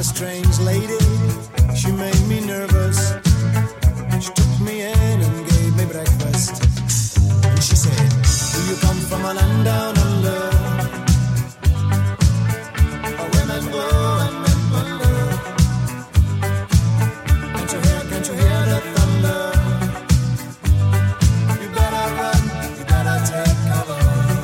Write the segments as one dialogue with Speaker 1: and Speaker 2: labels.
Speaker 1: strange lady, she made me nervous. She took me in and gave me breakfast. And she said, do you come from a land down under? Where women go and men wonder. Can't you hear the thunder? You better run, you better take cover.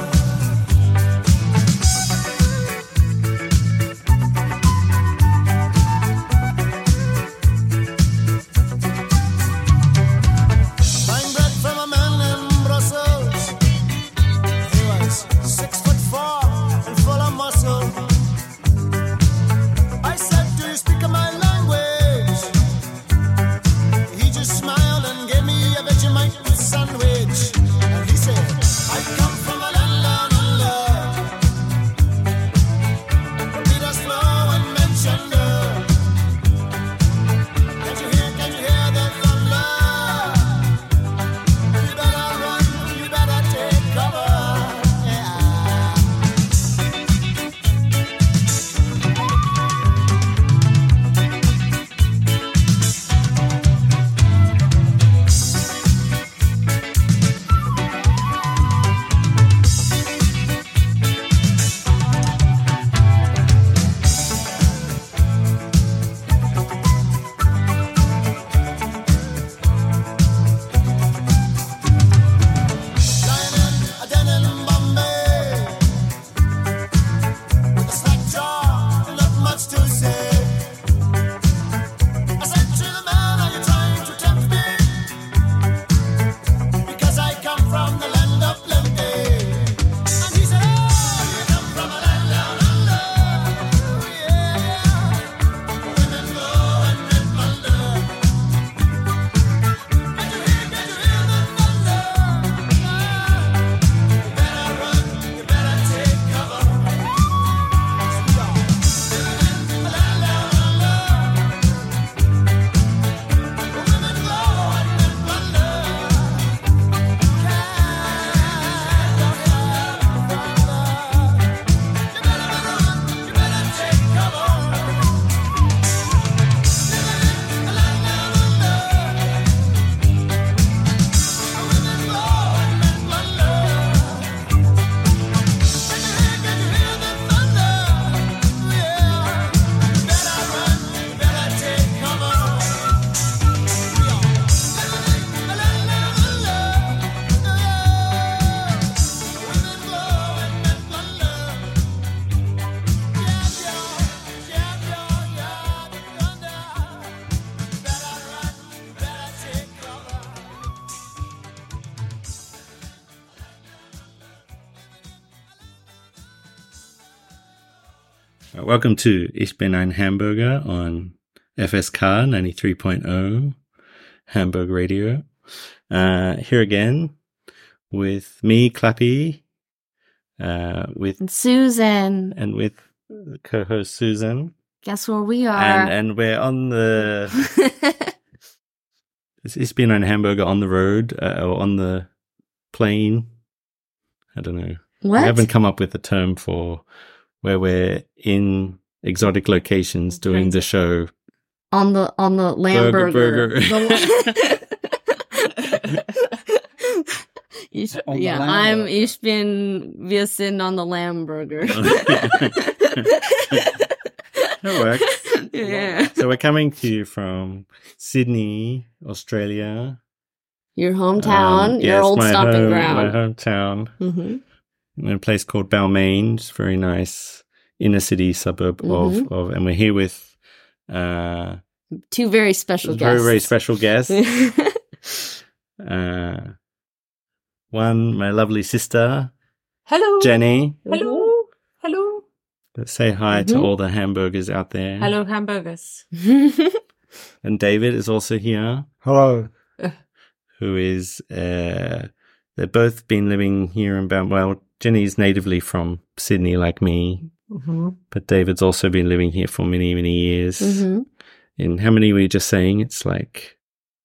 Speaker 2: Welcome to Ich bin ein Hamburger on FSK 93.0 Hamburg Radio. Here again with me, Clappy, with
Speaker 3: Susan,
Speaker 2: and with co-host Susan.
Speaker 3: Guess where we are?
Speaker 2: And we're on the Ich bin ein Hamburger on the road or on the plane. I don't know.
Speaker 3: What?
Speaker 2: I haven't come up with a term for where we're in exotic locations doing the show.
Speaker 3: On the Lamburger.
Speaker 2: Burger.
Speaker 3: Wir sind on the Lamburger.
Speaker 2: That works.
Speaker 3: Yeah.
Speaker 2: So we're coming to you from Sydney, Australia.
Speaker 3: Your hometown, your old stomping ground.
Speaker 2: My hometown.
Speaker 3: Mm-hmm.
Speaker 2: In a place called Balmain. It's a very nice inner city suburb of, and we're here with
Speaker 3: two very special guests.
Speaker 2: Very, very special guests. One, my lovely sister.
Speaker 4: Hello.
Speaker 2: Jenny.
Speaker 4: Hello. Hello.
Speaker 2: Let's say hi to all the hamburgers out there.
Speaker 4: Hello, hamburgers.
Speaker 2: And David is also here.
Speaker 5: Hello.
Speaker 2: Who is, they've both been living here in well, Jenny's natively from Sydney like me, but David's also been living here for many, many years. And how many were you just saying? It's like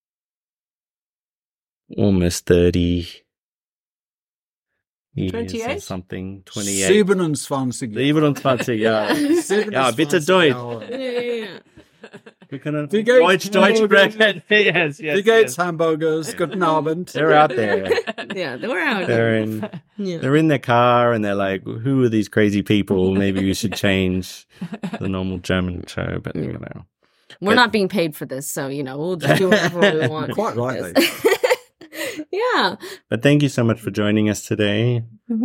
Speaker 2: almost 30 years
Speaker 4: 28?
Speaker 2: or something. 28.
Speaker 5: 27
Speaker 2: ja. Ja, bitte Deutsch. We can
Speaker 5: Wie geht's?
Speaker 2: Deutsch bread. Yes.
Speaker 5: Wie geht's, hamburgers? Guten Abend.
Speaker 2: They're out there.
Speaker 3: Yeah, we're out.
Speaker 2: They're in their car and they're like, "Who are these crazy people? Maybe we should change the normal German show." But you know,
Speaker 3: we're not being paid for this, so we'll just do whatever we want.
Speaker 5: Quite rightly.
Speaker 3: Yeah.
Speaker 2: But thank you so much for joining us today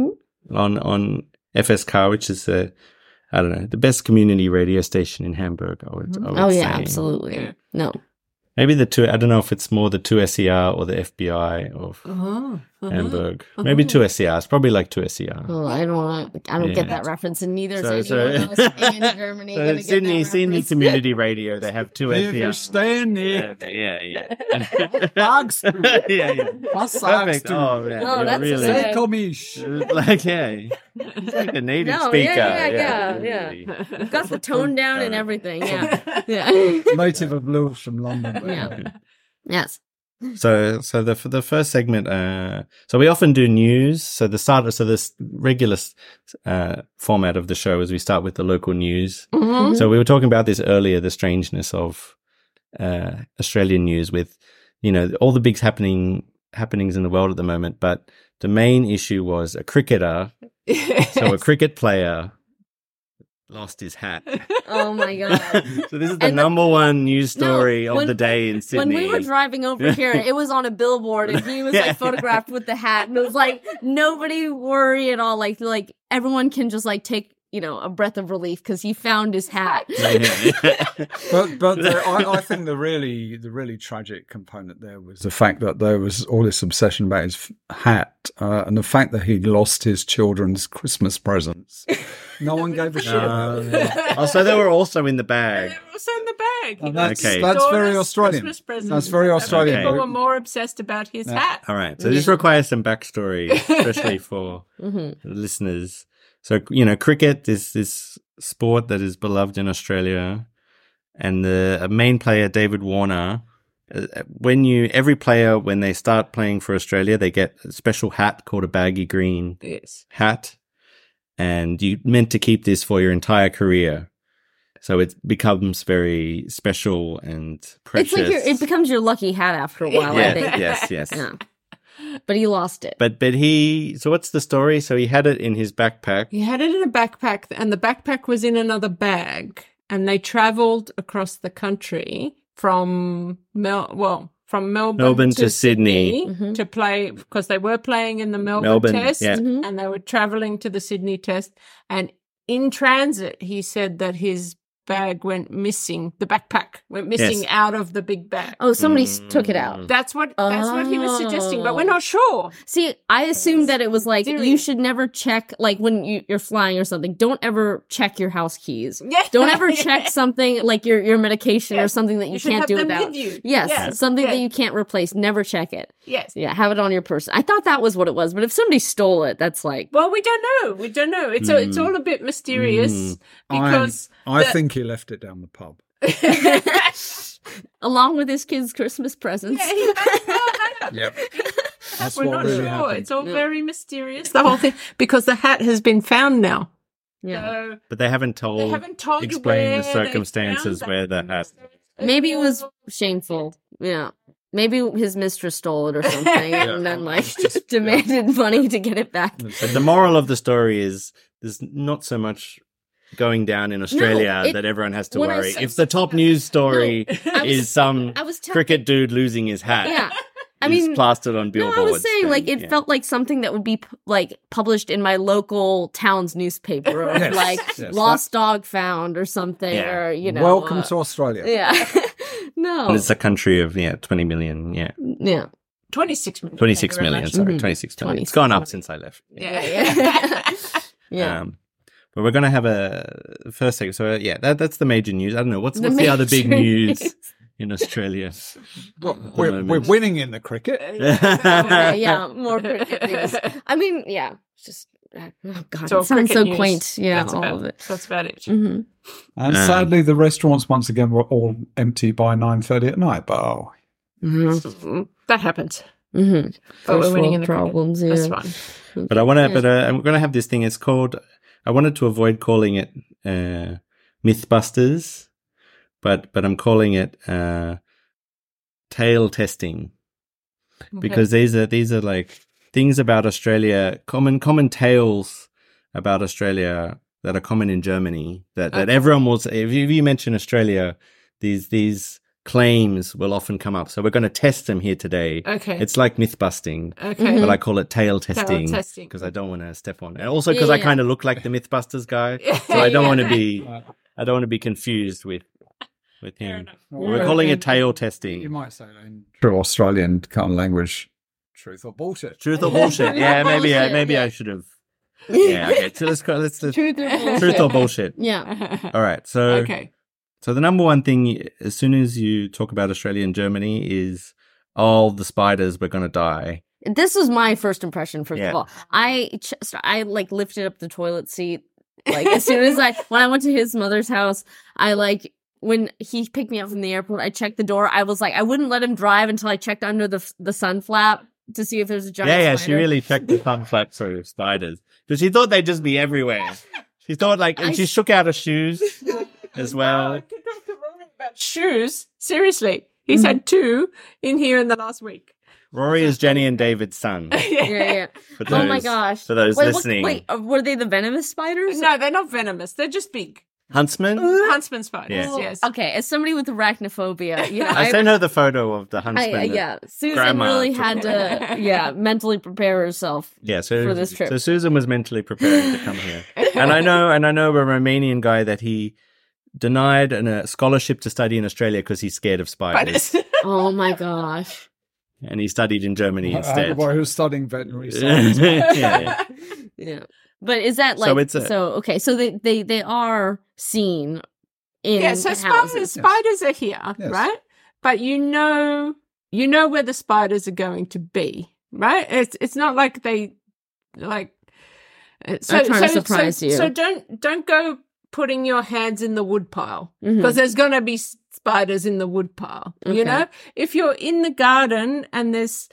Speaker 2: on FSK, which is the best community radio station in Hamburg. I would say.
Speaker 3: Absolutely. Yeah. No.
Speaker 2: Maybe the two. I don't know if it's more the 2SER or the FBI of Hamburg. Maybe 2SER. It's probably like 2SER.
Speaker 3: Oh, I don't get that reference, and neither is anyone else in Germany.
Speaker 2: So Sydney Community Radio. They have 2SER.
Speaker 5: Ständig.
Speaker 2: Yeah.
Speaker 5: Sagst du?
Speaker 2: Yeah.
Speaker 5: Was sagst du?
Speaker 2: Oh, yeah.
Speaker 3: No, that's
Speaker 2: really.
Speaker 3: sad.
Speaker 5: Komisch.
Speaker 2: It's like a native speaker.
Speaker 3: Yeah. We've got the tone down and everything. Yeah.
Speaker 5: Native of Lewis from London.
Speaker 3: Yeah. Yes.
Speaker 2: So the first segment, so we often do news. So this regular format of the show is we start with the local news. Mm-hmm. So we were talking about this earlier, the strangeness of Australian news with, all the big happenings in the world at the moment. But the main issue was a cricketer. So a cricket player lost his hat.
Speaker 3: Oh my God.
Speaker 2: So this is the number one news story of the day in Sydney.
Speaker 3: When we were driving over here, it was on a billboard and he was photographed with the hat, and it was like, nobody worry at all. Like everyone can just take a breath of relief because he found his hat.
Speaker 5: But I think the really tragic component there was the fact that there was all this obsession about his hat and the fact that he lost his children's Christmas presents. No one gave a shit.
Speaker 2: So they were also in the bag.
Speaker 4: They were also in the bag.
Speaker 5: And that's very Australian. That's very Australian.
Speaker 4: People were more obsessed about his hat.
Speaker 2: All right. So this requires some backstory, especially for the listeners. So, cricket is this sport that is beloved in Australia, and the main player, David Warner, every player, when they start playing for Australia, they get a special hat called a baggy green hat, and you're meant to keep this for your entire career. So it becomes very special and precious.
Speaker 3: It's it becomes your lucky hat after a while, I think.
Speaker 2: Yes.
Speaker 3: Yeah. But he lost it.
Speaker 2: But so what's the story? So he had it in his backpack.
Speaker 4: He had it in a backpack, and the backpack was in another bag. And they travelled across the country from Melbourne to Sydney to play, because they were playing in the Melbourne Test, and they were travelling to the Sydney Test. And in transit, he said that his bag went missing. The backpack went missing out of the big bag.
Speaker 3: Oh, somebody took it out.
Speaker 4: That's what he was suggesting, but we're not sure.
Speaker 3: See, I assumed that it was you should never check, when you're flying or something. Don't ever check your house keys. Yeah. Don't ever check something like your medication or something that you can't do without.
Speaker 4: With you.
Speaker 3: Yes, something that you can't replace. Never check it.
Speaker 4: Yes.
Speaker 3: Yeah, have it on your person. I thought that was what it was, but if somebody stole it, that's
Speaker 4: well, we don't know. It's all a bit mysterious because
Speaker 5: I think he left it down the pub.
Speaker 3: Along with his kids' Christmas presents.
Speaker 5: Yep. That's
Speaker 4: We're
Speaker 5: what
Speaker 4: not
Speaker 5: really
Speaker 4: sure.
Speaker 5: happened.
Speaker 4: It's all very mysterious, the whole thing, because the hat has been found now.
Speaker 3: Yeah.
Speaker 4: So
Speaker 2: but they haven't told explain the circumstances where the hat.
Speaker 3: Maybe it was shameful. Yeah. Maybe his mistress stole it or something and then demanded money to get it back.
Speaker 2: But the moral of the story is there's not so much going down in Australia that everyone has to worry. If the top news story is some cricket dude losing his hat.
Speaker 3: Yeah.
Speaker 2: Plastered on billboards.
Speaker 3: I was saying, it felt like something that would be published in my local town's newspaper, lost dog found or something, or
Speaker 5: Welcome to Australia.
Speaker 3: Yeah, no,
Speaker 2: and it's a country of 20 million.
Speaker 3: Yeah,
Speaker 4: 26 million.
Speaker 2: 26 million. Sorry, 26 million. It's gone up since I left.
Speaker 3: Yeah.
Speaker 2: But we're going to have a first segment. So that's the major news. I don't know what's the other big news in Australia.
Speaker 5: We're winning in the cricket.
Speaker 3: More cricket news. It's just it sounds so
Speaker 4: news.
Speaker 3: Quaint. Yeah,
Speaker 4: that's
Speaker 3: all of it.
Speaker 4: That's about it.
Speaker 3: Mm-hmm.
Speaker 5: And sadly, the restaurants once again were all empty by 9:30 at night. But
Speaker 4: that happens.
Speaker 3: Mm-hmm.
Speaker 4: But we're winning in the
Speaker 3: problems.
Speaker 4: Cricket.
Speaker 3: Yeah.
Speaker 4: That's fine.
Speaker 2: But I'm going to have this thing. It's called. I wanted to avoid calling it Mythbusters, but I'm calling it tail testing because these are like things about Australia, common tales about Australia that are common in Germany that everyone will say. If you mention Australia, these claims will often come up. So we're going to test them here today.
Speaker 4: Okay.
Speaker 2: It's like myth busting.
Speaker 4: Okay.
Speaker 2: But I call it tail testing
Speaker 4: testing.
Speaker 2: because I don't want to step on. And also because I kind of look like the Mythbusters guy. So I don't want to be confused with him. We're calling it tail testing.
Speaker 5: You might say that in true Australian kind of language, truth or bullshit.
Speaker 2: Truth or bullshit. Yeah, maybe I should have. Yeah, okay. So let's truth or bullshit.
Speaker 3: Yeah.
Speaker 2: All right. So So the number one thing, as soon as you talk about Australia and Germany, is all the spiders were going to die.
Speaker 3: This was my first impression. First of all, I like lifted up the toilet seat. Like as soon as when I went to his mother's house, when he picked me up from the airport, I checked the door. I was like, I wouldn't let him drive until I checked under the sun flap to see if there's a giant spider.
Speaker 2: Yeah, she really checked the sun flap for spiders because she thought they'd just be everywhere. She thought and she shook out her shoes as well.
Speaker 4: Shoes? Seriously. He's had 2 in here in the last week.
Speaker 2: Rory is Jenny and David's son.
Speaker 3: Yeah.
Speaker 2: Oh
Speaker 3: my gosh.
Speaker 2: For those listening.
Speaker 3: Were they the venomous spiders?
Speaker 4: No, they're not venomous. They're just big.
Speaker 2: Huntsman?
Speaker 4: Huntsman spiders, yes.
Speaker 3: Okay, as somebody with arachnophobia,
Speaker 2: I sent her the photo of the huntsman.
Speaker 3: Susan really had to, mentally prepare herself for this trip.
Speaker 2: So Susan was mentally preparing to come here. And I know a Romanian guy that he denied a scholarship to study in Australia because he's scared of spiders.
Speaker 3: Oh my gosh.
Speaker 2: And he studied in Germany instead.
Speaker 5: The boy who's studying veterinary science.
Speaker 3: Yeah. But is that like so they are seen in
Speaker 4: so
Speaker 3: houses.
Speaker 4: Spiders are here, right? But you know where the spiders are going to be, right? It's not like they like
Speaker 3: trying to surprise you.
Speaker 4: So don't go putting your hands in the wood pile because there's going to be spiders in the wood pile. Okay. You know, if you're in the garden and there's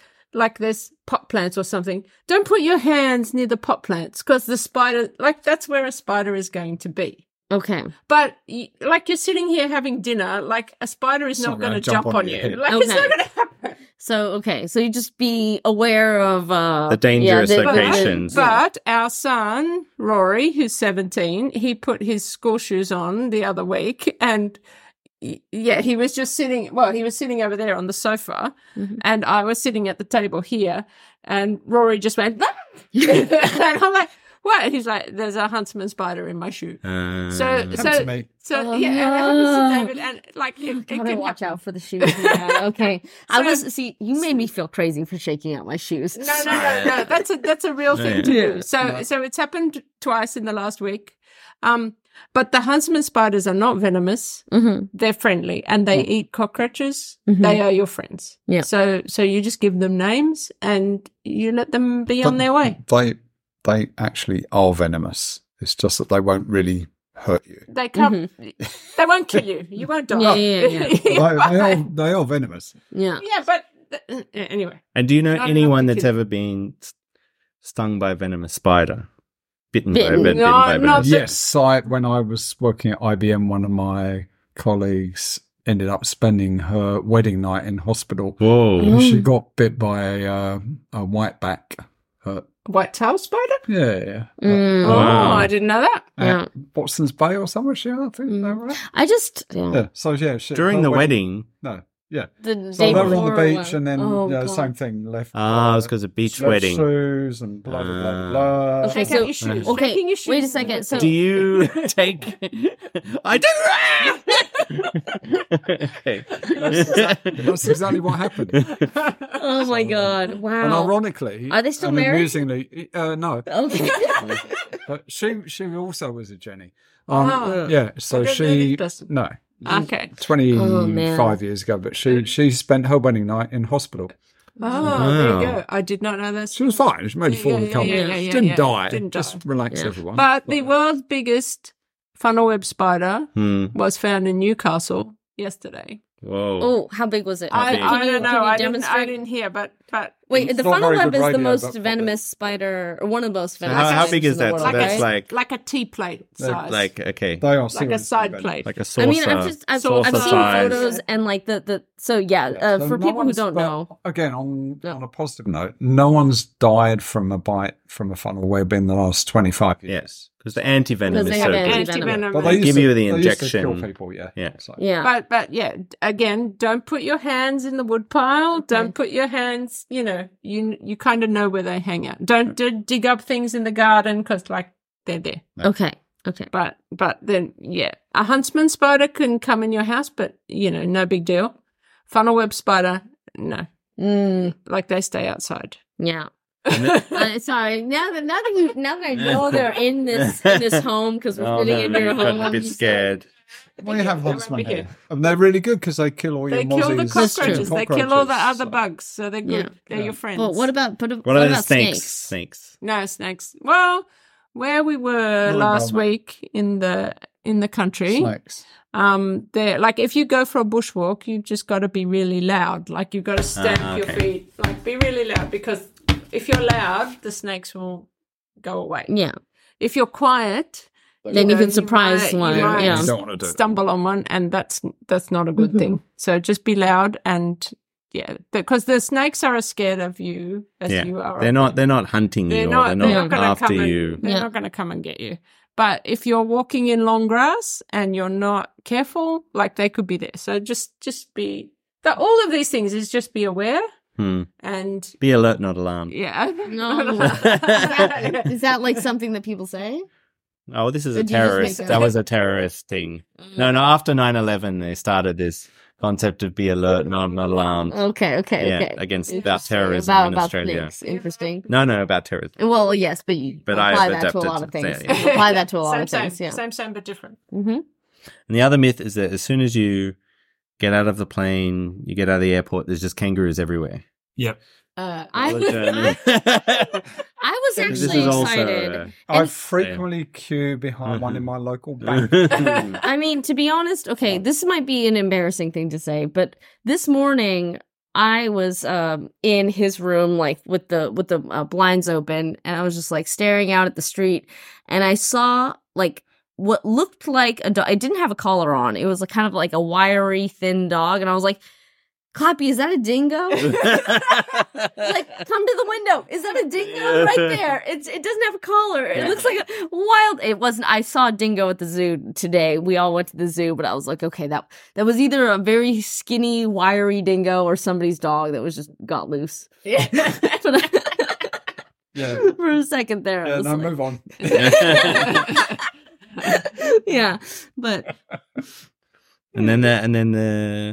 Speaker 4: pot plants or something, don't put your hands near the pot plants because the spider, that's where a spider is going to be.
Speaker 3: Okay.
Speaker 4: But you're sitting here having dinner, a spider is not going to jump on you. It's not going to happen.
Speaker 3: So you just be aware of
Speaker 2: the dangerous locations.
Speaker 4: But our son, Rory, who's 17, he put his school shoes on the other week and he was just sitting, he was sitting over there on the sofa and I was sitting at the table here and Rory just went, and I'm like, what? He's like, there's a huntsman spider in my shoe.
Speaker 5: To me.
Speaker 4: So it happens to David, and
Speaker 3: gotta watch out for the shoes. Okay. You made me feel crazy for shaking out my shoes.
Speaker 4: No. That's a real thing to do. So it's happened twice in the last week. But the huntsman spiders are not venomous. They're friendly and they eat cockroaches. They are your friends.
Speaker 3: Yeah.
Speaker 4: So you just give them names and you let them be on their way.
Speaker 5: They actually are venomous. It's just that they won't really hurt you.
Speaker 4: They can't. They won't kill you. You won't die.
Speaker 5: Yeah. They are venomous.
Speaker 3: Yeah.
Speaker 4: Yeah, but anyway.
Speaker 2: And do you know anyone that's ever been stung by a venomous spider? Bitten by a venomous?
Speaker 5: Yes. When I was working at IBM, one of my colleagues ended up spending her wedding night in hospital.
Speaker 2: Whoa.
Speaker 5: She got bit by a whiteback.
Speaker 4: White-tailed spider?
Speaker 5: Yeah.
Speaker 2: Wow.
Speaker 4: I didn't know that.
Speaker 5: Watson's Bay or somewhere, I think. Is that right?
Speaker 3: I just...
Speaker 5: So,
Speaker 2: during the wedding...
Speaker 5: No. Yeah.
Speaker 3: So
Speaker 5: they were on the beach and then same thing, left.
Speaker 2: It was because of beach wedding.
Speaker 5: Shoes and blah, blah, blah, blah.
Speaker 3: Okay,
Speaker 4: Take out your shoes.
Speaker 3: Okay,
Speaker 4: Taking your shoes.
Speaker 3: wait a second. So
Speaker 2: do you take... I do...
Speaker 5: Okay. That's exactly what happened.
Speaker 3: Oh my God. Wow.
Speaker 5: And ironically...
Speaker 3: Are they still married?
Speaker 5: Amusingly, no.
Speaker 3: Okay.
Speaker 5: But she also was a Jenny. Yeah, so she... No.
Speaker 4: Okay.
Speaker 5: 25 years ago, but she spent her wedding night in hospital.
Speaker 4: Oh, there you go. I did not know that.
Speaker 5: She was fine. She made it fall and come. She didn't die. Just relax everyone.
Speaker 4: But the world's biggest funnel web spider was found in Newcastle yesterday.
Speaker 2: Whoa.
Speaker 3: Oh, how big was it?
Speaker 4: I don't know. I didn't hear, but
Speaker 3: Wait, the
Speaker 5: It's not
Speaker 3: funnel
Speaker 5: very
Speaker 3: web
Speaker 5: good
Speaker 3: is the
Speaker 5: radio,
Speaker 3: most
Speaker 5: but-
Speaker 3: venomous spider, or one of the most
Speaker 2: So
Speaker 3: venomous.
Speaker 2: how big is
Speaker 3: in the
Speaker 2: that?
Speaker 3: world,
Speaker 2: So that's
Speaker 3: right?
Speaker 4: like a tea plate size.
Speaker 2: like okay,
Speaker 5: They are
Speaker 4: like a
Speaker 5: seriously
Speaker 4: side
Speaker 5: venomous.
Speaker 4: plate.
Speaker 2: like a saucer.
Speaker 3: I mean, I've
Speaker 2: saucer
Speaker 3: seen
Speaker 2: size.
Speaker 3: photos and like the so yeah.
Speaker 5: So
Speaker 3: For
Speaker 5: no
Speaker 3: people who
Speaker 5: one's-
Speaker 3: don't
Speaker 5: but
Speaker 3: know,
Speaker 5: again, on a positive note, no one's died from a bite from a funnel web in the last 25 years.
Speaker 2: Yes, because the antivenom
Speaker 3: Because
Speaker 2: is
Speaker 3: they
Speaker 2: so
Speaker 3: have
Speaker 2: good.
Speaker 4: Antivenom.
Speaker 5: But
Speaker 2: They
Speaker 5: used
Speaker 2: give
Speaker 5: to-
Speaker 2: you the
Speaker 5: they used to
Speaker 2: injection.
Speaker 5: kill people, yeah.
Speaker 2: Yeah.
Speaker 5: So-
Speaker 3: yeah.
Speaker 4: But yeah, again, don't put your hands in the wood pile. Don't put your hands, you kind of know where they hang out. Don't dig up things in the garden because like they're there.
Speaker 3: Okay.
Speaker 4: But then, yeah, a huntsman spider can come in your house, but no big deal. Funnel web spider, no. Like they stay outside.
Speaker 3: Yeah. Sorry. Now that I know they're in this home because we're
Speaker 2: Oh,
Speaker 3: sitting
Speaker 2: no,
Speaker 3: in your
Speaker 2: you got
Speaker 3: home,
Speaker 2: a bit scared.
Speaker 5: Well, you have
Speaker 4: They
Speaker 5: huntsmen
Speaker 4: won't be
Speaker 5: here. And they're really good because they kill all
Speaker 4: They
Speaker 5: your
Speaker 4: kill the
Speaker 5: mozzies.
Speaker 4: cockroaches.
Speaker 5: and
Speaker 4: They kill all the
Speaker 5: cockroaches,
Speaker 4: other
Speaker 5: so-
Speaker 4: bugs, so they're good. They're your friends.
Speaker 3: But what about
Speaker 2: What are the
Speaker 3: about
Speaker 2: snakes?
Speaker 3: snakes?
Speaker 2: Snakes.
Speaker 4: No snakes. Well, where we were
Speaker 5: Not
Speaker 4: last
Speaker 5: Melbourne.
Speaker 4: week in the country,
Speaker 5: Snakes.
Speaker 4: there, like if you go for a bushwalk, you've just got to be really loud. Like you've got to stamp your
Speaker 2: okay.
Speaker 4: feet, like be really loud, because if you're loud, the snakes will go away.
Speaker 3: Yeah.
Speaker 4: If you're quiet,
Speaker 3: Then you can surprise one.
Speaker 4: You might
Speaker 3: Yeah.
Speaker 5: You don't want to do it.
Speaker 4: stumble on one, and that's not a good thing. So just be loud and because the snakes are as scared of you as
Speaker 2: Yeah,
Speaker 4: you are.
Speaker 2: they're not hunting you, or they're not
Speaker 4: gonna
Speaker 2: after
Speaker 4: come
Speaker 2: you.
Speaker 4: They're
Speaker 3: Yeah.
Speaker 4: not going to come and get you. But if you're walking in long grass and you're not careful, like they could be there. So just be. All of these things is just be aware and
Speaker 2: Be alert, not alarmed.
Speaker 4: yeah.
Speaker 3: No. Is that like something that people say?
Speaker 2: Oh, this is
Speaker 3: Or
Speaker 2: a
Speaker 3: did you just make
Speaker 2: terrorist.
Speaker 3: that
Speaker 2: That
Speaker 3: up?
Speaker 2: was a terrorist thing. No, after 9/11, they started this concept of be alert, not alarmed.
Speaker 3: Okay.
Speaker 2: Yeah, against about terrorism
Speaker 3: about
Speaker 2: in Australia.
Speaker 3: snakes. Interesting.
Speaker 2: No, about terrorism.
Speaker 3: Well, yes, but you
Speaker 2: But
Speaker 3: apply
Speaker 2: I've
Speaker 3: that to a
Speaker 2: adapted
Speaker 3: lot of
Speaker 2: to
Speaker 3: things.
Speaker 2: that, yeah.
Speaker 3: You apply that to a lot
Speaker 4: same,
Speaker 3: of things.
Speaker 4: same,
Speaker 3: Yeah.
Speaker 4: same, but different.
Speaker 2: And the other myth is that as soon as you get out of the plane, you get out of the airport, there's just kangaroos everywhere.
Speaker 5: Yep.
Speaker 3: I was
Speaker 2: This
Speaker 3: actually
Speaker 2: is also,
Speaker 3: excited.
Speaker 5: I frequently queue behind one in my local bank.
Speaker 3: I mean, to be honest, okay, this might be an embarrassing thing to say, but this morning I was in his room, like with the blinds open, and I was just like staring out at the street, and I saw like what looked like a dog. It didn't have a collar on. It was like kind of like a wiry, thin dog, and I was like, Clappy, is that a dingo? Like, come to the window. Is that a dingo right there? It doesn't have a collar. It looks like a wild. It wasn't. I saw a dingo at the zoo today. We all went to the zoo, but I was like, okay, that was either a very skinny, wiry dingo or somebody's dog that was just got loose.
Speaker 4: Yeah.
Speaker 5: Yeah.
Speaker 3: For a second there, I
Speaker 5: Yeah,
Speaker 3: was
Speaker 5: no,
Speaker 3: like,
Speaker 5: move on.
Speaker 3: yeah, but
Speaker 2: and then the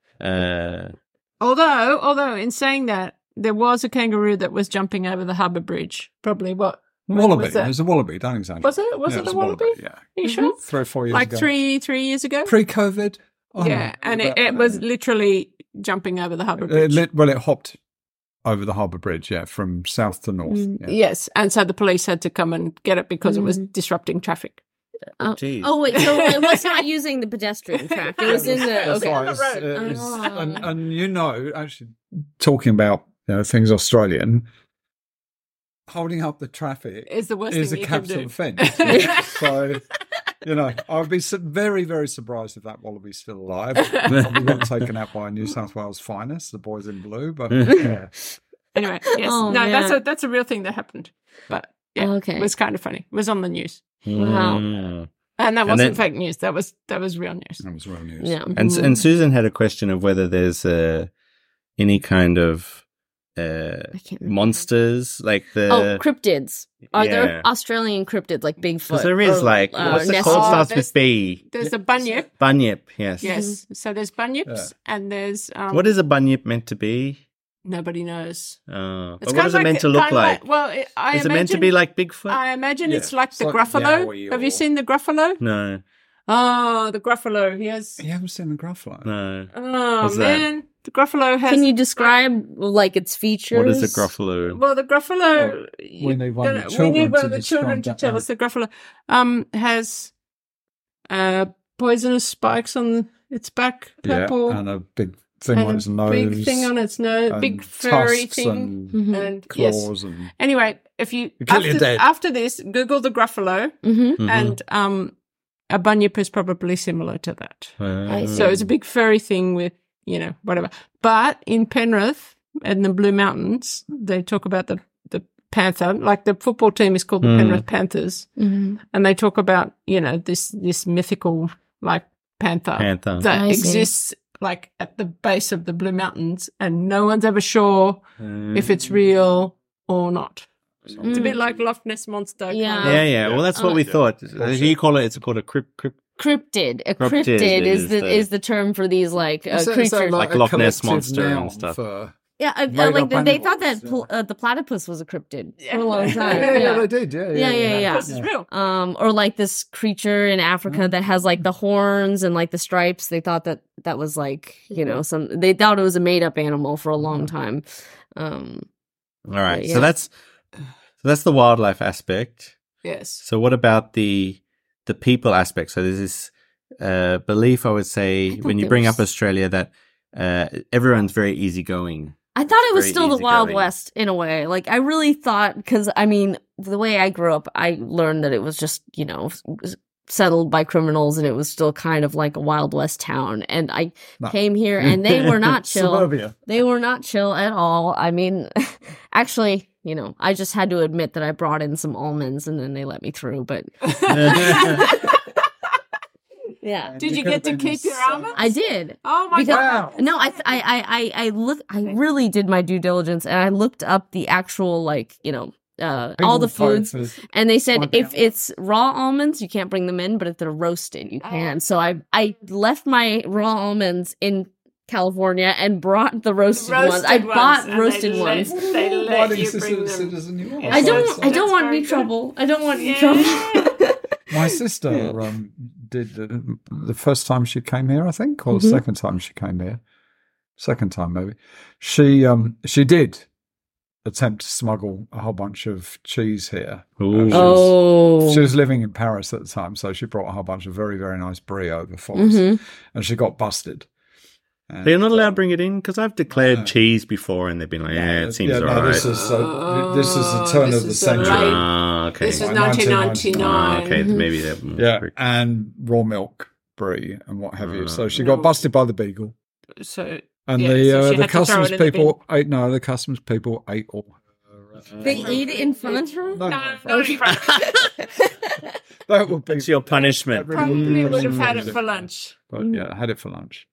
Speaker 4: Although in saying that, there was a kangaroo that was jumping over the harbour bridge. Probably what? when
Speaker 5: Wallaby.
Speaker 4: was that?
Speaker 5: There's a wallaby. Don't exaggerate.
Speaker 4: Was it? Was
Speaker 5: Yeah,
Speaker 4: it
Speaker 5: was
Speaker 4: a wallaby?
Speaker 5: Yeah.
Speaker 4: Are you sure?
Speaker 5: 3 or 4 years
Speaker 4: Like
Speaker 5: ago.
Speaker 4: three years ago?
Speaker 5: Pre-COVID. Oh,
Speaker 4: Yeah, and
Speaker 5: but-
Speaker 4: it was literally jumping over the harbour bridge.
Speaker 5: it hopped over the harbour bridge, from south to north. Yeah.
Speaker 4: Yes, and so the police had to come and get it because it was disrupting traffic.
Speaker 2: Jeez.
Speaker 3: oh wait, so it was not using the pedestrian track. It was in the
Speaker 5: That's
Speaker 3: okay.
Speaker 5: right.
Speaker 3: Oh.
Speaker 5: And actually, talking about things Australian, holding up the traffic
Speaker 4: Is the worst
Speaker 5: is
Speaker 4: thing
Speaker 5: a
Speaker 4: you can
Speaker 5: capital
Speaker 4: do.
Speaker 5: offence. So, I'd be very, very surprised if that wallaby's still alive. Probably got taken out by New South Wales finest, the boys in blue. But yeah.
Speaker 4: Anyway, yes,
Speaker 3: Oh,
Speaker 4: no,
Speaker 3: man.
Speaker 4: that's a real thing that happened. But yeah,
Speaker 3: Okay.
Speaker 4: it was kind of funny. It was on the news,
Speaker 3: Wow.
Speaker 2: Mm.
Speaker 4: and that wasn't
Speaker 2: then-
Speaker 4: fake news. That was real news.
Speaker 5: That was real news.
Speaker 3: Yeah.
Speaker 2: And Susan had a question of whether there's any kind of
Speaker 3: I can't remember.
Speaker 2: monsters like the.
Speaker 3: Oh, cryptids. Are
Speaker 2: Yeah.
Speaker 3: there Australian cryptids like Bigfoot?
Speaker 2: Because there is
Speaker 3: or,
Speaker 2: like what's it
Speaker 3: Nessie?
Speaker 2: called? Starts
Speaker 4: there's-
Speaker 2: with B.
Speaker 4: There's a bunyip.
Speaker 2: Bunyip. Yes.
Speaker 4: Yes, so there's bunyips, and there's
Speaker 2: What is a bunyip meant to be?
Speaker 4: nobody knows.
Speaker 2: But
Speaker 4: It's
Speaker 2: what is it meant to look
Speaker 4: kinda
Speaker 2: like?
Speaker 4: Well, I
Speaker 2: Is it
Speaker 4: imagine
Speaker 2: meant to be like Bigfoot?
Speaker 4: I imagine
Speaker 5: Yeah.
Speaker 4: it's like
Speaker 5: It's
Speaker 4: the
Speaker 5: like
Speaker 4: Gruffalo.
Speaker 5: Yowie
Speaker 4: Have you
Speaker 5: or-
Speaker 4: seen the Gruffalo?
Speaker 2: No,
Speaker 4: Oh, the Gruffalo. He has.
Speaker 5: You haven't seen the Gruffalo?
Speaker 2: no.
Speaker 4: Oh
Speaker 2: What's that?
Speaker 4: man, the Gruffalo has.
Speaker 3: Can you describe like its features?
Speaker 2: What is a Gruffalo?
Speaker 4: Well, the Gruffalo.
Speaker 5: we need one of the
Speaker 4: we
Speaker 5: children
Speaker 4: need one
Speaker 5: to
Speaker 4: of the children to
Speaker 5: describe
Speaker 4: tell
Speaker 5: that.
Speaker 4: us. The Gruffalo has poisonous spikes on its back, purple.
Speaker 5: Yeah, and a big thing on its nose.
Speaker 4: Big thing on its nose. Big furry thing.
Speaker 5: And claws. And
Speaker 4: anyway, if you
Speaker 5: dead.
Speaker 4: After this, Google the Gruffalo, and a bunyip is probably similar to that. So it's a big furry thing with, whatever. But in Penrith and the Blue Mountains, they talk about the panther. Like the football team is called the Penrith Panthers, and they talk about this mythical like panther that exists like at the base of the Blue Mountains, and no one's ever sure if it's real or not. It's a bit like Loch Ness Monster.
Speaker 2: Yeah. Well, that's what we thought. You call it? It's called a cryptid.
Speaker 3: A cryptid is the term for these creatures,
Speaker 2: like Loch Ness Monster and stuff.
Speaker 3: They thought that the platypus was a cryptid for a long time.
Speaker 5: They did. Yeah.
Speaker 4: This is real.
Speaker 3: Or like this creature in Africa that has like the horns and like the stripes. They thought that was like they thought it was a made up animal for a long time.
Speaker 2: All right, so that's the wildlife aspect.
Speaker 4: Yes.
Speaker 2: So what about the people aspect? So there's this belief, I would say, when you bring up Australia, that everyone's very easygoing.
Speaker 3: I thought it was still the Wild West in a way. Like, I really thought, because, I mean, the way I grew up, I learned that it was just, settled by criminals, and it was still kind of like a Wild West town. And I came here, and they were not chill.
Speaker 5: Suburbia.
Speaker 3: They were not chill at all. I mean, actually, I just had to admit that I brought in some almonds, and then they let me through, but... Yeah.
Speaker 4: Did you get to keep your almonds?
Speaker 3: I did.
Speaker 4: Oh my God.
Speaker 3: No, I really did my due diligence, and I looked up the actual all the foods, and they said if it's raw almonds you can't bring them in, but if they're roasted you can. So I left my raw almonds in California and brought the roasted ones. I bought roasted ones.
Speaker 4: They let you bring them.
Speaker 3: I don't want any trouble. I don't want any trouble.
Speaker 5: My sister did the first time she came here, I think, or the second time she came here. Second time, maybe. She did attempt to smuggle a whole bunch of cheese here. She was living in Paris at the time, so she brought a whole bunch of very, very nice brie over for us, and she got busted. And
Speaker 2: they're not allowed to bring it in, because I've declared cheese before, and they've been like, it seems all right.
Speaker 5: This is the turn of the century.
Speaker 2: Okay.
Speaker 4: This is 1999.
Speaker 2: Okay, maybe that.
Speaker 5: And raw milk brie and what have you. So she got busted by the beagle.
Speaker 4: So
Speaker 5: the customs people ate. No, the customs people ate all.
Speaker 3: They ate it in front of her.
Speaker 4: No.
Speaker 5: That would be.
Speaker 2: It's your punishment.
Speaker 4: Probably would have had it for lunch.
Speaker 5: But I had it for lunch.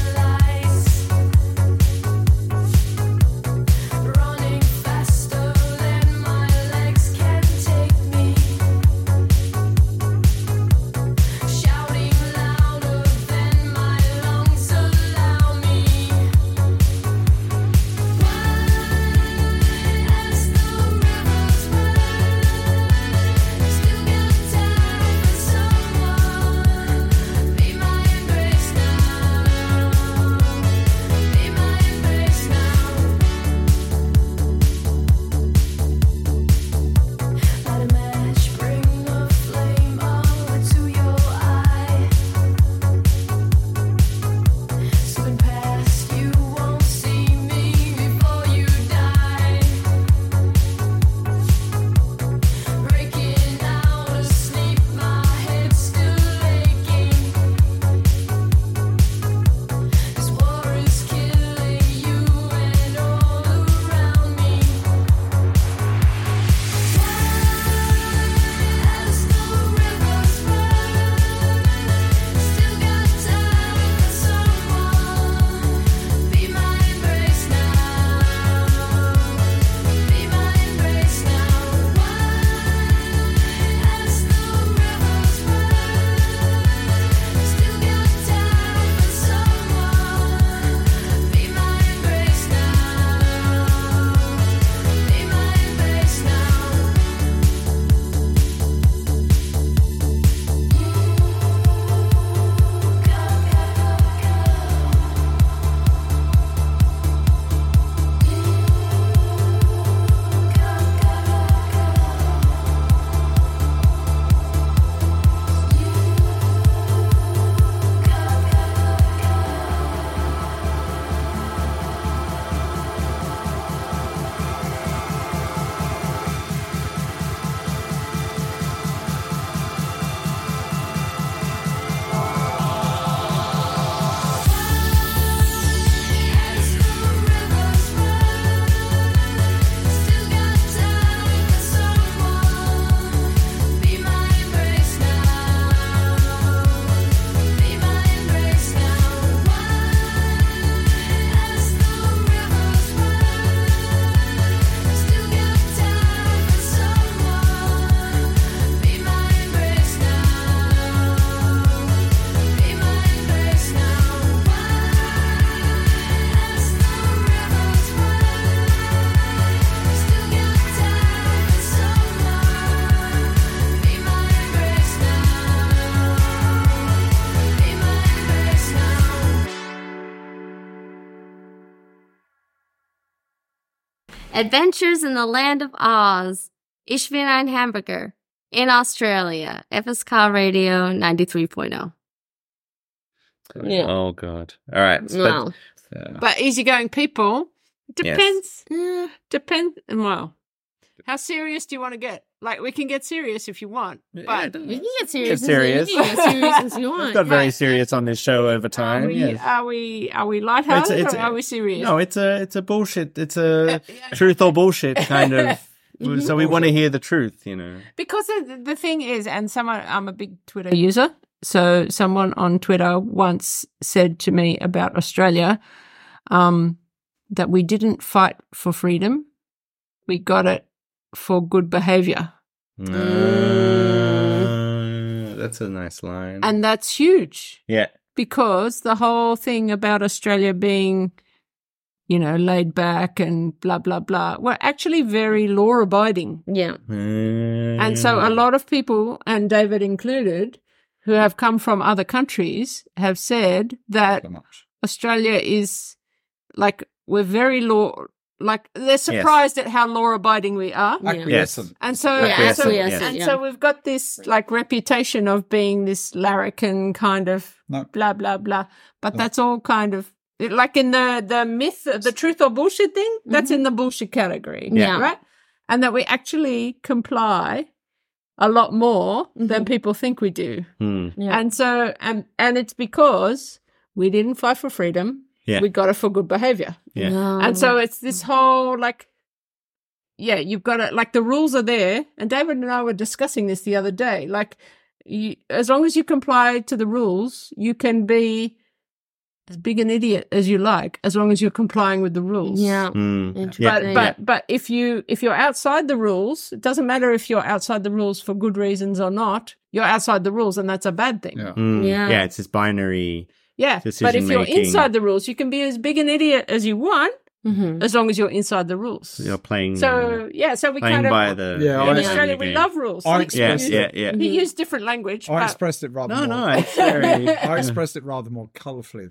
Speaker 1: Running faster.
Speaker 3: Adventures in the Land of Oz. Ich bin ein Hamburger. In Australia. FSK Radio 93.0.
Speaker 2: Yeah. Oh, God. All right.
Speaker 3: Wow.
Speaker 4: But easygoing people, depends. Yes. Depends. Well, how serious do you want to get? Like, we can get serious if you want. But
Speaker 3: we can get serious.
Speaker 2: Get serious.
Speaker 3: You can get serious as you want.
Speaker 2: We've got very serious on this show over time.
Speaker 4: Are we lighthearted or are we serious?
Speaker 2: No, it's a bullshit. It's a truth or bullshit kind of. So we want to hear the truth, you know.
Speaker 4: Because the thing is, and I'm a big Twitter user. So someone on Twitter once said to me about Australia that we didn't fight for freedom. We got it for good behavior.
Speaker 2: That's a nice line.
Speaker 4: And that's huge.
Speaker 2: Yeah.
Speaker 4: Because the whole thing about Australia being, you know, laid back and blah, blah, blah, we're actually very law-abiding.
Speaker 3: Yeah.
Speaker 4: And so a lot of people, and David included, who have come from other countries have said that Australia is like, we're very they're surprised at how law-abiding we are.
Speaker 2: Yes.
Speaker 4: And so, so we've got this like reputation of being this larrikin kind of blah, blah, blah. But that's all kind of, like in the myth, the truth or bullshit thing, that's in the bullshit category.
Speaker 3: Yeah.
Speaker 4: Right? And that we actually comply a lot more than people think we do.
Speaker 3: Yeah.
Speaker 4: And so, and it's because we didn't fight for freedom.
Speaker 2: Yeah.
Speaker 4: We got it for good behavior.
Speaker 2: Yeah.
Speaker 3: No.
Speaker 4: And so it's this whole you've got to, like, the rules are there. And David and I were discussing this the other day. Like, as long as you comply to the rules, you can be as big an idiot as you like, as long as you're complying with the rules.
Speaker 3: Yeah.
Speaker 4: But if you're outside the rules, it doesn't matter if you're outside the rules for good reasons or not. You're outside the rules, and that's a bad thing.
Speaker 5: Yeah.
Speaker 2: Yeah, it's this binary.
Speaker 4: Yeah, but if you're inside the rules, you can be as big an idiot as you want, as long as you're inside the rules.
Speaker 2: You're playing.
Speaker 4: So we
Speaker 2: playing
Speaker 4: kind of
Speaker 2: by the.
Speaker 4: in Australia we love rules. He used different language.
Speaker 5: I expressed it rather.
Speaker 2: I
Speaker 5: expressed it rather more colourfully.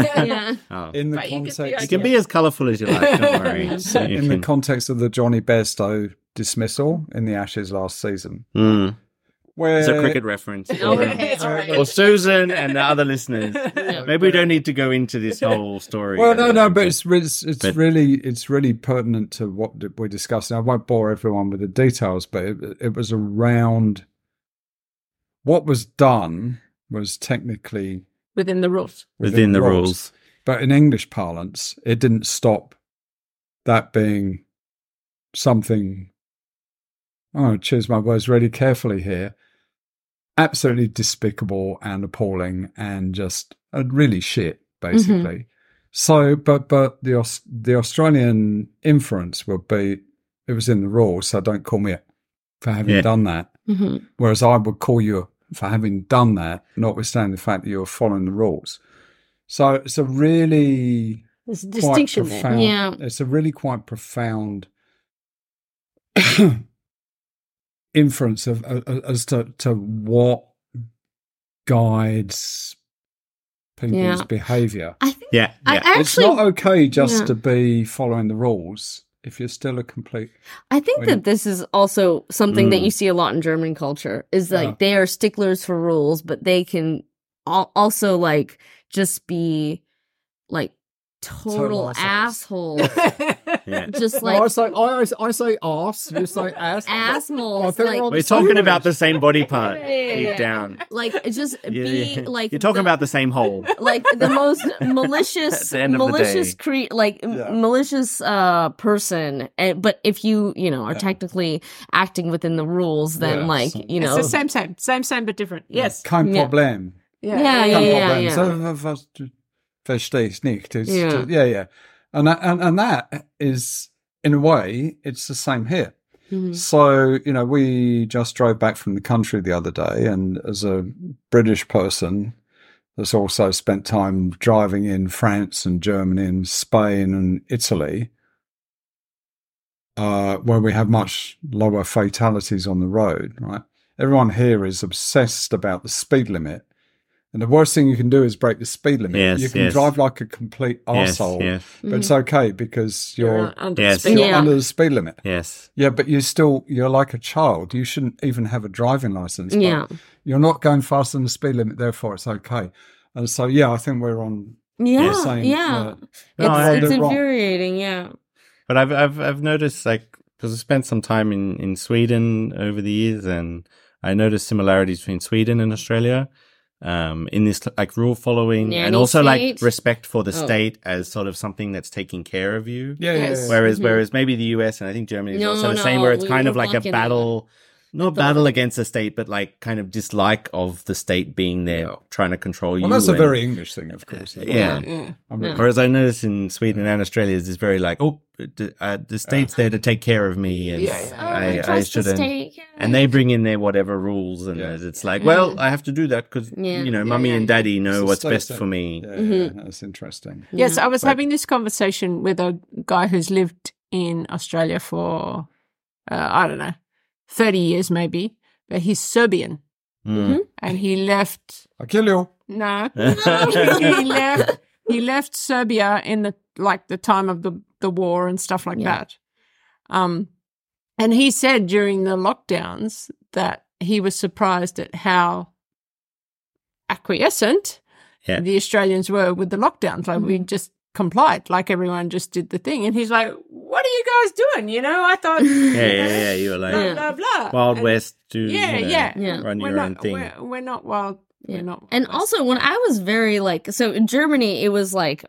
Speaker 5: In the context,
Speaker 2: you can be as colourful as you like. Don't worry.
Speaker 5: In the context of the Johnny Bairstow dismissal in the Ashes last season.
Speaker 2: It's a cricket reference. Or Susan and the other listeners. Maybe we don't need to go into this whole story.
Speaker 5: Well, no, but it's really pertinent to what we're discussing. I won't bore everyone with the details, but it was around what was done was technically
Speaker 4: within the rules.
Speaker 2: Within the rules.
Speaker 5: But in English parlance, it didn't stop that being something. I'm going to choose my words really carefully here. Absolutely despicable and appalling and just really shit, basically. So, but the Australian inference would be it was in the rules, so don't call me for having done that. Whereas I would call you for having done that, notwithstanding the fact that you were following the rules. So it's a really
Speaker 4: there's a distinction
Speaker 5: profound,
Speaker 3: there. Yeah,
Speaker 5: it's a really quite profound inference of as to what guides people's behaviour.
Speaker 3: I think.
Speaker 2: Yeah.
Speaker 5: It's not okay just to be following the rules if you're still a complete.
Speaker 3: I think that this is also something that you see a lot in German culture. Is like they are sticklers for rules, but they can also like just be like total assholes. Just like
Speaker 5: I say arse. You say ass.
Speaker 3: Assholes.
Speaker 2: We're talking about the same body part deep down.
Speaker 3: Like just be like
Speaker 2: you're talking about the same hole.
Speaker 3: Like the most malicious, malicious person. But if you are technically acting within the rules, then it's
Speaker 4: the same but different. Yes.
Speaker 5: Kein Problem.
Speaker 3: Yeah.
Speaker 5: So, verstehe ich nicht. And that is, in a way, it's the same here. So, we just drove back from the country the other day, and as a British person that's also spent time driving in France and Germany and Spain and Italy, where we have much lower fatalities on the road, right? Everyone here is obsessed about the speed limit And the worst thing you can do is break the speed limit.
Speaker 2: Yes,
Speaker 5: you can drive like a complete arsehole, but it's okay because you're
Speaker 4: under
Speaker 5: under the speed limit.
Speaker 2: Yes.
Speaker 5: Yeah, but you're like a child. You shouldn't even have a driving license.
Speaker 3: Yeah.
Speaker 5: You're not going faster than the speed limit, therefore it's okay. And so, I think we're on.
Speaker 3: Yeah,
Speaker 5: same,
Speaker 3: it's infuriating. Yeah.
Speaker 2: But I've noticed, like, because I spent some time in Sweden over the years, and I noticed similarities between Sweden and Australia. In this like rule following and also like respect for the state as sort of something that's taking care of you. Whereas maybe the US and I think Germany is also the same, where it's kind of like a battle, not battle against the state, but like kind of dislike of the state being there trying to control you.
Speaker 5: Well, that's a very English thing, of course.
Speaker 2: Whereas I noticed in Sweden and Australia is very like, the state's there to take care of me, and I shouldn't. And they bring in their whatever rules, and it's like, well, I have to do that because mummy and daddy know what's best for me.
Speaker 5: That's interesting.
Speaker 4: Yes, I was having this conversation with a guy who's lived in Australia for I don't know, 30 years maybe, but he's Serbian, and he left.
Speaker 5: I'll kill you.
Speaker 4: No, he left Serbia in the time of the war and stuff like that. And he said during the lockdowns that he was surprised at how acquiescent the Australians were with the lockdowns. Like we just complied, like everyone just did the thing. And he's like, "What are you guys doing? You know, I thought,
Speaker 2: you were like
Speaker 4: blah blah
Speaker 2: Wild West to run
Speaker 4: we're
Speaker 2: your own thing.
Speaker 4: We're not wild."
Speaker 3: Yeah. And also when I was very so in Germany, it was like,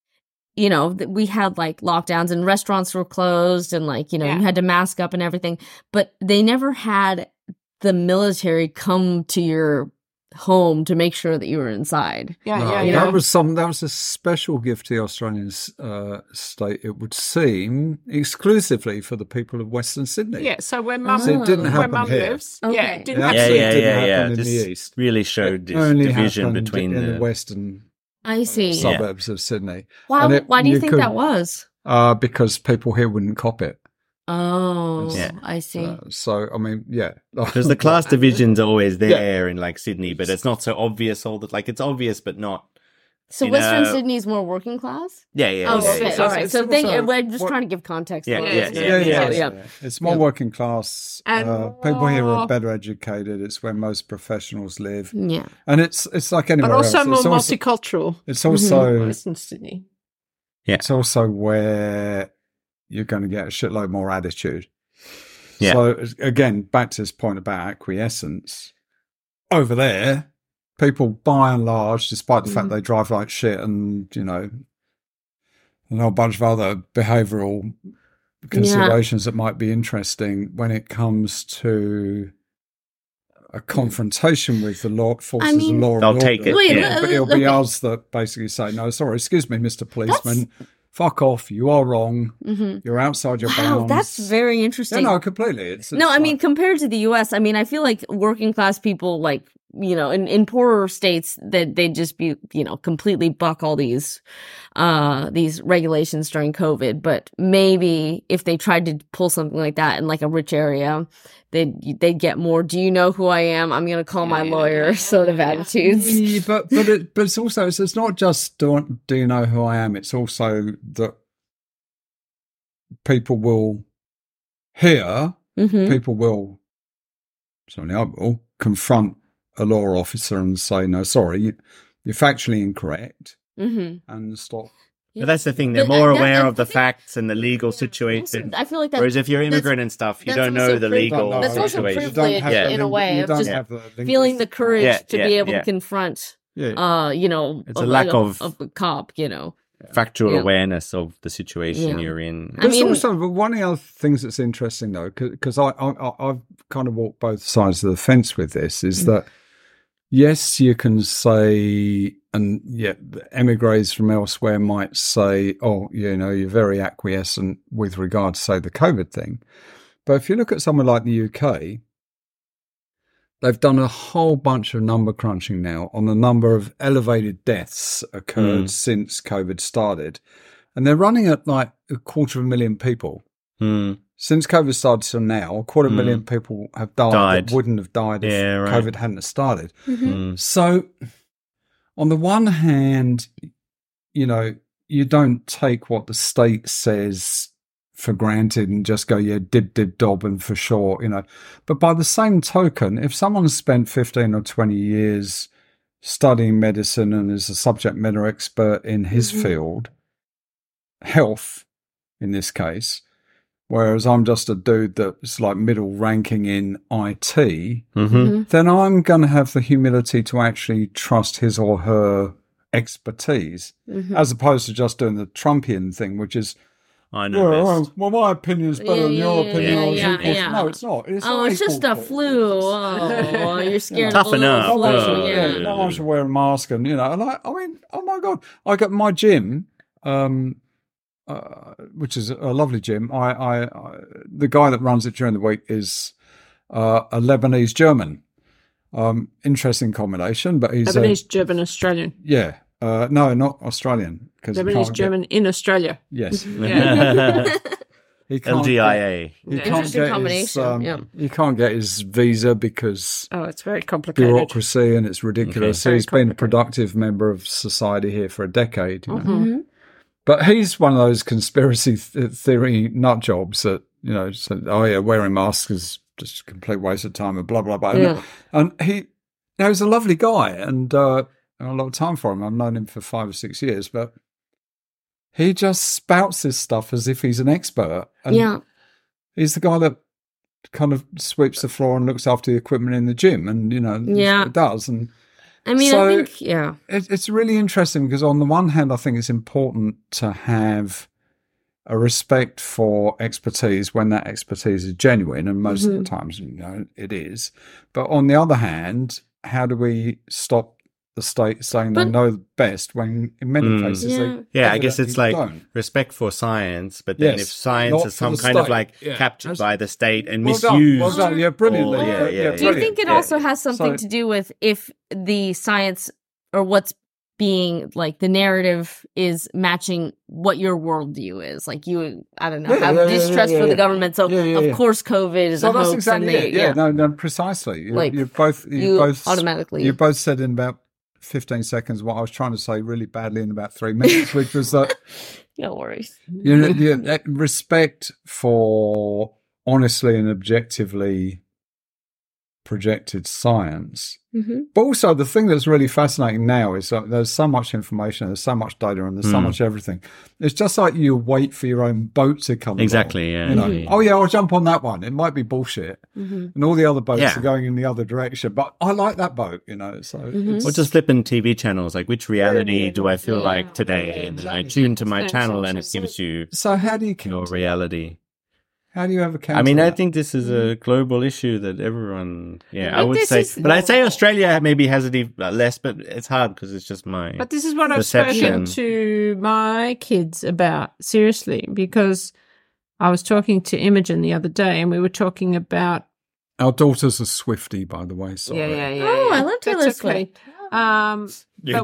Speaker 3: we had like lockdowns and restaurants were closed and like, you had to mask up and everything, but they never had the military come to your home to make sure that you were inside.
Speaker 5: That was a special gift to the Australian state, it would seem, exclusively for the people of Western Sydney.
Speaker 4: Yeah, so where mum lives.
Speaker 3: Okay.
Speaker 4: Yeah, it didn't
Speaker 5: happen in the east.
Speaker 2: Really showed this division between
Speaker 5: the western suburbs of Sydney.
Speaker 3: Why do you think that was?
Speaker 5: Because people here wouldn't cop it.
Speaker 3: Oh, I see.
Speaker 5: So, I mean,
Speaker 2: because the class divisions are always there in like Sydney, but it's not so obvious. It's obvious, but not.
Speaker 3: So Western Sydney is more working class?
Speaker 2: Yeah.
Speaker 3: All right. So we're just trying to give context.
Speaker 2: Yeah.
Speaker 5: It's more working class. And people here are better educated. It's where most professionals live.
Speaker 3: Yeah.
Speaker 5: And it's like anywhere else.
Speaker 4: But also more multicultural.
Speaker 5: It's also
Speaker 4: Western Sydney.
Speaker 2: Yeah.
Speaker 5: It's also where you're going to get a shitload more attitude.
Speaker 2: Yeah.
Speaker 5: So again, back to this point about acquiescence, over there, people by and large, despite the fact they drive like shit and, a whole bunch of other behavioural considerations that might be interesting when it comes to a confrontation with the law forces of law and order.
Speaker 2: They'll take it.
Speaker 5: But it'll be us that basically say, no, sorry, excuse me, Mr. Policeman. Fuck off! You are wrong. You're outside your bounds.
Speaker 3: That's very interesting.
Speaker 5: No, completely.
Speaker 3: I mean, compared to the U.S., I mean, I feel like working class people, like in poorer states, that they'd just be, completely buck all these regulations during COVID. But maybe if they tried to pull something like that in like a rich area, they'd get more. Do you know who I am? I'm going to call my lawyer. Sort of attitudes.
Speaker 5: Yeah, but it's also it's not just do you know who I am? It's also that people will hear. People will. Certainly, I will confront a law officer and say, "No, sorry, you're factually incorrect," and stop.
Speaker 2: But that's the thing; they're more aware of the facts and the legal situation.
Speaker 3: I feel like that.
Speaker 2: Whereas if you're immigrant and stuff, you don't know the legal
Speaker 3: That's also
Speaker 2: situation.
Speaker 3: privilege in a way of just feeling the courage to be able to confront. It's
Speaker 2: a lack of
Speaker 3: a cop.
Speaker 2: Factual awareness of the situation you're in.
Speaker 5: But one of the other things that's interesting, though, because I've kind of walked both sides of the fence with this, is that, yes, you can say, and emigres from elsewhere might say, you're very acquiescent with regard to, say, the COVID thing. But if you look at somewhere like the UK, they've done a whole bunch of number crunching now on the number of elevated deaths occurred since COVID started. And they're running at like 250,000 people. Since COVID started till now, 250,000 people have died that wouldn't have died if COVID hadn't started. So on the one hand, you know, you don't take what the state says for granted and just go, yeah, dib, dob, and for sure, you know. But by the same token, if someone's spent 15 or 20 years studying medicine and is a subject matter expert in his field, health in this case, whereas I'm just a dude that's like middle ranking in IT, then I'm going to have the humility to actually trust his or her expertise, as opposed to just doing the Trumpian thing, which is,
Speaker 2: I know.
Speaker 5: Well, my opinion is better than your opinion. No, it's not.
Speaker 3: It's just a flu. Oh, you're scared.
Speaker 2: Toughen up.
Speaker 5: No one should wear a mask, and you know. And I mean, oh my god, I got my gym, which is a lovely gym. I the guy that runs it during the week is a Lebanese German. Interesting combination, but he's
Speaker 4: Lebanese German Australian.
Speaker 5: Yeah. No, not Australian.
Speaker 4: Lebanese German in Australia.
Speaker 5: Yes.
Speaker 2: LGIA.
Speaker 3: Interesting combination.
Speaker 5: He can't get his visa because
Speaker 4: it's very complicated.
Speaker 5: Bureaucracy, and it's ridiculous. So he's been a productive member of society here for a decade. You know? But he's one of those conspiracy theory nut jobs that, you know, said, oh yeah, wearing masks is just a complete waste of time and blah, blah, blah.
Speaker 4: Yeah.
Speaker 5: And he was a lovely guy, and a lot of time for him. I've known him for 5 or 6 years, but he just spouts this stuff as if he's an expert. And he's the guy that kind of sweeps the floor and looks after the equipment in the gym, and, you know, it does. And
Speaker 3: I mean,
Speaker 5: so
Speaker 3: I think,
Speaker 5: it's really interesting because on the one hand, I think it's important to have a respect for expertise when that expertise is genuine, and most of the times, you know, it is. But on the other hand, how do we stop the state saying they know best when in many cases they
Speaker 2: I guess it's like
Speaker 5: don't.
Speaker 2: Respect for science, but then if science is some kind of like captured by the state and misused.
Speaker 5: Well done. Yeah, brilliantly.
Speaker 3: Do you think it also has something to do with if the science or what's being like the narrative is matching what your worldview is? Like you, I don't know, have distrust for the government. So of course COVID is a hoax.
Speaker 5: Exactly it. No, precisely. You both automatically. You both said in about 15 seconds what I was trying to say really badly in about 3 minutes, which was that
Speaker 3: no worries.
Speaker 5: You know, respect for honestly and objectively projected science. But also the thing that's really fascinating now is that there's so much information, there's so much data, and there's so much everything. It's just like you wait for your own boat to come
Speaker 2: exactly
Speaker 5: along. You know, oh yeah, I'll jump on that one. It might be bullshit, and all the other boats are going in the other direction, but I like that boat, you know. So
Speaker 2: or just flipping TV channels, like which reality do I feel like today, and I tune to my channel and it gives you
Speaker 5: so how do you
Speaker 2: your reality.
Speaker 5: How do you have a counter?
Speaker 2: I mean, I think this is a global issue that everyone, I would say, but I'd say Australia maybe has it less, but it's hard because it's just my
Speaker 4: But this is what
Speaker 2: perception.
Speaker 4: I've spoken to my kids about, seriously, because I was talking to Imogen the other day and we were talking about...
Speaker 5: Our daughter's a Swiftie, by the way. Sorry.
Speaker 4: Yeah.
Speaker 3: Oh, I love Taylor Swift.
Speaker 4: But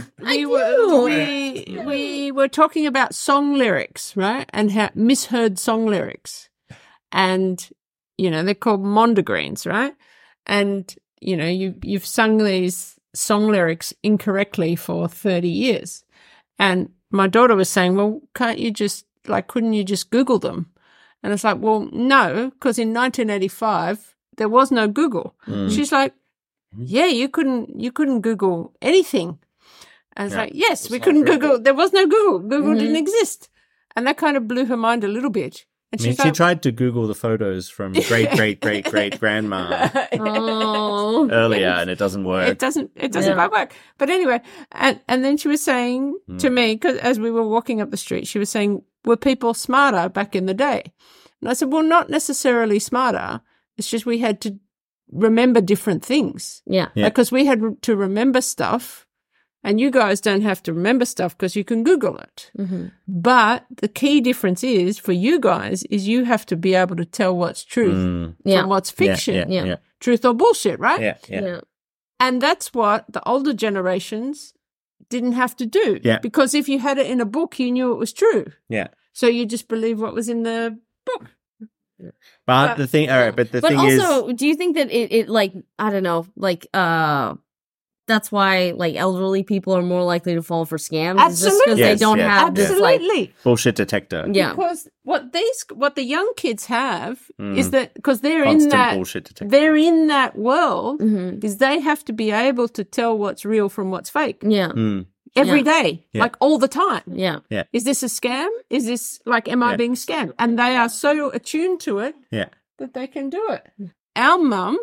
Speaker 4: we were talking about song lyrics, right? And how misheard song lyrics. And, you know, they're called mondegreens, right? And, you know, you've sung these song lyrics incorrectly for 30 years. And my daughter was saying, well, couldn't you just Google them? And it's like, well, no, because in 1985, there was no Google. She's like, yeah, you couldn't Google anything. And it's like, yes, we couldn't Google. There was no Google. Google didn't exist. And that kind of blew her mind a little bit. And
Speaker 2: she tried to Google the photos from great grandma earlier, and it doesn't work.
Speaker 4: It doesn't quite work. But anyway, and then she was saying to me, 'cause as we were walking up the street, she was saying, were people smarter back in the day? And I said, well, not necessarily smarter. It's just we had to remember different things.
Speaker 3: Yeah.
Speaker 4: Because we had to remember stuff. And you guys don't have to remember stuff because you can Google it. But the key difference is for you guys is you have to be able to tell what's truth from what's fiction. Truth or bullshit, right?
Speaker 3: Yeah.
Speaker 4: And that's what the older generations didn't have to do.
Speaker 2: Yeah.
Speaker 4: Because if you had it in a book, you knew it was true.
Speaker 2: Yeah.
Speaker 4: So you just believe what was in the book.
Speaker 2: But the thing, all right, but the thing
Speaker 3: also, do you think that it like, I don't know, like, that's why like elderly people are more likely to fall for scams.
Speaker 4: Absolutely.
Speaker 3: Because they don't have this like
Speaker 2: bullshit detector.
Speaker 3: Yeah.
Speaker 4: Because what the young kids have is that because they're
Speaker 2: Constant
Speaker 4: in that
Speaker 2: bullshit detector.
Speaker 4: they're in that world is they have to be able to tell what's real from what's fake.
Speaker 3: Yeah.
Speaker 4: Every day,
Speaker 2: Yeah.
Speaker 4: like all the time.
Speaker 3: Yeah.
Speaker 4: Is this a scam? Is this like, am I being scammed? And they are so attuned to it that they can do it. Our mum,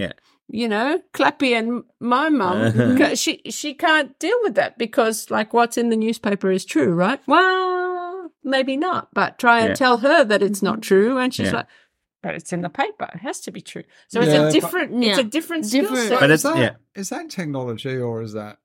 Speaker 4: Clappy and my mum, she can't deal with that because like what's in the newspaper is true, right? Well, maybe not, but try and tell her that it's not true. And she's like, but it's in the paper. It has to be true. So it's a different skill set.
Speaker 2: But
Speaker 5: is that technology or is that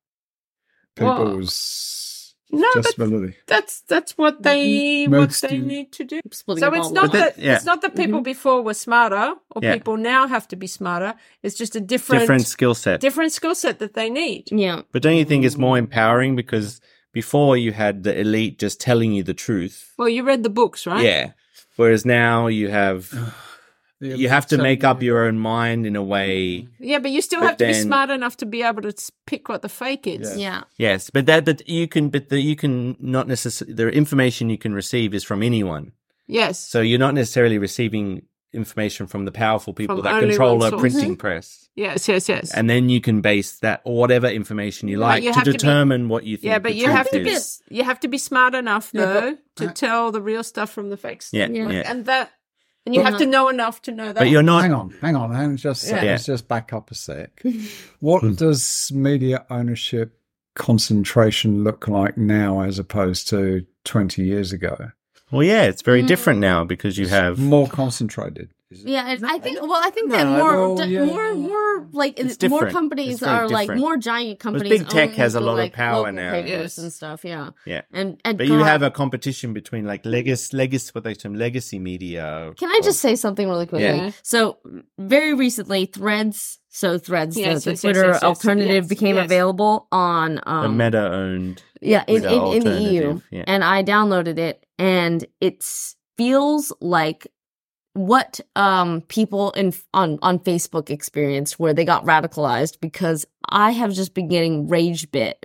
Speaker 5: people's disability?
Speaker 4: That's what they need to do. So it's not that people before were smarter or people now have to be smarter. It's just a different
Speaker 2: skill set.
Speaker 4: Different skill set that they need.
Speaker 3: Yeah.
Speaker 2: But don't you think it's more empowering because before you had the elite just telling you the truth?
Speaker 4: Well, you read the books, right?
Speaker 2: Yeah. Whereas now you have to make up your own mind in a way.
Speaker 4: Yeah, but you still have to be smart enough to be able to pick what the fake is.
Speaker 3: Yeah.
Speaker 2: Yes, but you can not necessarily. The information you can receive is from anyone.
Speaker 4: Yes.
Speaker 2: So you're not necessarily receiving information from the powerful people
Speaker 4: From
Speaker 2: that
Speaker 4: only
Speaker 2: control
Speaker 4: one
Speaker 2: a
Speaker 4: source.
Speaker 2: printing press.
Speaker 4: Yes.
Speaker 2: And then you can base that or whatever information you like to determine what you think.
Speaker 4: Yeah, but
Speaker 2: the
Speaker 4: you have to
Speaker 2: truth is.
Speaker 4: you have to be smart enough though to tell the real stuff from the fake stuff. And you have to know enough to know that.
Speaker 2: But you're not.
Speaker 5: Hang on. Let's just back up a sec. What does media ownership concentration look like now as opposed to 20 years ago?
Speaker 2: Well, yeah, it's very different now because you have
Speaker 5: more concentrated.
Speaker 3: Yeah, and I think that more like more companies are like more giant companies.
Speaker 2: Big tech has a lot of power now,
Speaker 3: and stuff. Yeah. And
Speaker 2: but you have a competition between like legacy media.
Speaker 3: Can I just say something really quickly?
Speaker 2: Yeah.
Speaker 3: So very recently, Threads, the Twitter alternative became available on
Speaker 2: the Meta owned.
Speaker 3: Yeah, in the EU, and I downloaded it, and it feels like what people on Facebook experienced where they got radicalized because I have just been getting rage bait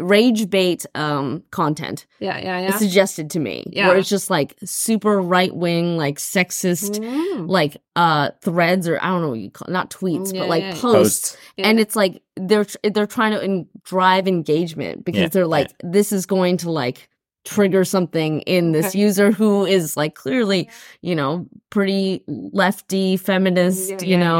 Speaker 3: content suggested to me where it's just like super right wing like sexist like threads or I don't know what you call not tweets but like posts. And it's like they're trying to drive engagement because they're like this is going to like trigger something in this user who is like clearly, pretty lefty, feminist,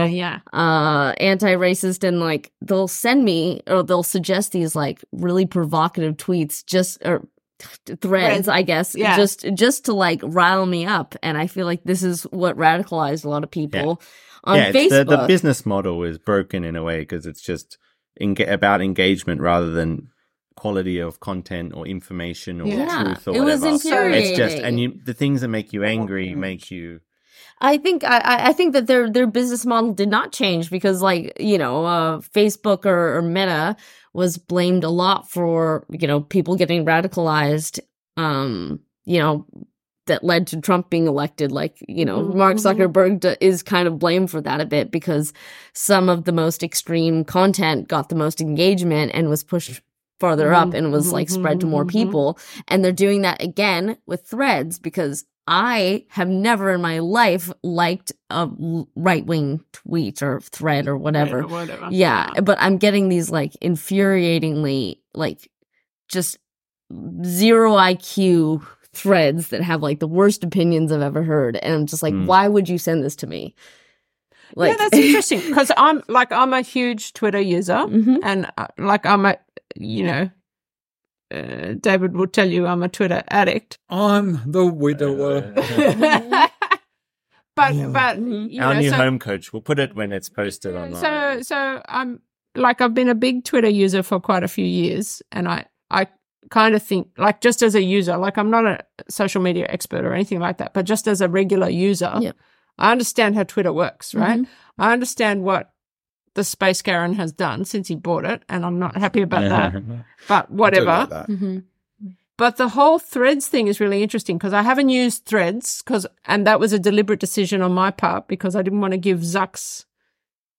Speaker 3: anti-racist, and like they'll send me or they'll suggest these like really provocative tweets or threads, I guess, just to like rile me up. And I feel like this is what radicalized a lot of people on Facebook.
Speaker 2: The business model is broken in a way because it's just about engagement rather than quality of content or information or truth or whatever.
Speaker 3: It was infuriating.
Speaker 2: It's just the things that make you angry make you.
Speaker 3: I think that their business model did not change because Facebook or Meta was blamed a lot for people getting radicalized. That led to Trump being elected. Mark Zuckerberg is kind of blamed for that a bit because some of the most extreme content got the most engagement and was pushed farther up and was like spread to more people. And they're doing that again with Threads because I have never in my life liked a right-wing tweet or thread or whatever. Yeah, but I'm getting these like infuriatingly like just zero IQ threads that have like the worst opinions I've ever heard. And I'm just like, why would you send this to me? Like,
Speaker 4: that's interesting because I'm a huge Twitter user and I'm a David will tell you I'm a Twitter addict.
Speaker 5: I'm the widower.
Speaker 4: but
Speaker 2: our new home coach. We'll put it when it's posted online.
Speaker 4: So I'm I've been a big Twitter user for quite a few years, and I kind of think just as a user, I'm not a social media expert or anything like that, but just as a regular user, I understand how Twitter works, right? I understand what the Space Karen has done since he bought it, and I'm not happy about that. But whatever.
Speaker 5: Like that.
Speaker 4: But the whole Threads thing is really interesting because I haven't used Threads and that was a deliberate decision on my part because I didn't want to give Zucks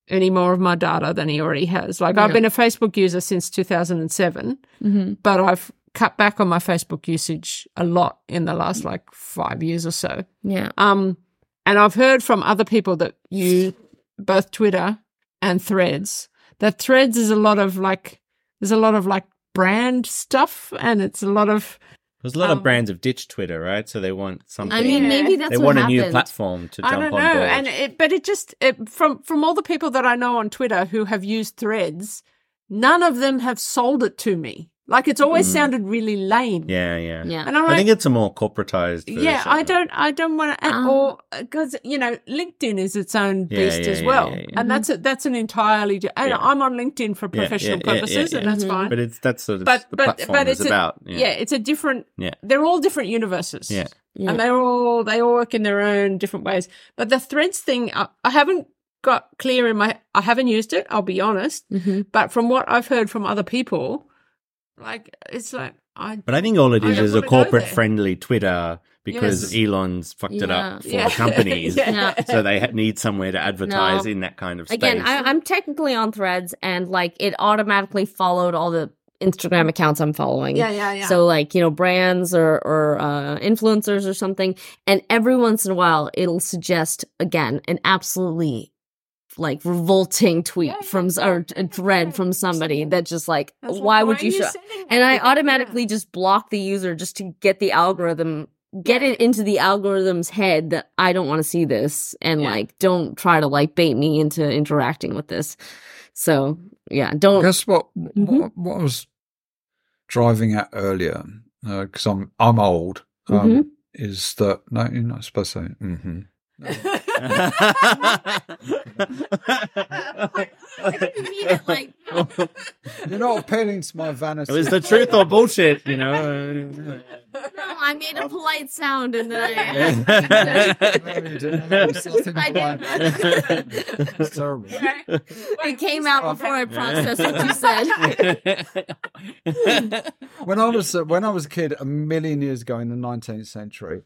Speaker 4: any more of my data than he already has. Like, I've been a Facebook user since 2007, but I've cut back on my Facebook usage a lot in the last, 5 years or so.
Speaker 3: Yeah.
Speaker 4: And I've heard from other people that use both Twitter and Threads, that Threads is a lot of, brand stuff, and it's a lot of...
Speaker 2: There's a lot of brands have ditched Twitter, right? So they want something.
Speaker 3: I mean, maybe that's
Speaker 2: they
Speaker 3: what
Speaker 2: want
Speaker 3: happened.
Speaker 2: a new platform to jump on board.
Speaker 4: I don't know, and from all the people that I know on Twitter who have used Threads, none of them have sold it to me. Like, it's always sounded really lame.
Speaker 2: Yeah.
Speaker 4: And I'm
Speaker 2: I think it's a more corporatized version.
Speaker 4: Yeah, I don't want to, or because LinkedIn is its own beast as well, and that's an entirely. And I'm on LinkedIn for professional purposes, and that's fine.
Speaker 2: But that's sort of the platform is about.
Speaker 4: It's a different. Yeah, they're all different universes.
Speaker 2: Yeah,
Speaker 4: and they all work in their own different ways. But the Threads thing, I haven't got clear in my. I haven't used it. I'll be honest, but from what I've heard from other people. But
Speaker 2: I think all it is a corporate-friendly Twitter because Elon's fucked it up for companies. So they need somewhere to advertise in that kind of space.
Speaker 3: Again, I'm technically on Threads, and it automatically followed all the Instagram accounts I'm following.
Speaker 4: Yeah.
Speaker 3: So brands or influencers or something, and every once in a while it'll suggest again an absolutely revolting tweet or a thread from somebody that just why would you show? And I automatically just block the user just to get the algorithm, get it into the algorithm's head that I don't want to see this, and don't try to bait me into interacting with this. So don't.
Speaker 5: Guess what? What I was driving at earlier, because I'm old, is that no, you're not supposed to say. Mm-hmm. You're not appealing to my vanity.
Speaker 2: It was the truth or bullshit,
Speaker 3: No, I made a polite sound and then
Speaker 5: It's terrible.
Speaker 3: It came out before I processed what you said.
Speaker 5: When I was a kid, a million years ago in the 19th century,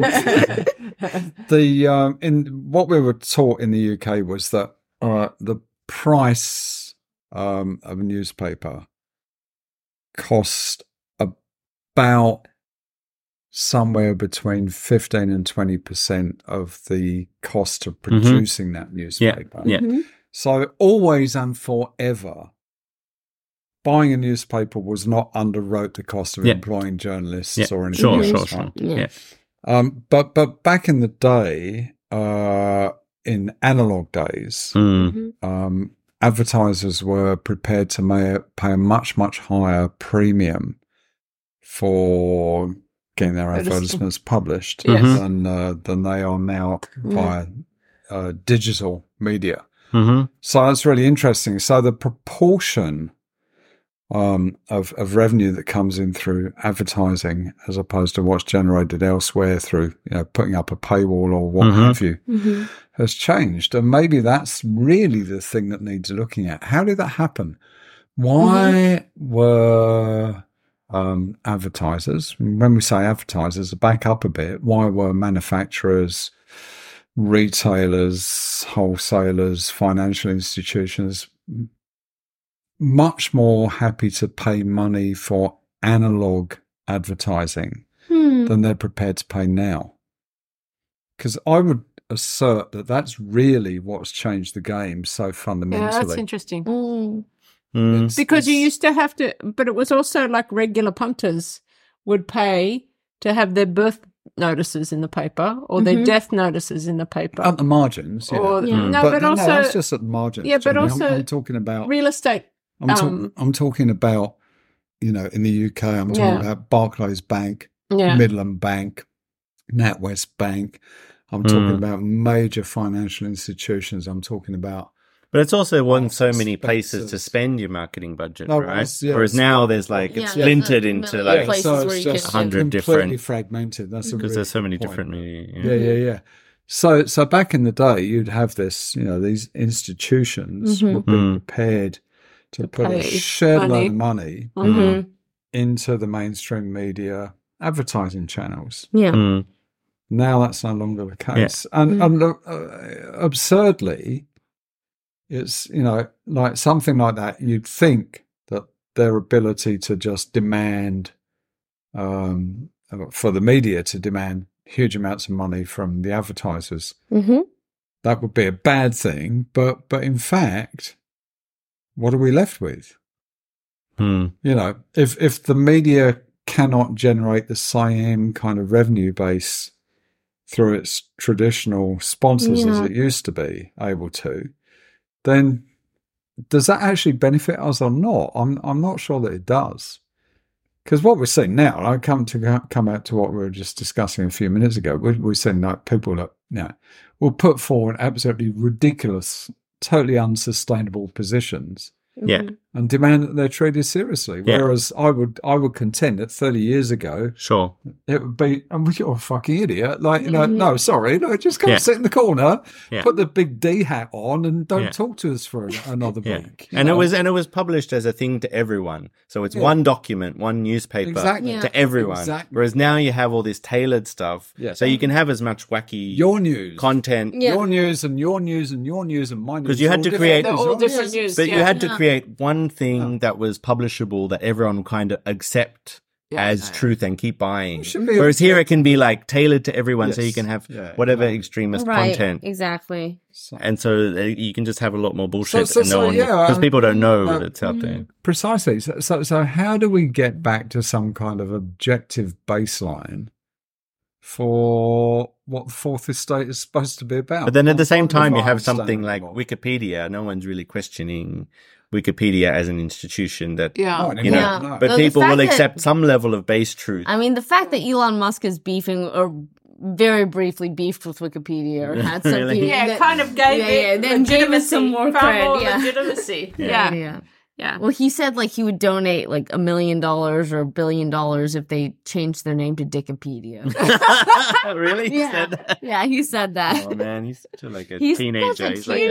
Speaker 5: in what we were taught in the UK was that the price of a newspaper cost about somewhere between 15 and 20% of the cost of producing that newspaper.
Speaker 2: Yeah.
Speaker 5: So always and forever, buying a newspaper was not underwrote the cost of employing journalists or anything else.
Speaker 2: Sure. Yeah.
Speaker 5: But back in the day, in analog days, advertisers were prepared to pay a much, much higher premium for getting their advertisements published than they are now via digital media. So that's really interesting. So the proportion of revenue that comes in through advertising as opposed to what's generated elsewhere through putting up a paywall or what have you has changed. And maybe that's really the thing that needs looking at. How did that happen? Why were advertisers, when we say advertisers, back up a bit, why were manufacturers, retailers, wholesalers, financial institutions much more happy to pay money for analog advertising than they're prepared to pay now? Because I would assert that that's really what's changed the game so fundamentally.
Speaker 4: Yeah, that's interesting. Because you used to have to, but it was also like regular punters would pay to have their birth notices in the paper or their death notices in the paper.
Speaker 5: At the margins,
Speaker 4: also
Speaker 5: that's just at the margins.
Speaker 4: Yeah, but also
Speaker 5: I'm talking about
Speaker 4: real estate.
Speaker 5: I'm talking about, in the UK, I'm talking about Barclays Bank, Midland Bank, NatWest Bank. I'm talking about major financial institutions. I'm talking about.
Speaker 2: But it's also so many places to spend your marketing budget, right? Whereas now there's it's splintered into
Speaker 3: places where you
Speaker 2: 100 different.
Speaker 5: Completely fragmented. That's
Speaker 2: because there's so many different media.
Speaker 5: Yeah. So back in the day, you'd have this, these institutions would be prepared to put a shed load of money into the mainstream media advertising channels.
Speaker 3: Yeah.
Speaker 5: Now that's no longer the case. And absurdly, it's, like something like that, you'd think that their ability to just demand, for the media to demand huge amounts of money from the advertisers, that would be a bad thing. But in fact, what are we left with? If the media cannot generate the same kind of revenue base through its traditional sponsors as it used to be able to, then does that actually benefit us or not? I'm not sure that it does. Because what we're seeing now, I come out to what we were just discussing a few minutes ago, we're seeing like people that will put forward absolutely ridiculous, totally unsustainable positions. And demand that they're treated seriously. Whereas I would contend that 30 years ago, it would be, you're a fucking idiot. Like, no, sorry, just come sit in the corner, put the big D hat on, and don't talk to us for another week.
Speaker 2: And it was published as a thing to everyone. So it's one document, one newspaper to everyone. Exactly. Whereas now you have all this tailored stuff. So you can have as much wacky
Speaker 5: your news
Speaker 2: content,
Speaker 5: your news and your news and your news and my news.
Speaker 2: Because you had to create
Speaker 4: all different news,
Speaker 2: but you had to create one thing that was publishable that everyone would kind of accept as truth and keep buying. Whereas here it can be like tailored to everyone, so you can have whatever extremist content.
Speaker 3: Exactly.
Speaker 2: And so you can just have a lot more bullshit because people don't know that it's out there.
Speaker 5: Precisely. So how do we get back to some kind of objective baseline for what the Fourth Estate is supposed to be about?
Speaker 2: But then at the same time, you have something like Wikipedia. No one's really questioning Wikipedia as an institution that, but people will accept some level of base truth.
Speaker 3: I mean, the fact that Elon Musk is beefing or very briefly beefed with Wikipedia or had some
Speaker 2: Really?
Speaker 4: kind of gave it
Speaker 3: then gave it some more credit.
Speaker 4: Legitimacy. Yeah.
Speaker 3: Well, he said like he would donate like $1 million or $1 billion if they changed their name to Dickopedia.
Speaker 2: Really? He said that?
Speaker 3: Yeah, he said that.
Speaker 2: Oh man, he's such a teenager.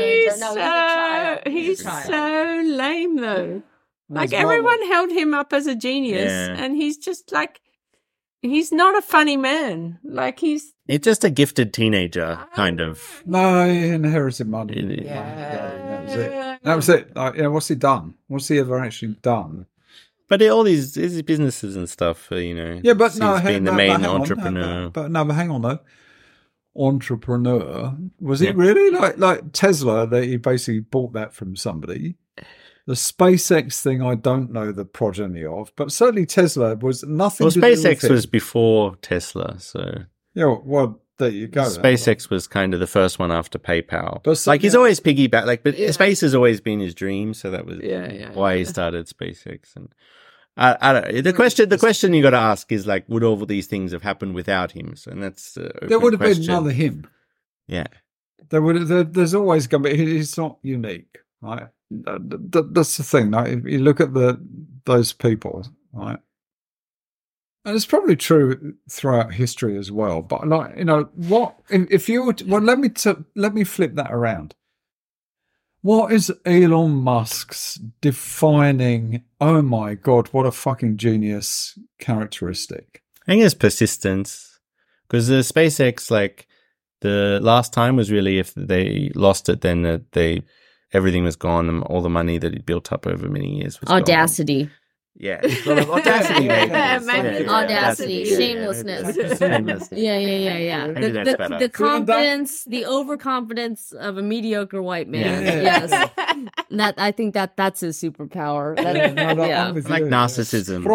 Speaker 4: He's so lame though. Like everyone held him up as a genius, and he's just like, he's not a funny man. Like he's
Speaker 2: just a gifted teenager, kind of.
Speaker 5: No, he inherited money. That was it. Like, what's he done? What's he ever actually done?
Speaker 2: But all these businesses and stuff,
Speaker 5: Yeah, but no,
Speaker 2: being the main entrepreneur.
Speaker 5: But hang on though. Entrepreneur, was he really like Tesla? That he basically bought that from somebody. The SpaceX thing, I don't know the progeny of, but certainly Tesla was nothing.
Speaker 2: Well,
Speaker 5: to do with
Speaker 2: SpaceX was before Tesla, so
Speaker 5: well, there you go.
Speaker 2: SpaceX was kind of the first one after PayPal. But he's always piggybacked. But space has always been his dream, so that was why he started SpaceX. And I don't know. The question you got to ask is like, would all of these things have happened without him? So, and that's
Speaker 5: there would have been another him.
Speaker 2: Yeah,
Speaker 5: there's always going to be. He's not unique, right? That's the thing. Like, if you look at those people, right, and it's probably true throughout history as well. But like, what if you were? Let me flip that around. What is Elon Musk's defining? Oh my God, what a fucking genius characteristic!
Speaker 2: I think it's persistence, because the SpaceX, like the last time was really if they lost it, then everything was gone, and all the money that he'd built up over many years was
Speaker 3: audacity.
Speaker 2: Gone. Yeah, audacity,
Speaker 3: maybe. Audacity, shamelessness. Yeah. The confidence, the overconfidence of a mediocre white man. Yes, that I think that's his superpower.
Speaker 2: Like narcissism.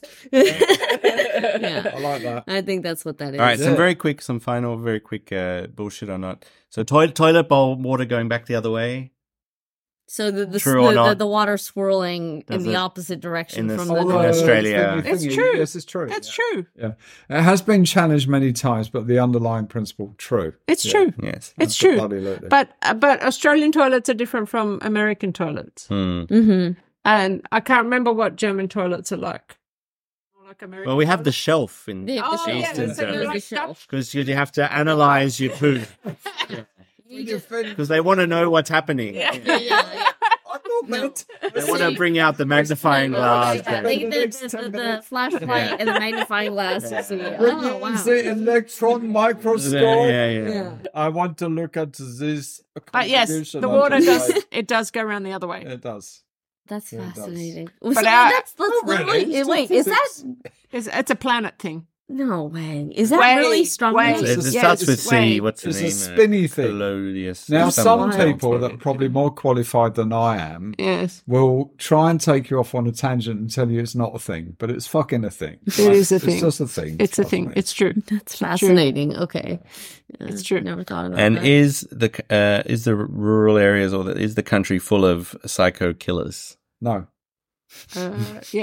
Speaker 5: I like that.
Speaker 3: I think that's what that is.
Speaker 2: All right, some final, very quick bullshit or not. So toilet bowl water going back the other way.
Speaker 3: So the water swirling in the opposite direction from the
Speaker 2: Australia.
Speaker 4: It's true.
Speaker 5: Yes, it's true.
Speaker 4: That's true.
Speaker 5: Yeah, it has been challenged many times, but the underlying principle true.
Speaker 4: It's true.
Speaker 2: Yes,
Speaker 4: it's true. But Australian toilets are different from American toilets.
Speaker 3: Mm-hmm.
Speaker 4: And I can't remember what German toilets are like.
Speaker 2: Well, we have the shelf in Eastern shelf because you have to analyze your poo. Because they want to know what's happening.
Speaker 5: I thought comment.
Speaker 2: They want to bring out the magnifying glass.
Speaker 3: The flashlight and the magnifying glass.
Speaker 5: Oh, wow. The electron microscope.
Speaker 2: Yeah.
Speaker 5: I want to look at this.
Speaker 4: But yes, the water does go around the other way.
Speaker 5: It does.
Speaker 3: That's fascinating.
Speaker 4: But
Speaker 3: that's literally. Wait, is that?
Speaker 4: It's a planet thing.
Speaker 3: No way. Is that really strong?
Speaker 2: It starts with C. What's the name?
Speaker 5: It's a spinny thing.
Speaker 2: Polonius.
Speaker 5: Now, some people that are probably more qualified than I am will try and take you off on a tangent and tell you it's not a thing, but it's fucking a thing.
Speaker 4: It is a thing.
Speaker 5: It's just a thing.
Speaker 4: It's a thing. It's true.
Speaker 3: That's fascinating. Okay.
Speaker 4: It's true.
Speaker 3: Never thought about
Speaker 2: and
Speaker 3: that.
Speaker 2: Is the rural areas or is the country full of psycho killers?
Speaker 5: No.
Speaker 4: No.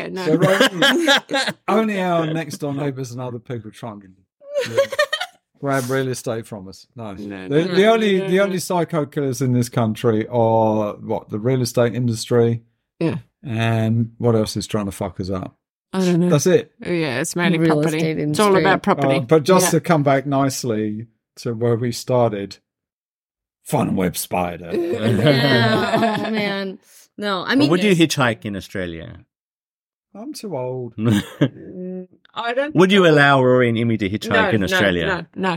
Speaker 5: Only our next door neighbours and other people trying to grab real estate from us. No. The only psycho killers in this country are the real estate industry.
Speaker 4: Yeah.
Speaker 5: And what else is trying to fuck us up?
Speaker 4: I don't know.
Speaker 5: That's it.
Speaker 4: Yeah, it's mainly
Speaker 3: Real
Speaker 4: property.
Speaker 3: estate
Speaker 4: It's all about property.
Speaker 5: But just to come back nicely to where we started, Fun Web Spider.
Speaker 3: Yeah. Oh man. No, I mean,
Speaker 2: would you hitchhike in Australia?
Speaker 5: I'm too old.
Speaker 4: I don't.
Speaker 2: Would you allow Rory and Emmy to hitchhike in Australia?
Speaker 4: No.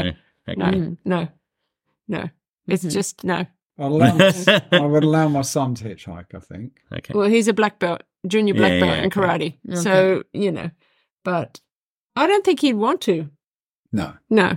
Speaker 4: It's just no.
Speaker 5: I would allow my son to hitchhike, I think.
Speaker 2: Okay.
Speaker 4: Well, he's a black belt, junior black belt in karate.
Speaker 3: Okay.
Speaker 4: So, but I don't think he'd want to.
Speaker 5: No.
Speaker 2: All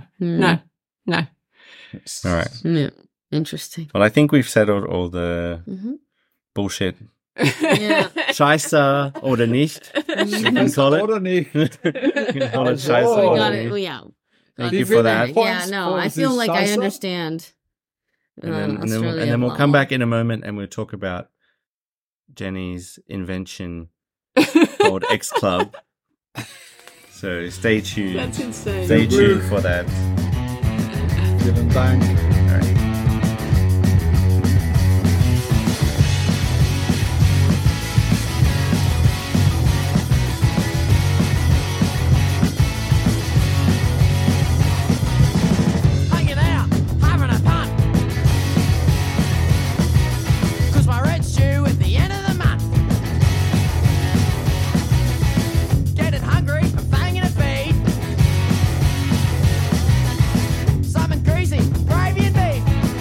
Speaker 2: right.
Speaker 3: Yeah. Interesting.
Speaker 2: Well, I think we've settled all the bullshit.
Speaker 3: Yeah.
Speaker 2: Scheiße oder nicht. You can call it.
Speaker 5: Oder nicht.
Speaker 2: You can call it Scheiße
Speaker 5: Oh.
Speaker 3: We
Speaker 2: oder
Speaker 3: got
Speaker 2: nicht.
Speaker 3: it. Well, yeah.
Speaker 2: Thank you for that.
Speaker 3: Yeah, no, I feel like I understand.
Speaker 2: And then we'll come back in a moment and we'll talk about Jenny's invention called X Club. So stay tuned.
Speaker 4: That's insane.
Speaker 2: Stay tuned for that.
Speaker 5: Vielen Dank.
Speaker 2: All right.
Speaker 6: Hanging out, having a punt. 'Cause my rent's due at the end of the month. Getting hungry and fanging a feed. Something greasy, gravy and beef.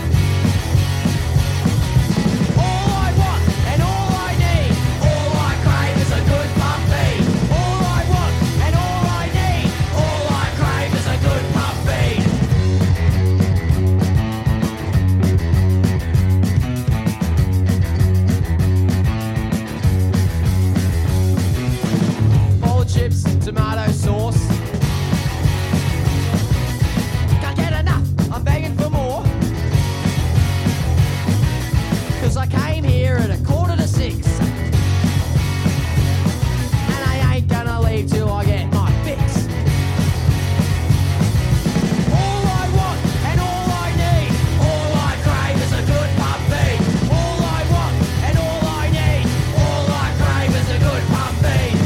Speaker 6: All I want and all I need, all I crave is a good pub feed. All I want and all I need, all I crave is a good pub feed. Bowl of chips, tomato sauce. Can't get enough, I'm begging for more. 'Cause I came here at 5:45. And I ain't gonna leave till I get my fix. All I want and all I need, all I crave is a good pub feed. All I want and all I need, all I crave is a good pub feed.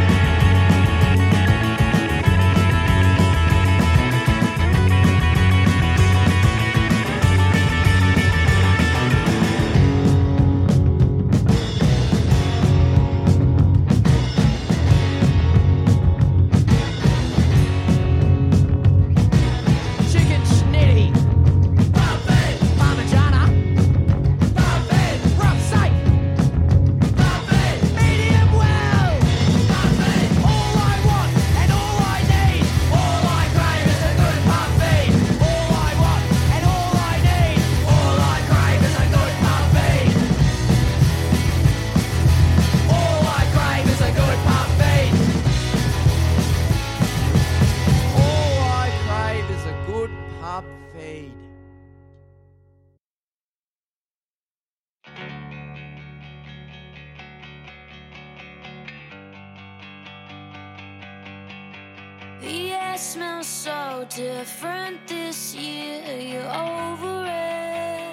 Speaker 6: Chicken schnitty, buffet, parmigiana, buffet, rough steak, buffet, medium well, buffet. All I want and all I need, all I crave is a good buffet. All I want and all I need, all I crave is a good buffet. All I crave is a good buffet. All I crave is a good pub feed.
Speaker 7: The air smells so different this year. You're over it.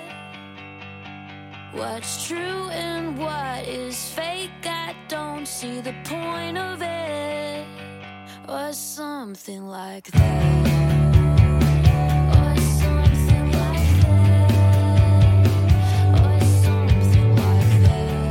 Speaker 7: What's true and what is fake? I don't see the point of it. Or something like that. Or something like that. Or something like that.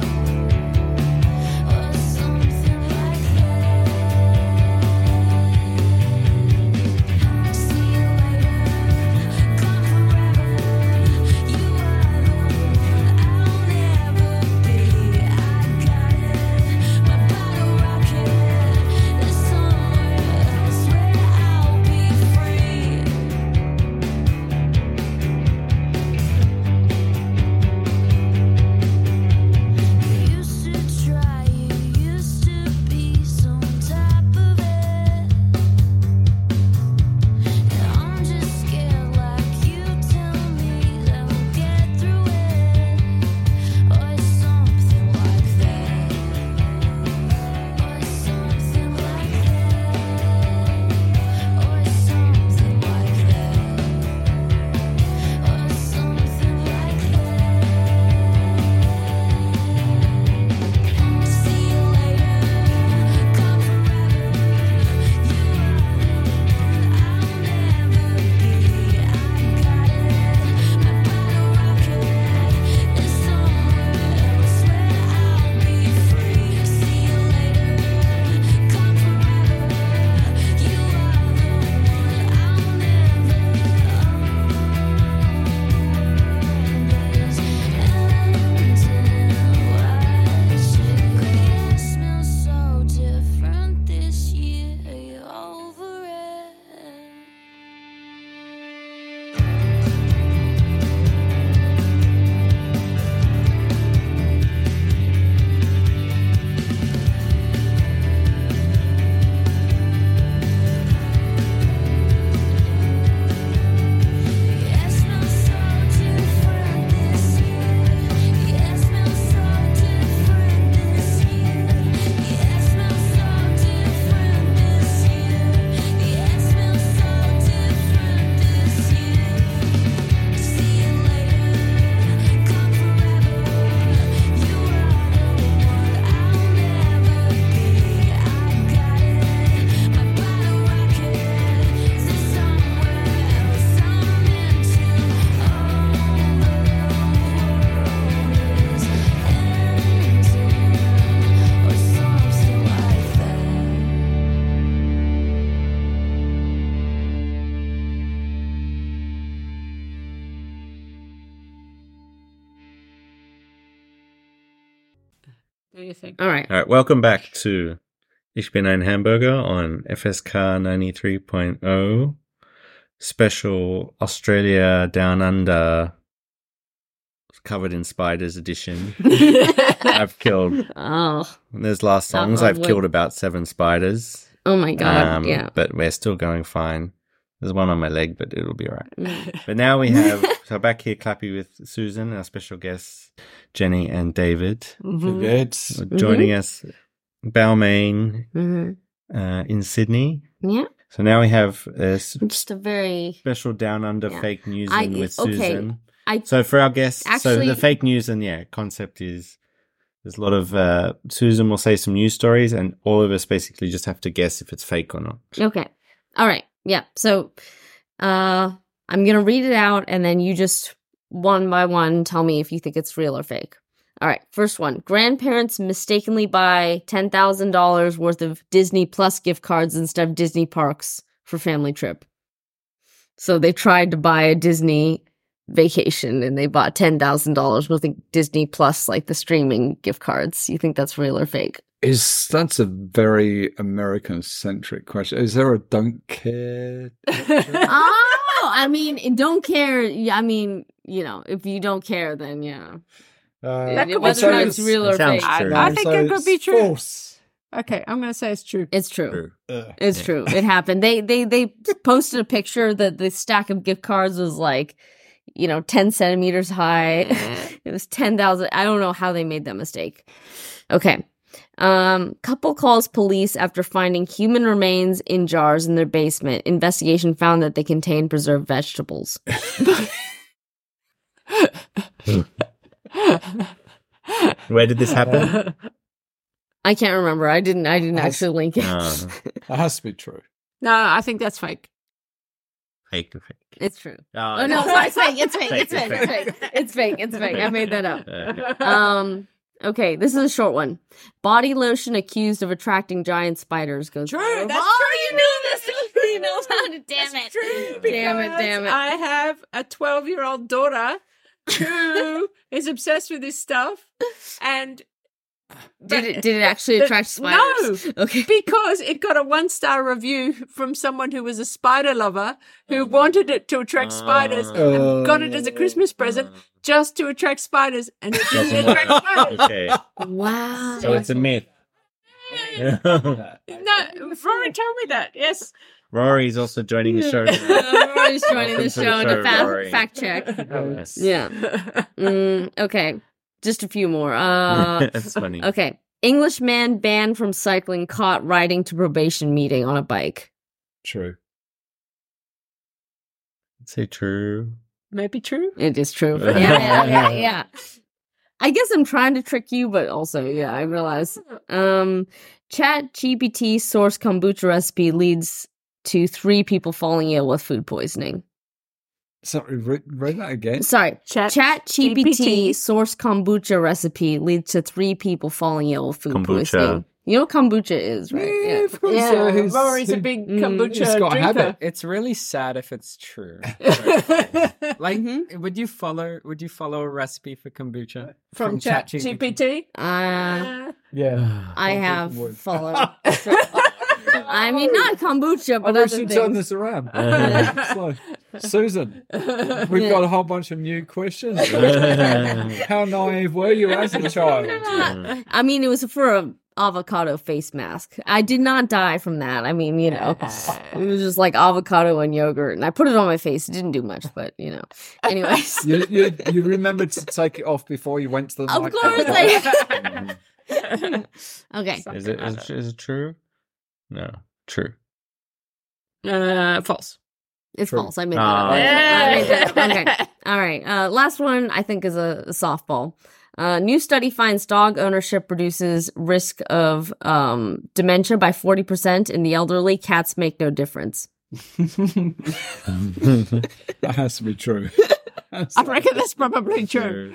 Speaker 4: Do you think?
Speaker 3: All right.
Speaker 2: All right, welcome back to Ich bin ein Hamburger on FSK 93.0 special Australia Down Under covered in spiders edition. I've killed,
Speaker 3: Oh.
Speaker 2: there's last songs, I've killed about 7 spiders.
Speaker 3: Oh my God. Yeah.
Speaker 2: But we're still going fine. There's one on my leg, but it'll be all right. But now we have, so back here, Clappy with Susan, our special guests, Jenny and David, joining us, Balmain, in Sydney.
Speaker 3: Yeah.
Speaker 2: So now we have a
Speaker 3: Just a very
Speaker 2: special Down Under fake news with Susan.
Speaker 3: I
Speaker 2: So for our guests, so
Speaker 3: Actually-
Speaker 2: the fake news and concept is there's a lot of, Susan will say some news stories and all of us basically just have to guess if it's fake or not.
Speaker 3: Okay. All right. Yeah. So I'm going to read it out and then you just one by one tell me if you think it's real or fake. All right. First one. Grandparents mistakenly buy $10,000 worth of Disney Plus gift cards instead of Disney parks for family trip. So they tried to buy a Disney vacation and they bought $10,000 worth of Disney Plus, like the streaming gift cards. You think that's real or fake?
Speaker 5: That's a very American-centric question. Is there a don't care?
Speaker 3: Oh, I mean, don't care. Yeah, I mean, if you don't care, then yeah.
Speaker 4: That could be
Speaker 3: Whether or not it's real or
Speaker 2: Sounds
Speaker 3: fake.
Speaker 2: true.
Speaker 4: I think it could be true.
Speaker 5: False.
Speaker 4: Okay, I'm going to say it's true.
Speaker 3: It's true.
Speaker 2: True.
Speaker 3: It's true. It happened. They posted a picture that the stack of gift cards was like, 10 centimeters high. It was 10,000. I don't know how they made that mistake. Okay. Couple calls police after finding human remains in jars in their basement. Investigation found that they contained preserved vegetables.
Speaker 2: Where did this happen?
Speaker 3: I can't remember. I didn't actually link it.
Speaker 5: That has to be true.
Speaker 4: No, I think that's fake.
Speaker 2: Fake or fake?
Speaker 3: It's true.
Speaker 2: Oh,
Speaker 3: Oh no, sorry, it's fake. It's fake.
Speaker 2: Fake,
Speaker 3: It's fake.
Speaker 2: it's
Speaker 3: It's fake. It's fake. It's fake. I made that up. Okay, this is a short one. Body lotion accused of attracting giant spiders goes
Speaker 4: True,
Speaker 3: viral.
Speaker 4: that's
Speaker 3: Oh,
Speaker 4: true.
Speaker 3: you knew this. You know about it. Damn
Speaker 4: That's
Speaker 3: it.
Speaker 4: true.
Speaker 3: Damn it. Damn it.
Speaker 4: I have a 12-year-old daughter who is obsessed with this stuff, and
Speaker 3: Did it actually attract spiders?
Speaker 4: No,
Speaker 3: Okay.
Speaker 4: because it got a 1-star review from someone who was a spider lover who wanted it to attract spiders and got it as a Christmas present just to attract spiders, and it didn't attract spiders.
Speaker 2: Okay.
Speaker 3: Wow.
Speaker 2: So it's a myth.
Speaker 4: No, Rory told me that. Yes.
Speaker 2: Rory's also joining the show.
Speaker 3: Rory's joining
Speaker 2: Welcome
Speaker 3: the
Speaker 2: to
Speaker 3: show
Speaker 2: the
Speaker 3: to
Speaker 2: show, Rory.
Speaker 3: fact check.
Speaker 2: Yes.
Speaker 3: Yeah. Okay. Just a few more.
Speaker 2: That's funny.
Speaker 3: Okay. Englishman banned from cycling caught riding to probation meeting on a bike.
Speaker 5: True.
Speaker 2: Say true.
Speaker 4: Maybe true.
Speaker 3: It is true. Yeah. I guess I'm trying to trick you, but also, yeah, I realize. Chat GPT source kombucha recipe leads to 3 people falling ill with food poisoning.
Speaker 5: Sorry, read that again.
Speaker 3: Sorry.
Speaker 4: Chat
Speaker 3: GPT
Speaker 4: GPT
Speaker 3: source kombucha recipe leads to 3 people falling ill with food
Speaker 2: Kombucha.
Speaker 3: poisoning. You know what kombucha is, right?
Speaker 5: Yeah, of course.
Speaker 4: Yeah,
Speaker 5: He's
Speaker 4: Rory's a big kombucha
Speaker 5: he's got a
Speaker 4: drinker.
Speaker 5: habit.
Speaker 8: It's really sad if it's true. Like, would you follow a recipe for kombucha
Speaker 4: From ChatGPT.
Speaker 5: Yeah.
Speaker 3: I have followed. I mean, not kombucha,
Speaker 5: I
Speaker 3: but
Speaker 5: wish
Speaker 3: other
Speaker 5: you'd turn
Speaker 3: things.
Speaker 5: this around. So, Susan, we've got a whole bunch of new questions. How naive were you as a child?
Speaker 3: I mean, it was for a avocado face mask. I did not die from that. I mean, it was just like avocado and yogurt, and I put it on my face. It didn't do much, but anyways.
Speaker 5: You remembered to take it off before you went to the
Speaker 3: Of
Speaker 5: microphone.
Speaker 3: course, okay.
Speaker 2: Is it true? No. True.
Speaker 4: False.
Speaker 3: It's
Speaker 5: True.
Speaker 3: false. I made that up. I made that up. Okay. All right. Last one, I think, is a softball. New study finds dog ownership reduces risk of dementia by 40% in the elderly. Cats make no difference.
Speaker 5: That has to be true.
Speaker 4: I reckon that's probably true.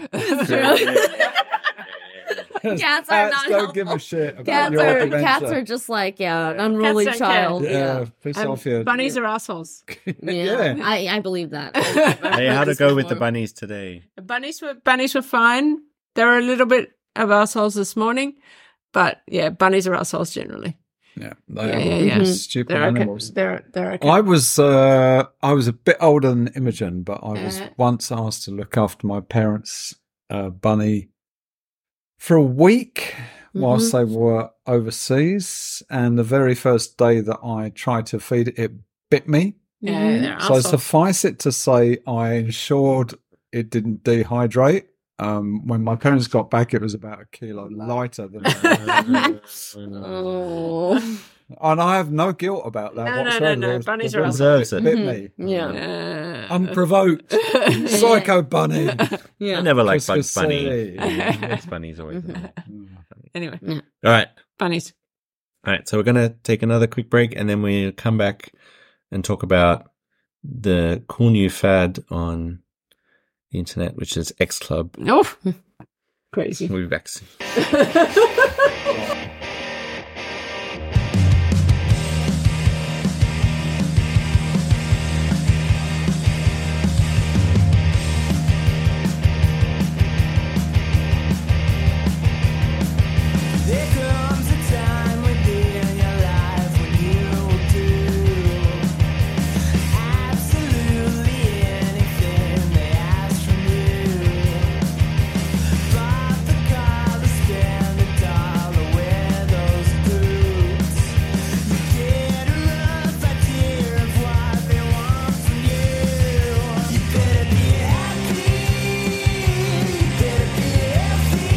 Speaker 3: Cats are not
Speaker 5: don't
Speaker 3: helpful.
Speaker 5: give a shit about
Speaker 3: Cats
Speaker 5: your
Speaker 3: are
Speaker 5: dementia.
Speaker 3: just like an unruly
Speaker 4: Cats don't care.
Speaker 3: child.
Speaker 5: Yeah, piss off your...
Speaker 4: Bunnies are assholes.
Speaker 3: Yeah. I believe that.
Speaker 2: Hey, how to go with the bunnies today?
Speaker 4: Bunnies were fine. They were a little bit of assholes this morning. But yeah, bunnies are assholes generally.
Speaker 5: Yeah, they are stupid animals.
Speaker 4: They're okay.
Speaker 5: I was a bit older than Imogen, but I was once asked to look after my parents' bunny for a week whilst they were overseas. And the very first day that I tried to feed it, it bit me.
Speaker 4: Yeah,
Speaker 5: So suffice it to say, I ensured it didn't dehydrate. When my parents got back, it was about a kilo lighter than. And I have no guilt about that whatsoever.
Speaker 4: No. Bunnies are
Speaker 2: deserves it.
Speaker 5: Bit me.
Speaker 3: Yeah.
Speaker 5: Unprovoked. Psycho bunny.
Speaker 3: Yeah.
Speaker 2: I never liked
Speaker 5: Christmas
Speaker 2: Bugs Bunny.
Speaker 5: Day.
Speaker 2: Bugs Bunny's always been
Speaker 4: Anyway,
Speaker 2: All right.
Speaker 4: bunnies.
Speaker 2: All right. So we're going to take another quick break and then we'll come back and talk about the cool new fad on the internet, which is X Club.
Speaker 4: Oh, crazy.
Speaker 2: We'll be back soon.
Speaker 1: There comes a time within your life when you do absolutely anything they ask from you. Buy the car, spend the dollar, wear those boots. You get a rough idea of what they want from you. You better be happy. You better be healthy.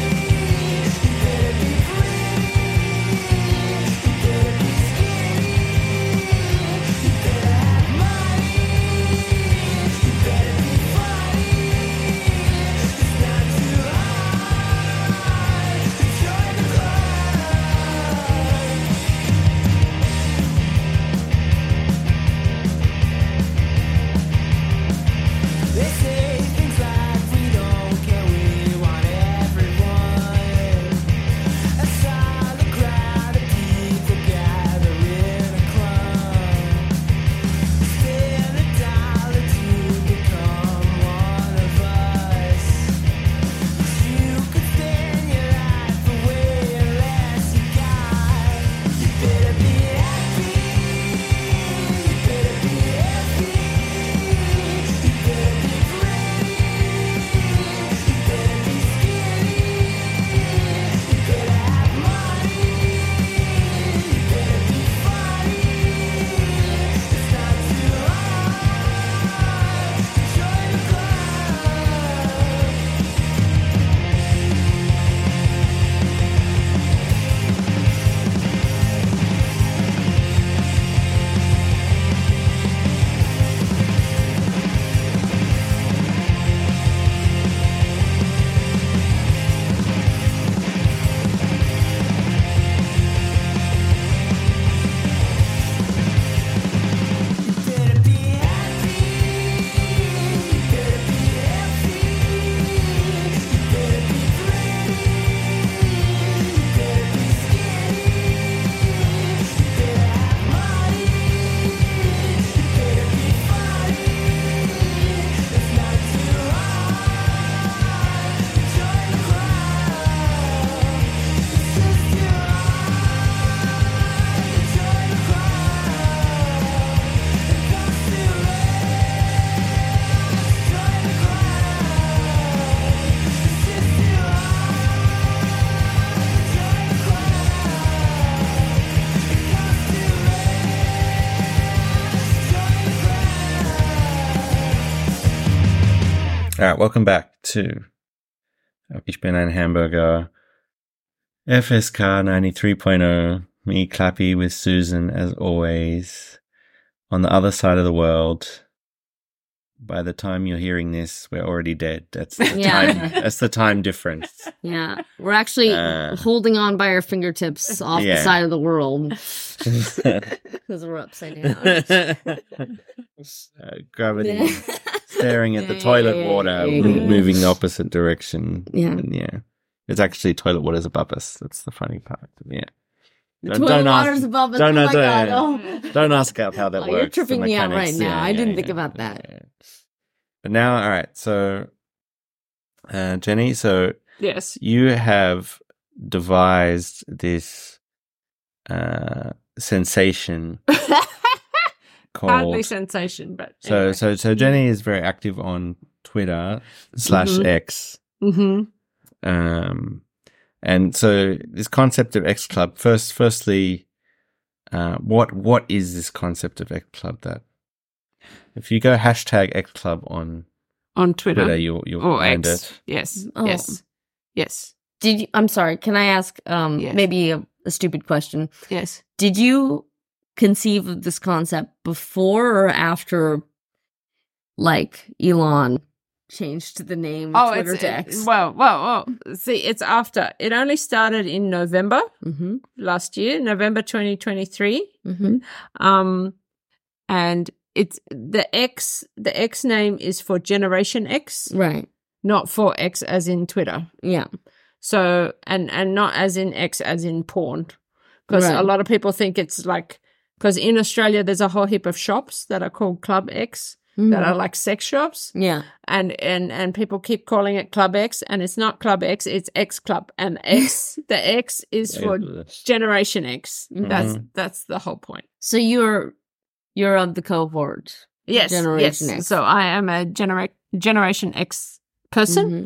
Speaker 1: They say things like we don't care, we want everyone. A solid crowd of people gather in a club. Spend a dollar to become one of us. You could spend your life away unless you got. You better be happy. You better be healthy. You better be pretty. You better be skinny. You better have money. You better be funny. It's not too hard to join the club. Better be happy. You better be healthy. You better be pretty. You better be skinny. You better have money. You better be funny. It's not too hard to join the club. It's just too hard to join the club. It comes too late to join the club. It's just too hard to join the club. It comes too late to join the club.
Speaker 2: All right, welcome back to Ich bin ein Hamburger, FSK 93.0, me Clappy with Susan as always. On the other side of the world, by the time you're hearing this, we're already dead. That's the
Speaker 3: Yeah.
Speaker 2: time. That's the time difference.
Speaker 3: Yeah. We're actually holding on by our fingertips off the
Speaker 2: Yeah.
Speaker 3: side of the world because we're upside down.
Speaker 2: Gravity staring at the toilet water, moving the opposite direction.
Speaker 3: Yeah.
Speaker 2: And yeah. It's actually toilet water's above us. That's the funny part. Yeah.
Speaker 3: The toilet water's above us.
Speaker 2: Don't,
Speaker 3: Oh
Speaker 2: no,
Speaker 3: my
Speaker 2: don't,
Speaker 3: God. Oh.
Speaker 2: don't ask how that
Speaker 3: Oh,
Speaker 2: works.
Speaker 3: you're
Speaker 2: the
Speaker 3: tripping me out
Speaker 2: mechanics.
Speaker 3: right now.
Speaker 2: Yeah,
Speaker 3: I
Speaker 2: yeah,
Speaker 3: didn't
Speaker 2: yeah,
Speaker 3: think about that.
Speaker 2: yeah. But now, all right. So, Jenny, so
Speaker 4: Yes.
Speaker 2: you have devised this sensation
Speaker 4: Hardly
Speaker 2: called.
Speaker 4: sensation, but
Speaker 2: So Jenny is very active on Twitter / X.
Speaker 4: Mm-hmm.
Speaker 2: And so this concept of X Club, firstly, what is this concept of X Club? That if you go hashtag X Club on
Speaker 4: Twitter,
Speaker 2: you'll
Speaker 4: or
Speaker 2: find
Speaker 4: X.
Speaker 2: it.
Speaker 4: Yes.
Speaker 3: Oh.
Speaker 4: Yes.
Speaker 3: Did you? I'm sorry. Can I ask?
Speaker 4: Yes.
Speaker 3: Maybe a stupid question.
Speaker 4: Yes.
Speaker 3: Did you conceive of this concept before or after, like, Elon changed the name of Twitter to X?
Speaker 4: Well. See, it's after. It only started in November
Speaker 3: Mm-hmm.
Speaker 4: last year, November 2023.
Speaker 3: Mm-hmm.
Speaker 4: And it's the X name is for Generation X,
Speaker 3: Right.
Speaker 4: not for X as in Twitter.
Speaker 3: Yeah.
Speaker 4: So, and not as in X as in porn. Because
Speaker 3: Right.
Speaker 4: a lot of people think it's like, because in Australia there's a whole heap of shops that are called Club X that are like sex shops.
Speaker 3: Yeah.
Speaker 4: And people keep calling it Club X, and it's not Club X, it's X Club. And the X is for Generation X. That's the whole point.
Speaker 3: So you're of the cohort.
Speaker 4: Yes,
Speaker 3: Generation
Speaker 4: yes.
Speaker 3: X.
Speaker 4: So I am a Generation X person.
Speaker 3: Mhm.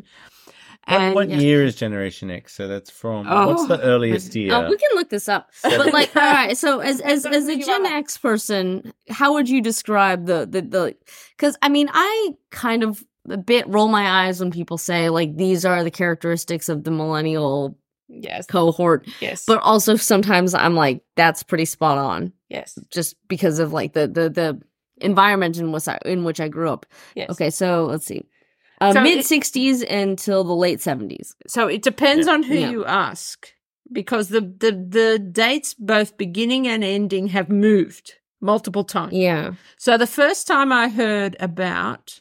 Speaker 4: And
Speaker 2: What year is Generation X? So that's from
Speaker 4: Oh.
Speaker 2: what's the earliest year?
Speaker 3: Oh, we can look this up. But like, all right. So as a Gen X person, how would you describe the? Because I mean, I kind of a bit roll my eyes when people say like these are the characteristics of the millennial
Speaker 4: yes,
Speaker 3: cohort,
Speaker 4: yes,
Speaker 3: but also sometimes I'm like that's pretty spot on,
Speaker 4: yes,
Speaker 3: just because of like the environment in which I grew up.
Speaker 4: yes.
Speaker 3: Okay, so let's see.
Speaker 4: So
Speaker 3: Mid 60s until the late 70s.
Speaker 4: So it depends on who
Speaker 3: Yeah.
Speaker 4: you ask, because the dates, both beginning and ending, have moved multiple times.
Speaker 3: Yeah.
Speaker 4: So the first time I heard about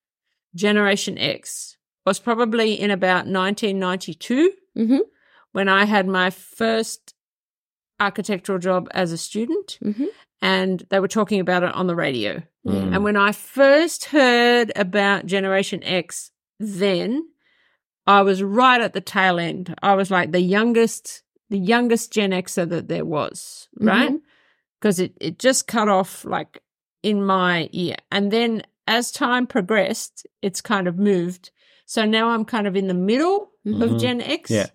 Speaker 4: Generation X was probably in about 1992,
Speaker 3: Mm-hmm.
Speaker 4: when I had my first architectural job as a student,
Speaker 3: Mm-hmm.
Speaker 4: and they were talking about it on the radio.
Speaker 2: Mm.
Speaker 4: And when I first heard about Generation X, then I was right at the tail end. I was like the youngest Gen Xer that there was, right?
Speaker 3: Mhm.
Speaker 4: Because it just cut off like in my ear. And then as time progressed, it's kind of moved. So now I'm kind of in the middle of
Speaker 2: Mhm.
Speaker 4: Gen X.
Speaker 2: Yeah.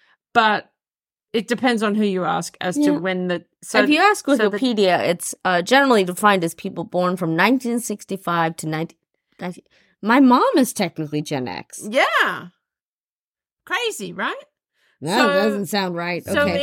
Speaker 4: But it depends on who you ask as to
Speaker 3: Yeah.
Speaker 4: when the...
Speaker 3: So if you ask
Speaker 4: so the-
Speaker 3: Wikipedia, it's generally defined as people born from 1965 to 19... My mom is technically Gen X.
Speaker 4: Yeah. Crazy, right?
Speaker 3: That
Speaker 4: So-
Speaker 3: doesn't sound right.
Speaker 4: So
Speaker 3: Okay.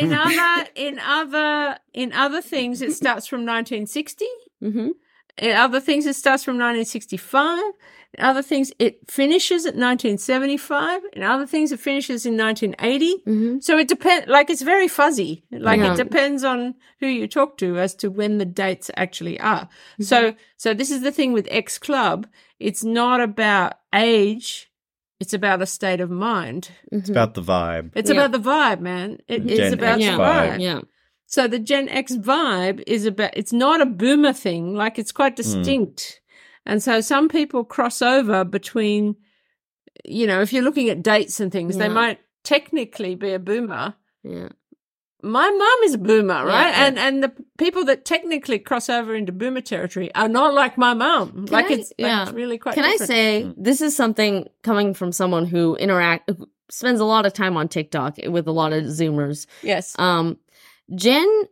Speaker 4: in other things it starts from 1960.
Speaker 3: Mm-hmm.
Speaker 4: In other things it starts from 1965. In other things it finishes at 1975. In other things it finishes in 1980.
Speaker 3: Mm-hmm.
Speaker 4: So it depends, like it's very fuzzy. Like
Speaker 3: Yeah.
Speaker 4: it depends on who you talk to as to when the dates actually are.
Speaker 3: Mm-hmm.
Speaker 4: So this is the thing with X Club. It's not about age. It's about a state of mind.
Speaker 2: It's about the vibe.
Speaker 4: It's
Speaker 3: Yeah.
Speaker 4: about the vibe, man. It's
Speaker 2: Gen
Speaker 4: about
Speaker 2: X
Speaker 4: the
Speaker 3: yeah.
Speaker 2: vibe.
Speaker 4: vibe.
Speaker 3: Yeah.
Speaker 4: So the Gen X vibe is about, it's not a boomer thing. Like it's quite distinct. And so some people cross over between, you know, if you're looking at dates and things, they
Speaker 3: Yeah.
Speaker 4: might technically be a boomer.
Speaker 3: Yeah.
Speaker 4: My mum is a boomer, right?
Speaker 3: Yeah.
Speaker 4: And the people that technically cross over into boomer territory are not like my mum. Like
Speaker 3: I-
Speaker 4: it's
Speaker 3: yeah.
Speaker 4: really quite
Speaker 3: Can I
Speaker 4: different.
Speaker 3: say this is something coming from someone who spends a lot of time on TikTok with a lot of Zoomers.
Speaker 4: Yes.
Speaker 3: Gen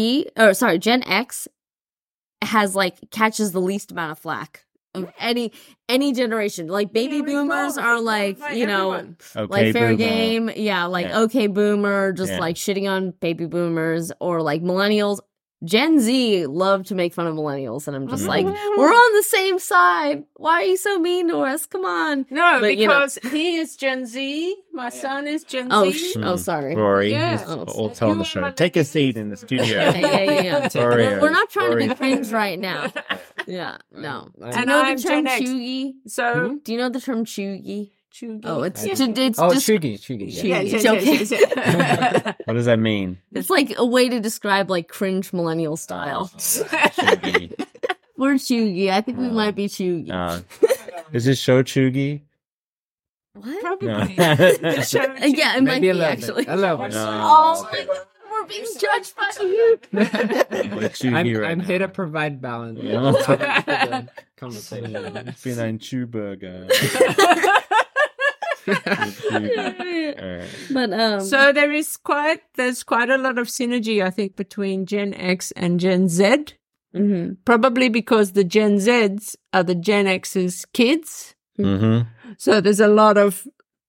Speaker 3: X has like catches the least amount of flack of any generation. Like baby boomers are like, you know,
Speaker 4: everyone.
Speaker 2: Okay,
Speaker 3: like fair
Speaker 2: boomer.
Speaker 3: game. Yeah, like
Speaker 2: Yeah.
Speaker 3: okay boomer, just
Speaker 2: Yeah.
Speaker 3: like shitting on baby boomers, or like millennials. Gen Z love to make fun of millennials, and I'm just like, we're on the same side. Why are you so mean to us? Come on.
Speaker 4: No,
Speaker 3: But, you know-
Speaker 4: because he is Gen Z. My son is Gen
Speaker 3: Oh,
Speaker 4: Z.
Speaker 3: sorry.
Speaker 2: Rory,
Speaker 4: Yeah.
Speaker 2: who's
Speaker 3: Oh,
Speaker 2: all telling the show. Take a seat in the studio.
Speaker 3: Yeah.
Speaker 2: Sorry,
Speaker 3: We're not trying to
Speaker 2: Rory.
Speaker 3: be cringe right now. Yeah, no. Do you
Speaker 4: And
Speaker 3: know
Speaker 4: I'm
Speaker 3: the term
Speaker 4: Gen X.
Speaker 3: chuggy?
Speaker 4: So,
Speaker 3: Do you know the term chuggy? Oh, it's
Speaker 8: Yeah.
Speaker 3: just
Speaker 8: Oh,
Speaker 3: just
Speaker 8: Chugi. Yeah.
Speaker 3: It's okay.
Speaker 2: What does that mean?
Speaker 3: it's like a way to describe like cringe millennial style. We're chuggy. I think we might be chuggy.
Speaker 2: Is this show Chugi?
Speaker 3: What?
Speaker 4: Probably.
Speaker 2: No.
Speaker 4: The show
Speaker 3: Yeah, it might
Speaker 8: Maybe
Speaker 3: be
Speaker 8: a little
Speaker 3: actually.
Speaker 8: bit. A little bit.
Speaker 3: Oh my god, we're being judged by you.
Speaker 2: What you
Speaker 8: I'm,
Speaker 2: hear right
Speaker 8: I'm
Speaker 2: now.
Speaker 8: here to provide balance.
Speaker 2: Yeah.
Speaker 8: For the conversation.
Speaker 2: Ich bin ein Cheeseburger.
Speaker 3: But
Speaker 4: So there's quite a lot of synergy, I think, between Gen X and Gen Z.
Speaker 3: mhm.
Speaker 4: Probably because the Gen Zs are the Gen X's kids.
Speaker 2: Mm-hmm.
Speaker 4: So there's a lot of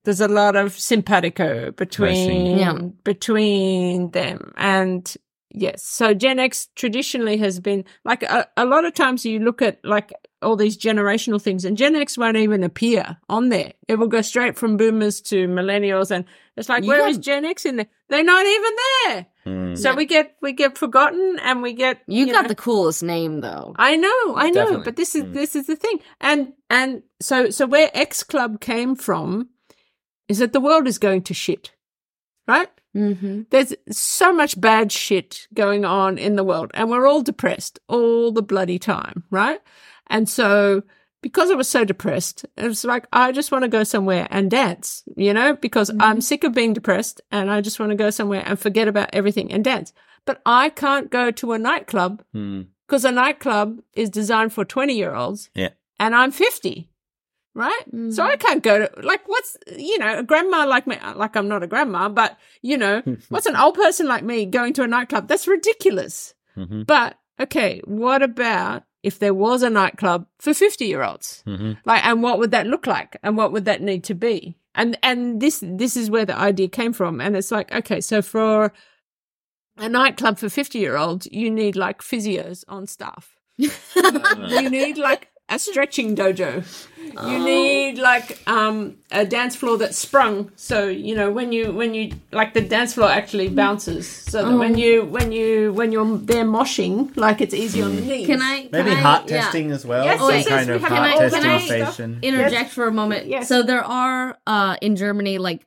Speaker 4: simpatico
Speaker 3: Yeah.
Speaker 4: between them. And yes, so Gen X traditionally has been like a lot of times you look at like all these generational things and Gen X won't even appear on there. It will go straight from boomers to millennials. And it's like, where is Gen X in there? They're not even there. So we get forgotten and we get,
Speaker 3: You got
Speaker 4: know,
Speaker 3: the coolest name though.
Speaker 4: I know,
Speaker 8: Definitely.
Speaker 4: but this is the thing. And so where X Club came from is that the world is going to shit. Right?
Speaker 3: Mm-hmm.
Speaker 4: There's so much bad shit going on in the world and we're all depressed all the bloody time, right? And so because I was so depressed, it was like, I just want to go somewhere and dance, you know, because I'm sick of being depressed and I just want to go somewhere and forget about everything and dance. But I can't go to a nightclub because a nightclub is designed for 20-year-olds
Speaker 2: Yeah.
Speaker 4: and I'm 50. Right? So I can't go to, like, what's, you know, a grandma like me, like I'm not a grandma, but, you know, what's an old person like me going to a nightclub? That's ridiculous. But, okay, what about if there was a nightclub for 50-year-olds? Like, and what would that look like? And what would that need to be? And this is where the idea came from. And it's like, okay, so for a nightclub for 50-year-olds, you need like physios on staff. You need like a stretching dojo. You need like a dance floor that's sprung. So, you know, when you like the dance floor actually bounces. So that when you're there moshing, like it's easy on the knees.
Speaker 3: Can I
Speaker 2: Maybe heart testing as well.
Speaker 4: Yes,
Speaker 2: Some
Speaker 4: yes,
Speaker 2: kind
Speaker 4: we
Speaker 2: of
Speaker 4: have
Speaker 2: heart
Speaker 4: all
Speaker 2: testing
Speaker 4: kinds of stuff.
Speaker 2: station.
Speaker 3: interject for a moment?
Speaker 4: Yes.
Speaker 3: So there are in Germany like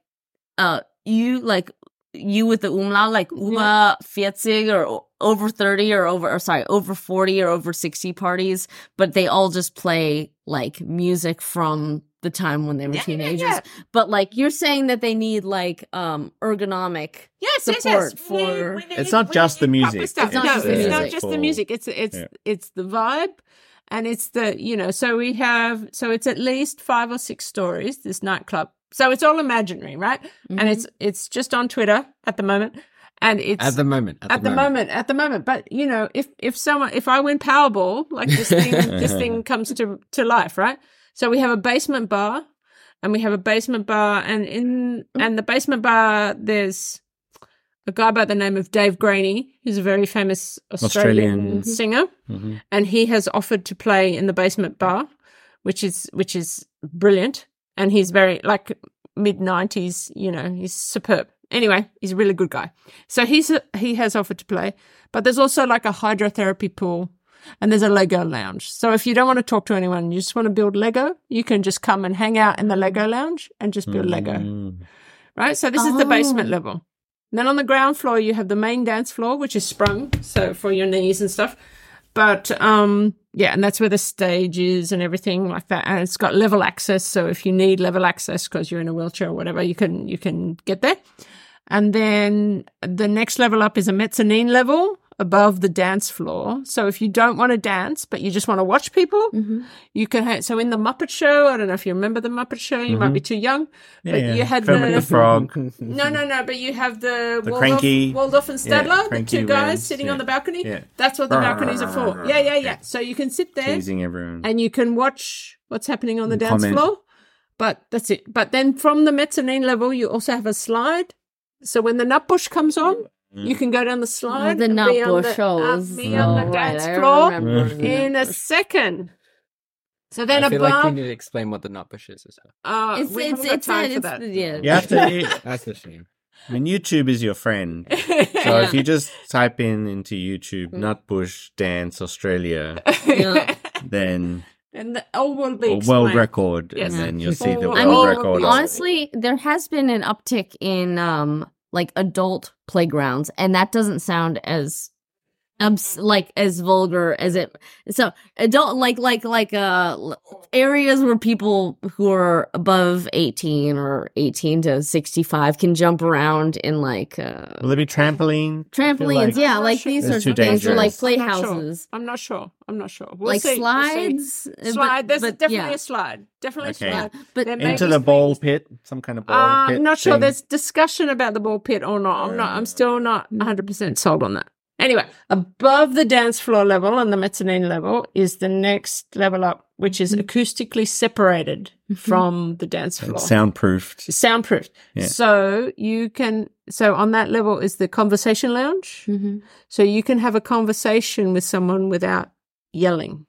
Speaker 3: you with the umlaut, like über 40 or over 30 or over 40 or over 60 parties, but they all just play like music from the time when they were teenagers.
Speaker 4: yeah.
Speaker 3: But like you're saying that they need like ergonomic support for
Speaker 2: It's not just the music.
Speaker 4: It's not
Speaker 3: It's not just the
Speaker 4: It's not
Speaker 3: music.
Speaker 4: just the music. It's the vibe. And it's the, you know, so it's at least 5 or 6 stories, this nightclub. So it's all imaginary, right? And it's just on Twitter at the moment. And it's
Speaker 8: At the moment.
Speaker 4: at the moment. But you know, if I win Powerball, like this thing comes to life, right? So we have a basement bar and and the basement bar, there's a guy by the name of Dave Graney, who's a very famous Australian singer. And he has offered to play in the basement bar, which is brilliant. And he's very like mid-90s, you know, he's superb. Anyway, he's a really good guy. So he has offered to play, but there's also like a hydrotherapy pool and there's a Lego lounge. So if you don't want to talk to anyone, you just want to build Lego, you can just come and hang out in the Lego lounge and just build Lego. Right? So this is the basement level. And then on the ground floor, you have the main dance floor, which is sprung, so for your knees and stuff. But, yeah, and that's where the stage is and everything like that. And it's got level access. So if you need level access because you're in a wheelchair or whatever, you can get there. And then the next level up is a mezzanine level above the dance floor. So if you don't want to dance, but you just want to watch people, you can so in the Muppet Show, I don't know if you remember the Muppet Show, you might be too young, but you had
Speaker 2: Kermit the Frog.
Speaker 4: No, but you have the
Speaker 2: Cranky-
Speaker 4: Waldorf and Stadler, the
Speaker 2: Cranky
Speaker 4: two guys
Speaker 2: Rams,
Speaker 4: sitting
Speaker 2: yeah.
Speaker 4: on the balcony.
Speaker 2: Yeah.
Speaker 4: That's what the balconies are for. Yeah. So you can sit there
Speaker 2: Teasing everyone.
Speaker 4: and you can watch what's happening on the dance
Speaker 2: comment.
Speaker 4: floor. But that's it. But then from the mezzanine level, you also have a slide. So when the Nutbush comes on, you can go down the slide.
Speaker 3: the
Speaker 4: and be on
Speaker 3: Nutbush shows.
Speaker 4: be on the dance floor in a second. So then
Speaker 8: I feel
Speaker 4: above,
Speaker 8: like we need to explain what the Nutbush is as well.
Speaker 4: we haven't got time for that.
Speaker 3: Yeah.
Speaker 2: You have to.
Speaker 8: That's a shame.
Speaker 2: I mean, YouTube is your friend. So if you just type into YouTube Nutbush Dance Australia,
Speaker 3: Yeah.
Speaker 2: then
Speaker 4: And all will be
Speaker 2: a world
Speaker 4: explained.
Speaker 2: record,
Speaker 4: Yes.
Speaker 2: and then you'll see the
Speaker 4: I
Speaker 3: I
Speaker 2: world
Speaker 3: mean,
Speaker 2: record.
Speaker 3: honestly, there has been an uptick in like adult playgrounds, and that doesn't sound as like as vulgar as it. So adult like areas where people who are above 18 or 18 to 65 can jump around in like
Speaker 2: Will there be trampolines?
Speaker 3: trampolines, yeah, like these
Speaker 2: It's
Speaker 3: sorts
Speaker 2: too
Speaker 3: of things, or like
Speaker 2: dangerous.
Speaker 3: playhouses,
Speaker 4: I'm not sure. We'll
Speaker 3: like
Speaker 4: see.
Speaker 3: slides.
Speaker 4: Slide. There's definitely
Speaker 3: yeah.
Speaker 4: a slide. Definitely
Speaker 2: Okay.
Speaker 4: a slide.
Speaker 3: But
Speaker 4: There may
Speaker 2: Into
Speaker 4: be
Speaker 2: the ball
Speaker 4: swings.
Speaker 2: pit, some kind of ball pit.
Speaker 4: I'm not sure.
Speaker 2: thing.
Speaker 4: There's discussion about the ball pit or not. I'm still not 100% sold on that. Anyway, above the dance floor level and the mezzanine level is the next level up, which is acoustically separated from the dance floor.
Speaker 2: Soundproofed.
Speaker 4: Soundproofed.
Speaker 2: Yeah.
Speaker 4: So on that level is the conversation lounge.
Speaker 3: Mhm.
Speaker 4: So you can have a conversation with someone without yelling.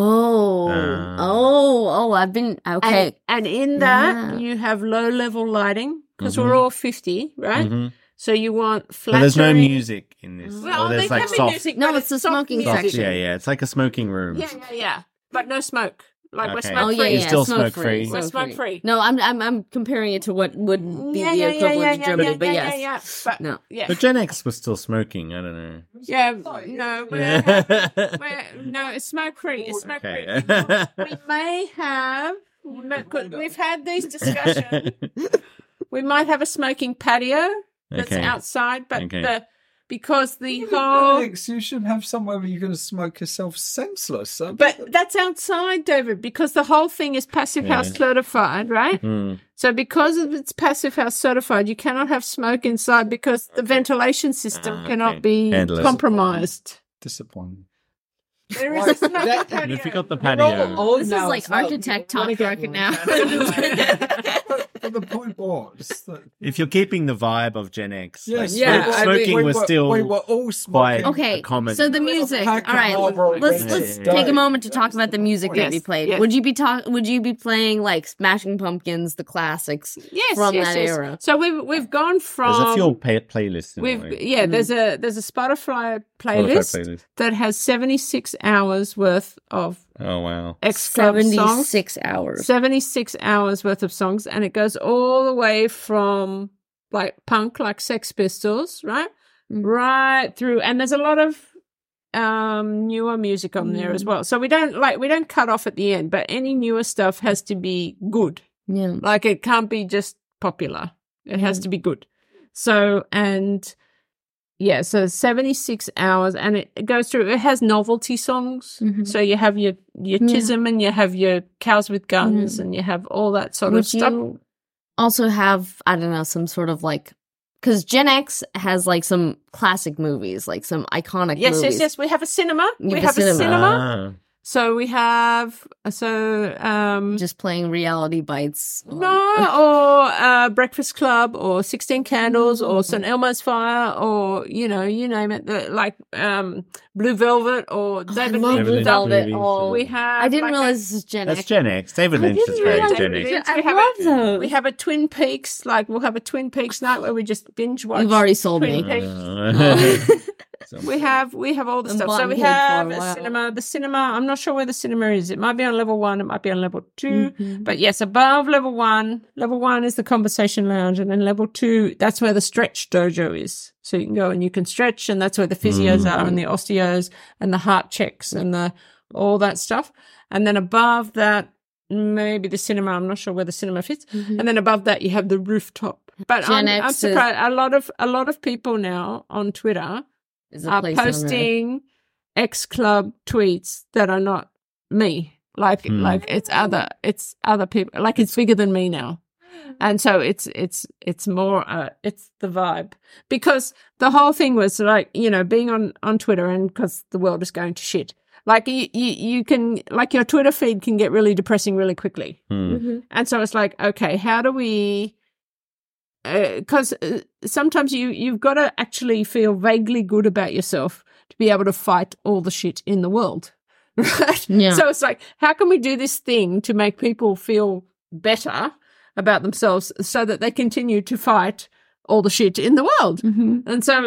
Speaker 3: I've been okay.
Speaker 4: And in that,
Speaker 3: Yeah.
Speaker 4: you have low level lighting because we're all 50, right?
Speaker 2: Mhm.
Speaker 4: So you want
Speaker 2: But
Speaker 4: flattering.
Speaker 2: there's no music in this.
Speaker 4: Well,
Speaker 2: or there's
Speaker 4: there
Speaker 2: like
Speaker 4: can be
Speaker 2: soft.
Speaker 4: music.
Speaker 3: No,
Speaker 4: but
Speaker 3: it's the
Speaker 4: soft
Speaker 3: smoking
Speaker 4: music.
Speaker 3: section.
Speaker 2: Yeah. It's like a smoking room.
Speaker 4: Yeah. But no smoke. Like we're
Speaker 2: Okay.
Speaker 4: smoke
Speaker 3: Oh
Speaker 4: free.
Speaker 3: yeah,
Speaker 2: You
Speaker 3: yeah,
Speaker 2: still smoke free.
Speaker 4: We're smoke free.
Speaker 3: No, I'm comparing it to what would be the equivalent to Germany, but yes,
Speaker 4: yeah. But,
Speaker 3: no.
Speaker 4: yeah.
Speaker 2: But Gen X was still smoking. I don't know.
Speaker 4: Yeah, no, no, it's smoke free. It's smoke free.
Speaker 2: Okay.
Speaker 4: We may have. We've had these discussions. We might have a smoking patio that's
Speaker 2: Okay.
Speaker 4: outside, but
Speaker 2: Okay.
Speaker 4: because the whole.
Speaker 5: Alex, you should have somewhere where you're going to smoke yourself senseless.
Speaker 4: But that's outside, David, because the whole thing is passive house certified, right?
Speaker 2: Mm.
Speaker 4: So because it's passive house certified, you cannot have smoke inside because the ventilation system cannot
Speaker 2: okay.
Speaker 4: be
Speaker 2: Handle it.
Speaker 4: compromised.
Speaker 5: disappointing.
Speaker 4: There is a smoking patio.
Speaker 2: If you got the patio.
Speaker 3: This is like architect talk right now.
Speaker 5: But the point was that
Speaker 2: If you're keeping the vibe of Gen X,
Speaker 5: yes,
Speaker 2: smoking was still
Speaker 5: we were all
Speaker 2: quite
Speaker 5: smoking.
Speaker 3: Okay,
Speaker 2: a common.
Speaker 3: so the music. All
Speaker 5: Pack of
Speaker 3: right,
Speaker 5: Marlboro
Speaker 3: let's
Speaker 5: Reds.
Speaker 3: take a moment to talk about the music that we played.
Speaker 4: yes.
Speaker 3: Would you be playing like Smashing Pumpkins, the classics from that era?
Speaker 4: So we've gone from
Speaker 2: There's a few playlists. in a way.
Speaker 4: there's a Spotify playlist that has 76 hours worth of
Speaker 2: Oh wow.
Speaker 4: X Club songs.
Speaker 3: 76 hours.
Speaker 4: 76 hours worth of songs, and it goes all the way from like punk, like Sex Pistols, right? Right through, and there's a lot of newer music on there as well. So we don't cut off at the end, but any newer stuff has to be good.
Speaker 3: Yeah.
Speaker 4: Like it can't be just popular. It has to be good. So so 76 hours, and it goes through. It has novelty songs. So you have your Tism, and you have your Cows with Guns, and you have all that sort of
Speaker 3: Would
Speaker 4: stuff.
Speaker 3: you also have, I don't know, some sort of like, because Gen X has like some classic movies, like some iconic movies.
Speaker 4: Yes. We have a cinema.
Speaker 3: You
Speaker 4: We
Speaker 3: have
Speaker 4: have
Speaker 3: a
Speaker 4: a
Speaker 3: cinema.
Speaker 4: cinema.
Speaker 2: Ah.
Speaker 4: So we have
Speaker 3: Just playing reality bites.
Speaker 4: Breakfast Club or 16 Candles or St. Elmo's Fire or you name it, Blue Velvet or David
Speaker 3: love
Speaker 4: Lynch.
Speaker 3: Blue Velvet.
Speaker 2: movies.
Speaker 3: Oh,
Speaker 4: We have.
Speaker 3: I didn't
Speaker 4: like
Speaker 3: realize this is Gen
Speaker 2: That's
Speaker 3: X.
Speaker 2: Gen X. David Lynch is very Gen X.
Speaker 3: I
Speaker 4: We have
Speaker 3: love
Speaker 4: a-
Speaker 3: those.
Speaker 4: We have a Twin Peaks, we'll have a Twin Peaks night where we just binge watch.
Speaker 3: You've already sold
Speaker 4: Twin
Speaker 3: me.
Speaker 4: Peaks.
Speaker 2: So-
Speaker 4: We have all the
Speaker 3: I'm
Speaker 4: stuff. So we
Speaker 3: bottom-headed for
Speaker 4: have
Speaker 3: a
Speaker 4: a
Speaker 3: while.
Speaker 4: cinema. The cinema, I'm not sure where the cinema is. It might be on level 1, it might be on level 2.
Speaker 3: Mm-hmm.
Speaker 4: But yes, above level 1. Level 1 is the conversation lounge, and then level 2, that's where the stretch dojo is. So you can go and you can stretch, and that's where the physios are, and the osteos, and the heart checks, and all that stuff. And then above that, maybe the cinema. I'm not sure where the cinema fits. And then above that, you have the rooftop. But
Speaker 3: Gen
Speaker 4: I'm
Speaker 3: X is-
Speaker 4: surprised. A lot of people now on Twitter
Speaker 3: Is a
Speaker 4: are
Speaker 3: place on there.
Speaker 4: posting X Club tweets that are not me. Like it's other people. Like it's bigger than me now. And so it's more it's the vibe, because the whole thing was like, being on Twitter, and because the world is going to shit. Like you can, like, your Twitter feed can get really depressing really quickly. And so it's like, okay, how do we, because sometimes you've got to actually feel vaguely good about yourself to be able to fight all the shit in the world, right?
Speaker 3: Yeah.
Speaker 4: So it's like, how can we do this thing to make people feel better about themselves so that they continue to fight all the shit in the world? And so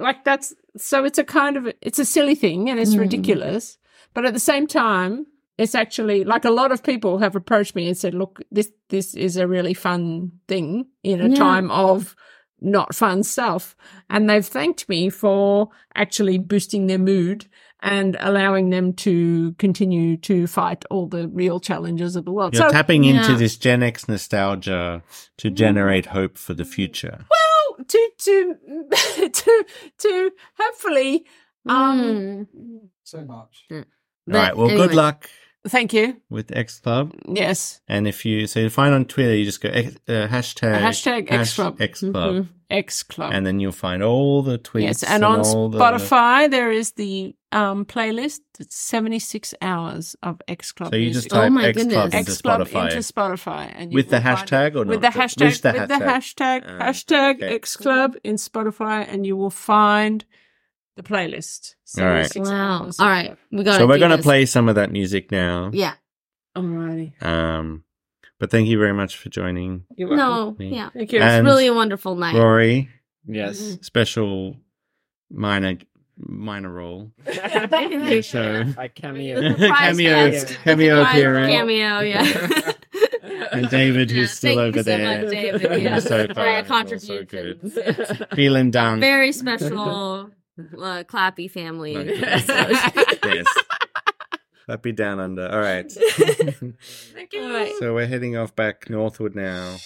Speaker 4: it's a silly thing, and it's ridiculous, but at the same time, it's actually, like, a lot of people have approached me and said, look, this is a really fun thing in a time of not fun stuff. And they've thanked me for actually boosting their mood and allowing them to continue to fight all the real challenges of the world.
Speaker 2: You're tapping into
Speaker 3: Yeah.
Speaker 2: this Gen X nostalgia to generate hope for the future.
Speaker 4: well, to hopefully,
Speaker 5: So much.
Speaker 2: All right. Well, good luck
Speaker 4: thank you.
Speaker 2: with X Club.
Speaker 4: Yes.
Speaker 2: And if you find on Twitter, you just go hashtag
Speaker 4: X Club.
Speaker 2: X Club,
Speaker 4: X Club.
Speaker 2: and then you'll find all the tweets.
Speaker 4: Yes, and on
Speaker 2: all
Speaker 4: Spotify there is the playlist. It's 76 hours of X Club.
Speaker 2: So you
Speaker 4: music.
Speaker 2: just type
Speaker 3: Oh my
Speaker 2: X Club
Speaker 3: goodness.
Speaker 2: into
Speaker 4: X Club
Speaker 2: Spotify
Speaker 4: into Spotify, and you
Speaker 2: with the
Speaker 4: will find
Speaker 2: hashtag
Speaker 4: it.
Speaker 2: or
Speaker 4: with
Speaker 2: not?
Speaker 4: the hashtag
Speaker 2: With the
Speaker 4: with the
Speaker 2: hashtag.
Speaker 4: hashtag
Speaker 2: Okay.
Speaker 4: X Club in Spotify, and you will find the playlist.
Speaker 2: All right.
Speaker 4: 76
Speaker 3: Wow.
Speaker 4: hours.
Speaker 3: All right. We got
Speaker 2: So we're gonna play some of that music now.
Speaker 3: Yeah.
Speaker 4: Alrighty.
Speaker 2: But thank you very much for joining,
Speaker 4: You're welcome.
Speaker 3: No.
Speaker 2: Me.
Speaker 3: Yeah.
Speaker 4: Thank you.
Speaker 3: It's
Speaker 2: And
Speaker 3: really a wonderful night.
Speaker 2: Rory.
Speaker 8: Yes.
Speaker 2: Special minor role. So
Speaker 8: I cameo.
Speaker 2: cameo
Speaker 3: guest.
Speaker 2: cameo
Speaker 3: Surprise
Speaker 2: appearance.
Speaker 3: cameo, yeah.
Speaker 2: And David, who's still
Speaker 3: Thank
Speaker 2: over
Speaker 3: you so
Speaker 2: there.
Speaker 3: much, David, yeah,
Speaker 2: So
Speaker 3: for
Speaker 2: far,
Speaker 3: your
Speaker 2: also
Speaker 3: contributions.
Speaker 2: good. Feeling down.
Speaker 3: Very special Clappy family.
Speaker 2: Yes. Happy down under. All right.
Speaker 3: Thank you. All right.
Speaker 2: So we're heading off back northward now.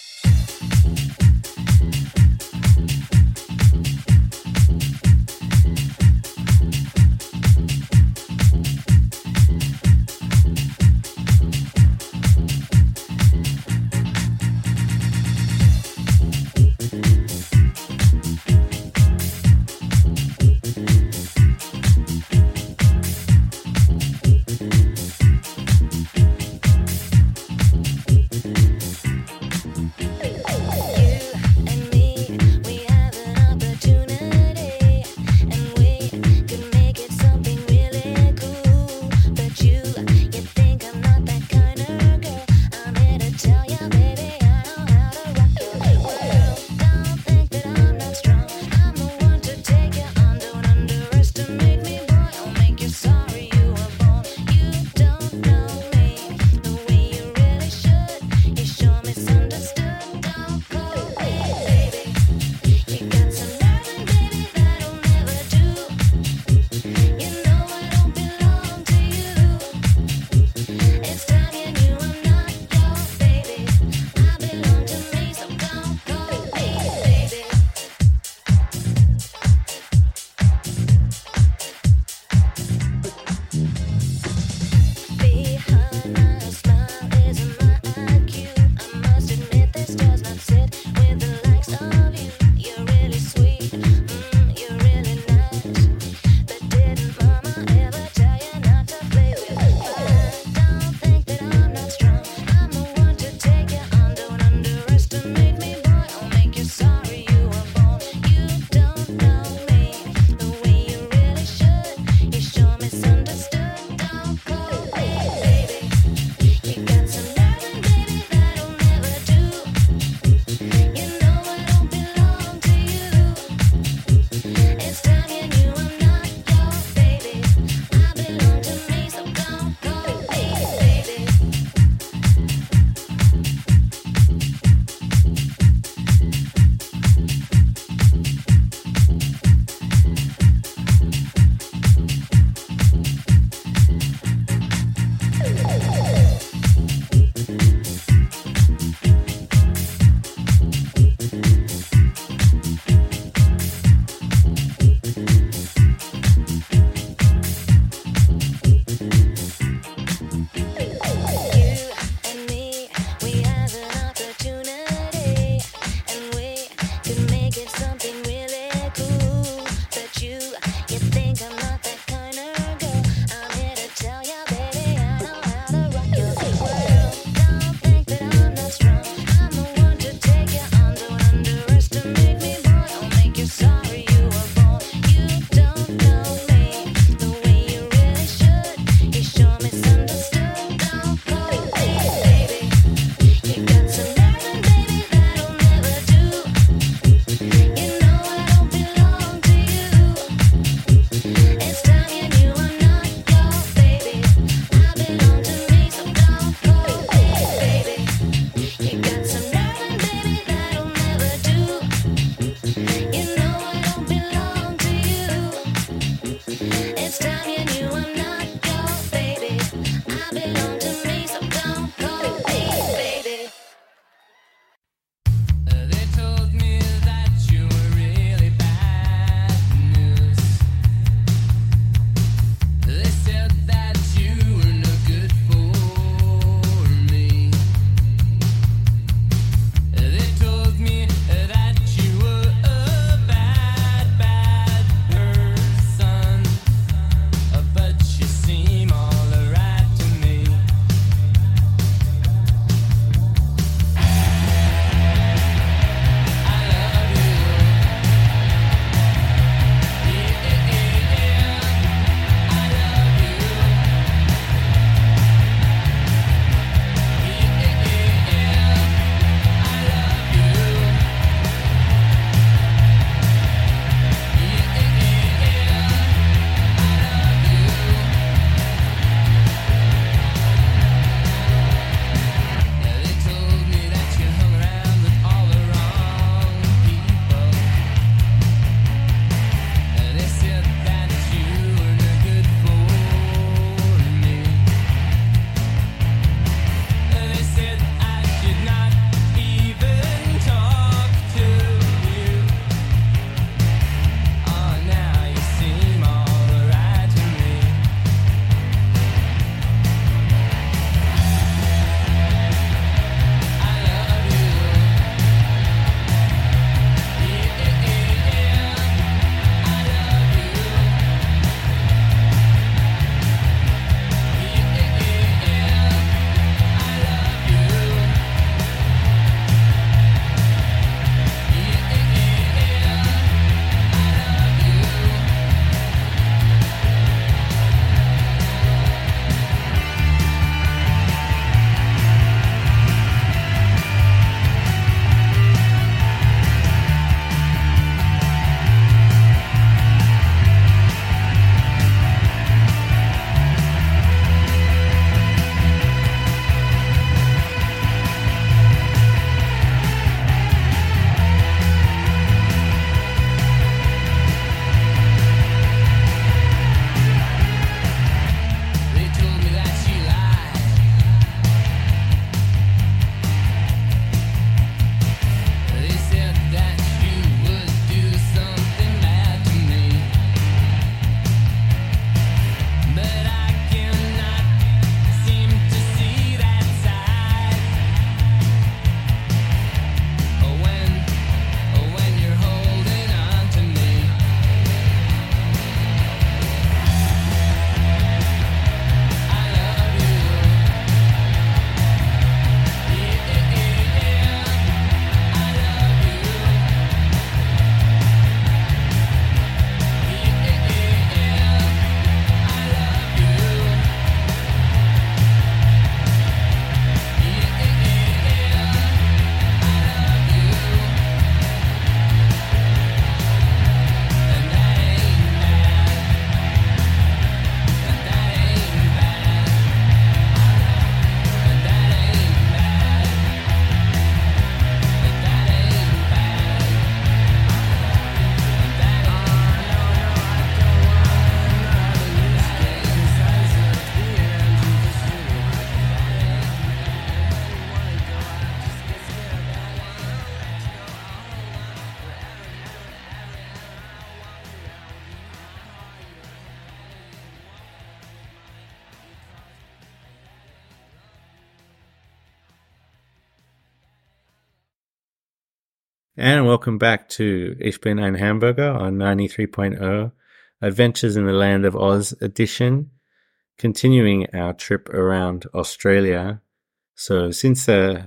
Speaker 2: And welcome back to Ich bin ein Hamburger on 93.0, Adventures in the Land of Oz edition, continuing our trip around Australia. So since
Speaker 3: The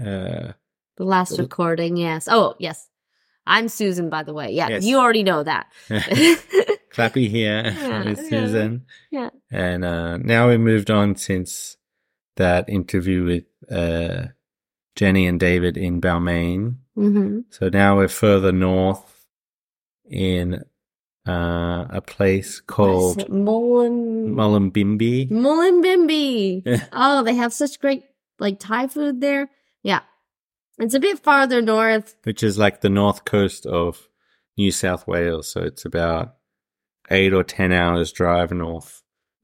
Speaker 3: last recording, yes. Oh, yes. I'm Susan, by the way. Yeah,
Speaker 2: Yes.
Speaker 3: you already know that.
Speaker 2: Clappy here
Speaker 3: Yeah,
Speaker 2: with Susan.
Speaker 3: Yeah.
Speaker 2: And now we moved on since that interview with Jenny and David in Balmain.
Speaker 3: Mm-hmm.
Speaker 2: So now we're further north in a place called Mullumbimby.
Speaker 3: Mullumbimby. Oh, they have such great like Thai food there. Yeah. It's a bit farther north.
Speaker 2: Which is like the north coast of New South Wales. So it's about 8 or 10 hours drive north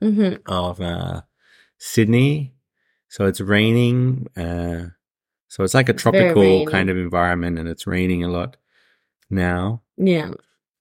Speaker 2: of Sydney. So it's raining. So it's like a
Speaker 3: It's very
Speaker 2: tropical
Speaker 3: rainy.
Speaker 2: kind of environment, and it's raining a lot now.
Speaker 3: Yeah.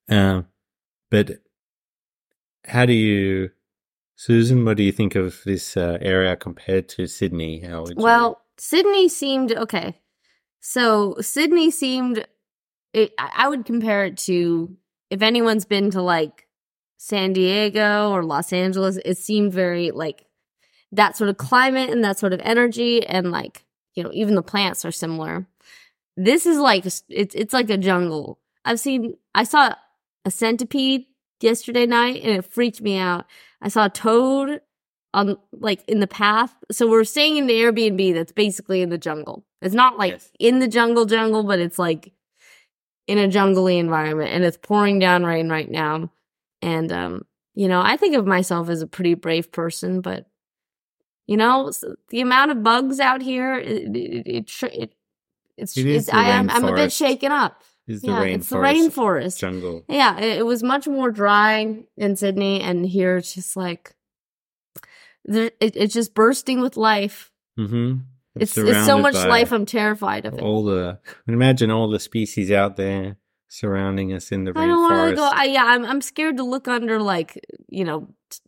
Speaker 2: But how do you, Susan, what do you think of this area compared to Sydney? How would you...
Speaker 3: Well, Sydney seemed okay. So Sydney seemed, I would compare it to, if anyone's been to like San Diego or Los Angeles, it seemed very like that sort of climate and that sort of energy, and like, you know, even the plants are similar. This is like, it's like a jungle. I saw a centipede yesterday night and it freaked me out. I saw a toad on like in the path. So we're staying in the Airbnb that's basically in the jungle. It's not like
Speaker 2: Yes.
Speaker 3: in the jungle, but it's like in a jungly environment, and it's pouring down rain right now. And, you know, I think of myself as a pretty brave person, but you know, the amount of bugs out here, it's
Speaker 2: It is the
Speaker 3: I'm a bit
Speaker 2: rainforest.
Speaker 3: shaken up.
Speaker 2: Is the
Speaker 3: Yeah,
Speaker 2: rainforest,
Speaker 3: it's the rainforest.
Speaker 2: jungle.
Speaker 3: Yeah, it was much more dry in Sydney, and here it's just like it's just bursting with life.
Speaker 2: Mm-hmm.
Speaker 3: It's so much life. I'm terrified of it.
Speaker 2: Imagine all the species out there surrounding us in the
Speaker 3: I don't want to
Speaker 2: rainforest.
Speaker 3: go. I'm scared to look under like, you know,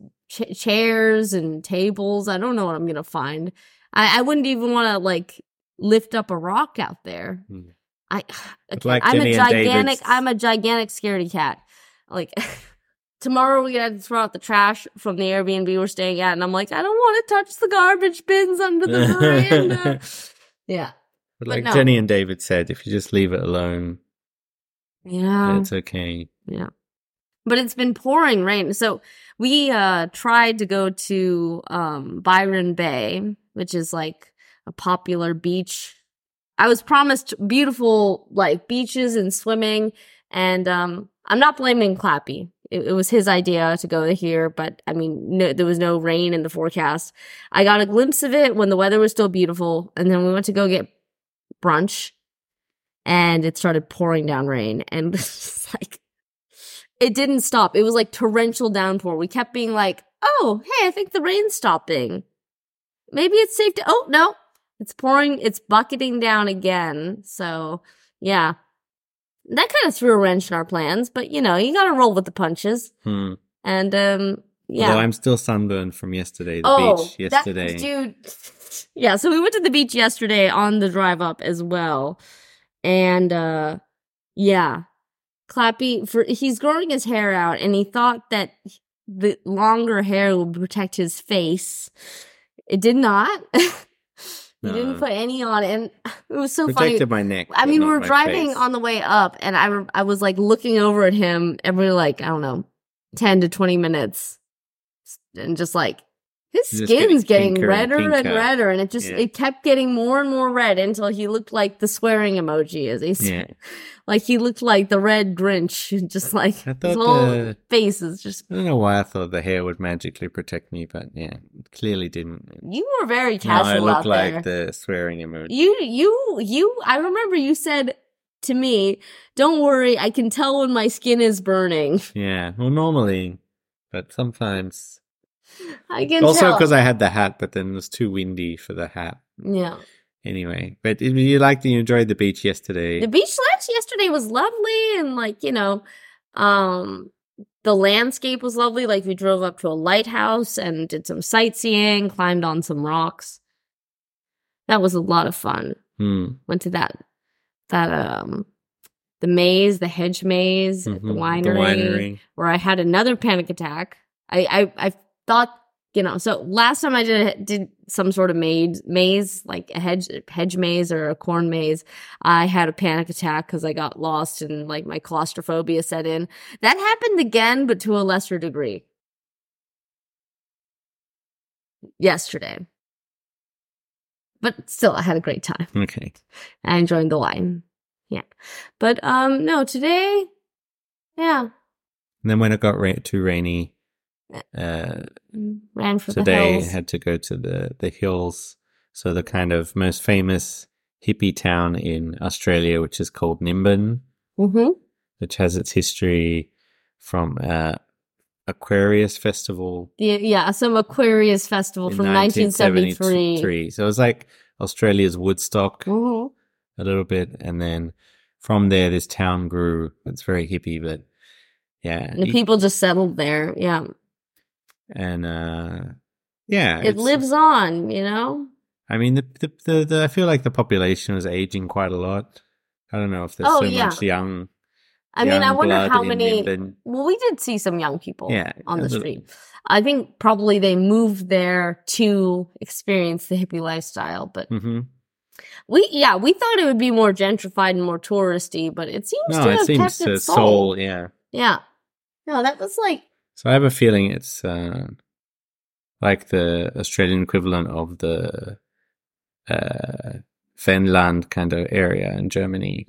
Speaker 3: chairs and tables. I don't know what I'm gonna find. I wouldn't even want to like lift up a rock out there.
Speaker 2: Hmm.
Speaker 3: Okay,
Speaker 2: like
Speaker 3: I'm
Speaker 2: Jenny
Speaker 3: a
Speaker 2: and
Speaker 3: gigantic.
Speaker 2: David's-
Speaker 3: I'm a gigantic scaredy cat. Like tomorrow we're gonna have to throw out the trash from the Airbnb we're staying at, and I'm like, I don't want to touch the garbage bins under the veranda. Yeah,
Speaker 2: But like
Speaker 3: no.
Speaker 2: Jenny and David said, if you just leave it alone,
Speaker 3: yeah.
Speaker 2: it's okay.
Speaker 3: Yeah. But it's been pouring rain. So we tried to go to Byron Bay, which is like a popular beach. I was promised beautiful like beaches and swimming, and I'm not blaming Clappy. It was his idea to go here, but I mean, there was no rain in the forecast. I got a glimpse of it when the weather was still beautiful, and then we went to go get brunch, and it started pouring down rain, and it's like it didn't stop. It was like torrential downpour. We kept being like, "Oh, hey, I think the rain's stopping. Maybe it's safe to." Oh no, it's pouring. It's bucketing down again. So yeah, that kind of threw a wrench in our plans. But you know, you got to roll with the punches.
Speaker 2: Hmm.
Speaker 3: And yeah.
Speaker 2: Although I'm still sunburned from yesterday, the beach yesterday.
Speaker 3: Dude. Yeah, so we went to the beach yesterday on the drive up as well. And yeah. Clappy, he's growing his hair out, and he thought that the longer hair would protect his face. It did not. He didn't put any on, and it was so funny.
Speaker 2: Protected my neck.
Speaker 3: I
Speaker 2: but
Speaker 3: mean,
Speaker 2: not
Speaker 3: we were
Speaker 2: my
Speaker 3: driving
Speaker 2: face.
Speaker 3: on the way up, and I was like looking over at him every like, I don't know, 10 to 20 minutes, and just like his
Speaker 2: Just
Speaker 3: skin's getting
Speaker 2: getting pinker and
Speaker 3: redder and
Speaker 2: pinker.
Speaker 3: redder, and it
Speaker 2: Yeah.
Speaker 3: it kept getting more and more red until he looked like the swearing emoji, as he said.
Speaker 2: Yeah.
Speaker 3: Like he looked like the red Grinch, just like
Speaker 2: I
Speaker 3: his
Speaker 2: thought
Speaker 3: whole
Speaker 2: the-
Speaker 3: face is just.
Speaker 2: I don't know why I thought the hair would magically protect me, but yeah, it clearly didn't.
Speaker 3: You were very
Speaker 2: Now
Speaker 3: casual
Speaker 2: I
Speaker 3: out
Speaker 2: look like
Speaker 3: there.
Speaker 2: the swearing emoji.
Speaker 3: You. I remember you said to me, "Don't worry, I can tell when my skin is burning."
Speaker 2: Yeah, well, normally, but sometimes.
Speaker 3: I can
Speaker 2: Also,
Speaker 3: tell.
Speaker 2: because I had the hat, but then it was too windy for the hat.
Speaker 3: Yeah.
Speaker 2: Anyway, but you enjoyed the beach yesterday.
Speaker 3: The beach lunch yesterday was lovely, and like, you know, the landscape was lovely. Like we drove up to a lighthouse and did some sightseeing, climbed on some rocks. That was a lot of fun.
Speaker 2: Hmm.
Speaker 3: Went to that the maze, the hedge maze at the winery, where I had another panic attack. I thought, so last time I did some sort of maze, like a hedge maze or a corn maze, I had a panic attack because I got lost and like my claustrophobia set in. That happened again, but to a lesser degree. Yesterday. But still, I had a great time.
Speaker 2: Okay.
Speaker 3: I enjoyed the wine. Yeah. But, no, today, yeah.
Speaker 2: And then when it got too rainy,
Speaker 3: ran for
Speaker 2: today
Speaker 3: the hills.
Speaker 2: had to go to the hills. So the kind of most famous hippie town in Australia, which is called Nimbin, which has its history from Aquarius Festival.
Speaker 3: Yeah, some Aquarius Festival from 1973.
Speaker 2: So it was like Australia's Woodstock a little bit. And then from there, this town grew. It's very hippie, but yeah.
Speaker 3: The people just settled there, yeah.
Speaker 2: And yeah.
Speaker 3: It lives on,
Speaker 2: I mean, I feel like the population was aging quite a lot. I don't know if there's much young.
Speaker 3: I mean, I wonder how many.
Speaker 2: Nimbin.
Speaker 3: Well, we did see some young people on the
Speaker 2: little.
Speaker 3: street. I think probably they moved there to experience the hippie lifestyle, but we thought it would be more gentrified and more touristy, but it seems to have kept its soul.
Speaker 2: Yeah.
Speaker 3: Yeah. No, that was like.
Speaker 2: So I have a feeling it's like the Australian equivalent of the Finland kind of area in Germany.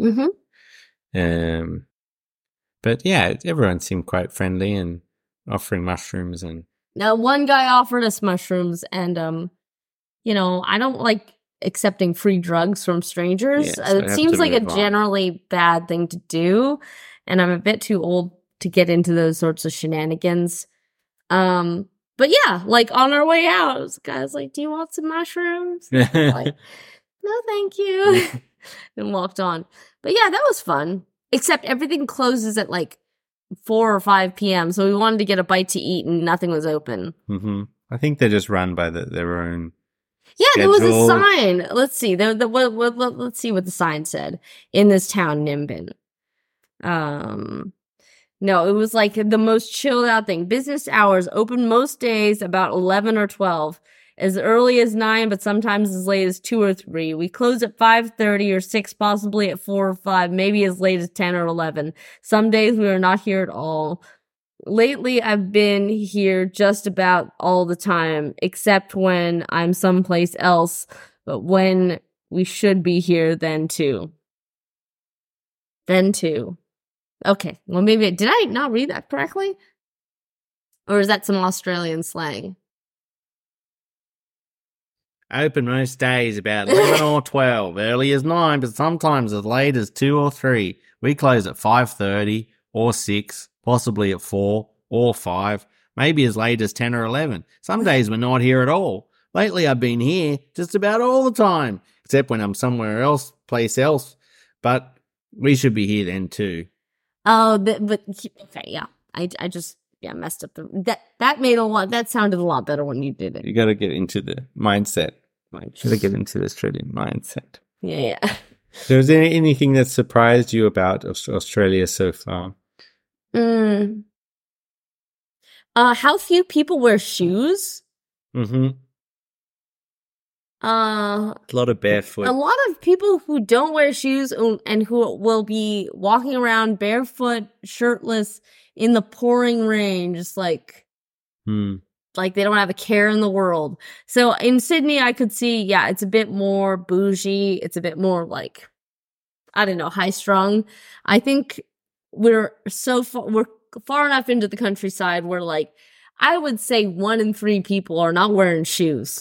Speaker 2: But yeah, everyone seemed quite friendly and offering mushrooms. And
Speaker 3: now one guy offered us mushrooms, and I don't like accepting free drugs from strangers.
Speaker 2: Yeah, so
Speaker 3: it seems like a generally bad thing to do, and I'm a bit too old to get into those sorts of shenanigans. But yeah, like on our way out, this guy's like, "Do you want some mushrooms?" Like, no, thank you, and walked on. But yeah, that was fun. Except everything closes at like 4 or 5 p.m. So we wanted to get a bite to eat and nothing was open.
Speaker 2: I think they're just run by their own.
Speaker 3: Yeah,
Speaker 2: schedule.
Speaker 3: there was a sign. Let's see. Let's see what the sign said in this town, Nimbin. No, it was like the most chilled out thing. Business hours open most days about 11 or 12. As early as 9, but sometimes as late as 2 or 3. We close at 5:30 or 6, possibly at 4 or 5, maybe as late as 10 or 11. Some days we are not here at all. Lately, I've been here just about all the time, except when I'm someplace else, but when we should be here then too. Okay, well maybe, did I not read that correctly? Or is that some Australian slang?
Speaker 2: Open most days about 11 or 12, early as 9, but sometimes as late as 2 or 3. We close at 5:30 or 6, possibly at 4 or 5, maybe as late as 10 or 11. Some days we're not here at all. Lately I've been here just about all the time, except when I'm somewhere else, but we should be here then too.
Speaker 3: Oh, but okay, yeah. I just messed up that sounded a lot better when you did it.
Speaker 2: You got to get into the mindset. Should I get into the Australian mindset?
Speaker 3: Yeah.
Speaker 2: So is there anything that surprised you about Australia so far?
Speaker 3: How few people wear shoes?
Speaker 2: A lot of barefoot.
Speaker 3: A lot of people who don't wear shoes and who will be walking around barefoot, shirtless, in the pouring rain, just like they don't have a care in the world. So in Sydney, I could see, it's a bit more bougie. It's a bit more like, I don't know, high strung. I think we're far enough into the countryside where like, I would say 1 in 3 people are not wearing shoes.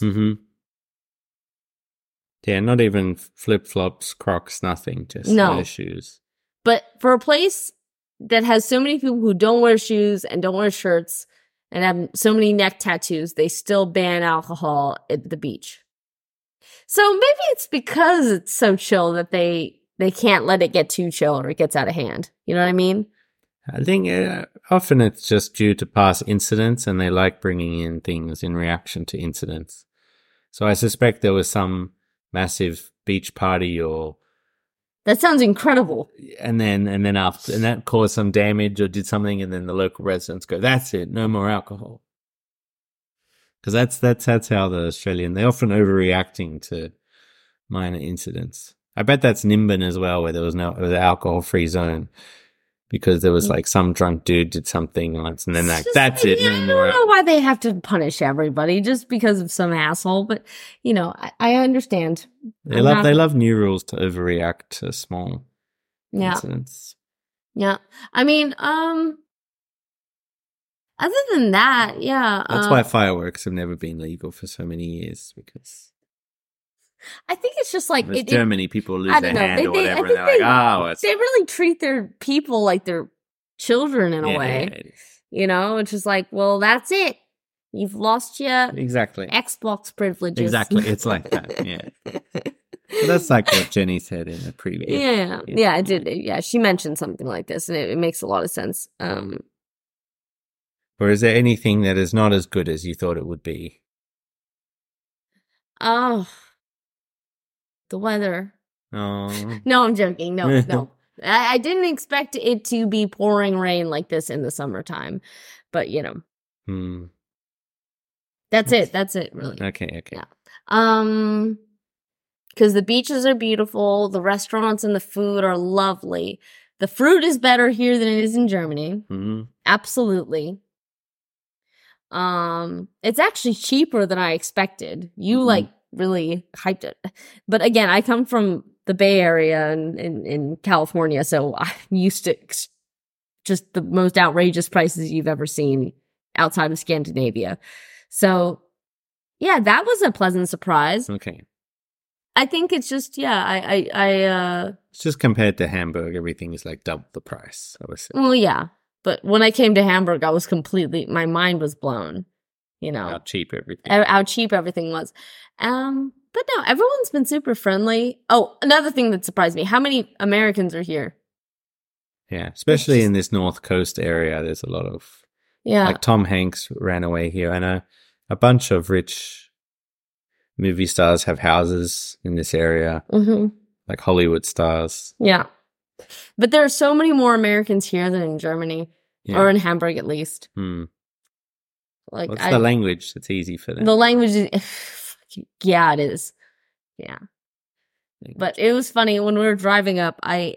Speaker 2: Yeah, not even flip-flops, Crocs, nothing, just no shoes.
Speaker 3: But for a place that has so many people who don't wear shoes and don't wear shirts and have so many neck tattoos, they still ban alcohol at the beach. So maybe it's because it's so chill that they can't let it get too chill or it gets out of hand. You know what I mean?
Speaker 2: I think often it's just due to past incidents and they like bringing in things in reaction to incidents. So I suspect there was some massive beach party or
Speaker 3: That sounds incredible.
Speaker 2: And then after, and that caused some damage or did something, and then the local residents go, "That's it, no more alcohol." Because that's how the Australian, they're often overreacting to minor incidents. I bet that's Nimbin as well, where there was an alcohol-free zone. Because there was like some drunk dude did something once, and then that's it.
Speaker 3: I don't know why they have to punish everybody just because of some asshole, but I understand.
Speaker 2: They love new rules to overreact to small incidents.
Speaker 3: Yeah, I mean, other than that, yeah,
Speaker 2: that's why fireworks have never been legal for so many years, because
Speaker 3: I think it's just like
Speaker 2: Germany, people lose their hand or whatever, and they're like,
Speaker 3: they really treat their people like they're children in a way. It's just like, well, that's it. You've lost your Xbox privileges.
Speaker 2: Exactly, it's like that. Yeah, so that's like what Jenny said in the previous.
Speaker 3: Yeah, I did. Yeah, she mentioned something like this, and it makes a lot of sense.
Speaker 2: Or is there anything that is not as good as you thought it would be?
Speaker 3: Oh. The weather.
Speaker 2: Oh.
Speaker 3: No, I'm joking. No. I didn't expect it to be pouring rain like this in the summertime. But, That's it, really.
Speaker 2: Okay.
Speaker 3: Yeah. Because the beaches are beautiful. The restaurants and the food are lovely. The fruit is better here than it is in Germany.
Speaker 2: Mm-hmm.
Speaker 3: Absolutely. It's actually cheaper than I expected. You, really hyped it. But again, I come from the Bay Area in California, so I'm used to just the most outrageous prices you've ever seen outside of Scandinavia. So, yeah, that was a pleasant surprise.
Speaker 2: Okay.
Speaker 3: I think it's just,
Speaker 2: it's just compared to Hamburg, everything is like double the price, I would say.
Speaker 3: Well, yeah. But when I came to Hamburg, I was my mind was blown.
Speaker 2: How cheap everything
Speaker 3: was. But no, everyone's been super friendly. Oh, another thing that surprised me. How many Americans are here?
Speaker 2: Yeah, especially in this North Coast area, there's a lot of...
Speaker 3: Yeah.
Speaker 2: Like Tom Hanks ran away here. I know a bunch of rich movie stars have houses in this area.
Speaker 3: Mm-hmm.
Speaker 2: Like Hollywood stars.
Speaker 3: Yeah. But there are so many more Americans here than in Germany. Or in Hamburg, at least.
Speaker 2: What's the language that's easy for them?
Speaker 3: The language is... Yeah, it is. Yeah. But it was funny when we were driving up, I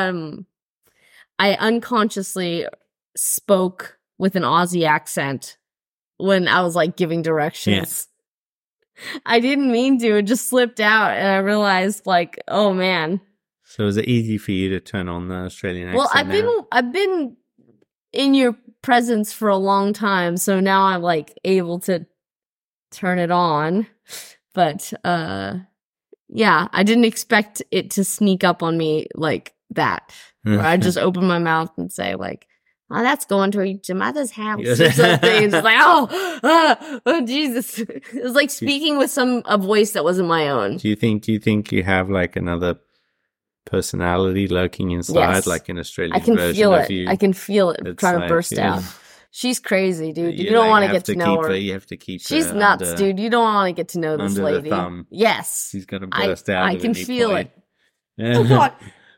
Speaker 3: unconsciously spoke with an Aussie accent when I was giving directions. Yeah. I didn't mean to, it just slipped out, and I realized oh man.
Speaker 2: So is it easy for you to turn on the Australian accent?
Speaker 3: Well, I've been in your presence for a long time, so now I'm able to turn it on. But yeah, I didn't expect it to sneak up on me like that. Where I just open my mouth and say oh, that's going to your mother's house or something. It's oh Jesus. It was like speaking with a voice that wasn't my own.
Speaker 2: Do you think you have another personality lurking inside, like an Australian version of you?
Speaker 3: I can feel it trying to burst out. She's crazy, dude. You don't want to get to know her.
Speaker 2: You have to keep her.
Speaker 3: She's nuts, dude. You don't want to get to know this lady.
Speaker 2: The thumb.
Speaker 3: Yes.
Speaker 2: She's going to burst out.
Speaker 3: I can feel it. Oh, God.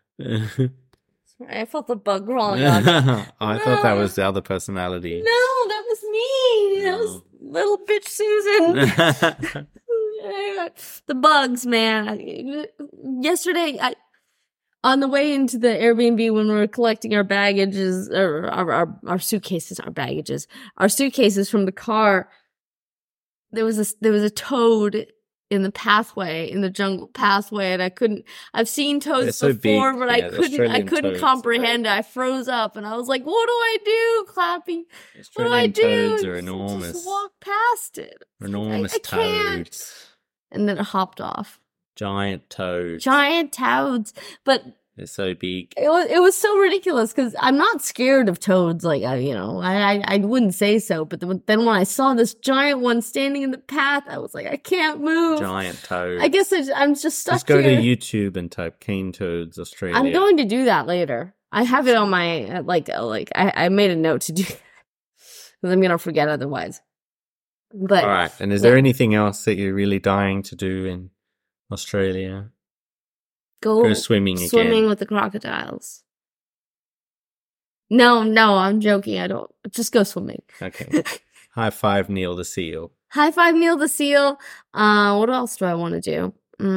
Speaker 3: I felt the bug crawling on me.
Speaker 2: I thought that was the other personality.
Speaker 3: No, that was me. That was little bitch Susan. The bugs, man. Yesterday, on the way into the Airbnb when we were collecting our baggages, or our suitcases, our suitcases from the car, there was a toad in the pathway, in the jungle pathway, and I've seen toads before, but I couldn't comprehend it. I froze up, and I was like, what do I do, Clappy? What do I do?
Speaker 2: Toads are enormous.
Speaker 3: Just walk past it.
Speaker 2: Enormous
Speaker 3: I can't.
Speaker 2: toads.
Speaker 3: And then it hopped off.
Speaker 2: Giant toads.
Speaker 3: But
Speaker 2: they're so big.
Speaker 3: It was so ridiculous because I'm not scared of toads. I wouldn't say so. But then when I saw this giant one standing in the path, I was like, I can't move.
Speaker 2: Giant toad.
Speaker 3: I guess I'm just stuck
Speaker 2: here. Just go
Speaker 3: to
Speaker 2: YouTube and type cane toads Australia.
Speaker 3: I'm going to do that later. I have it on my I made a note to do that because I'm gonna forget otherwise. But
Speaker 2: all right. And is there anything else that you're really dying to do in Australia? Go swimming again.
Speaker 3: with the crocodiles. No, I'm joking. I don't. Just go swimming.
Speaker 2: Okay. High five Neil the seal.
Speaker 3: High five Neil the seal. What else do I want to do?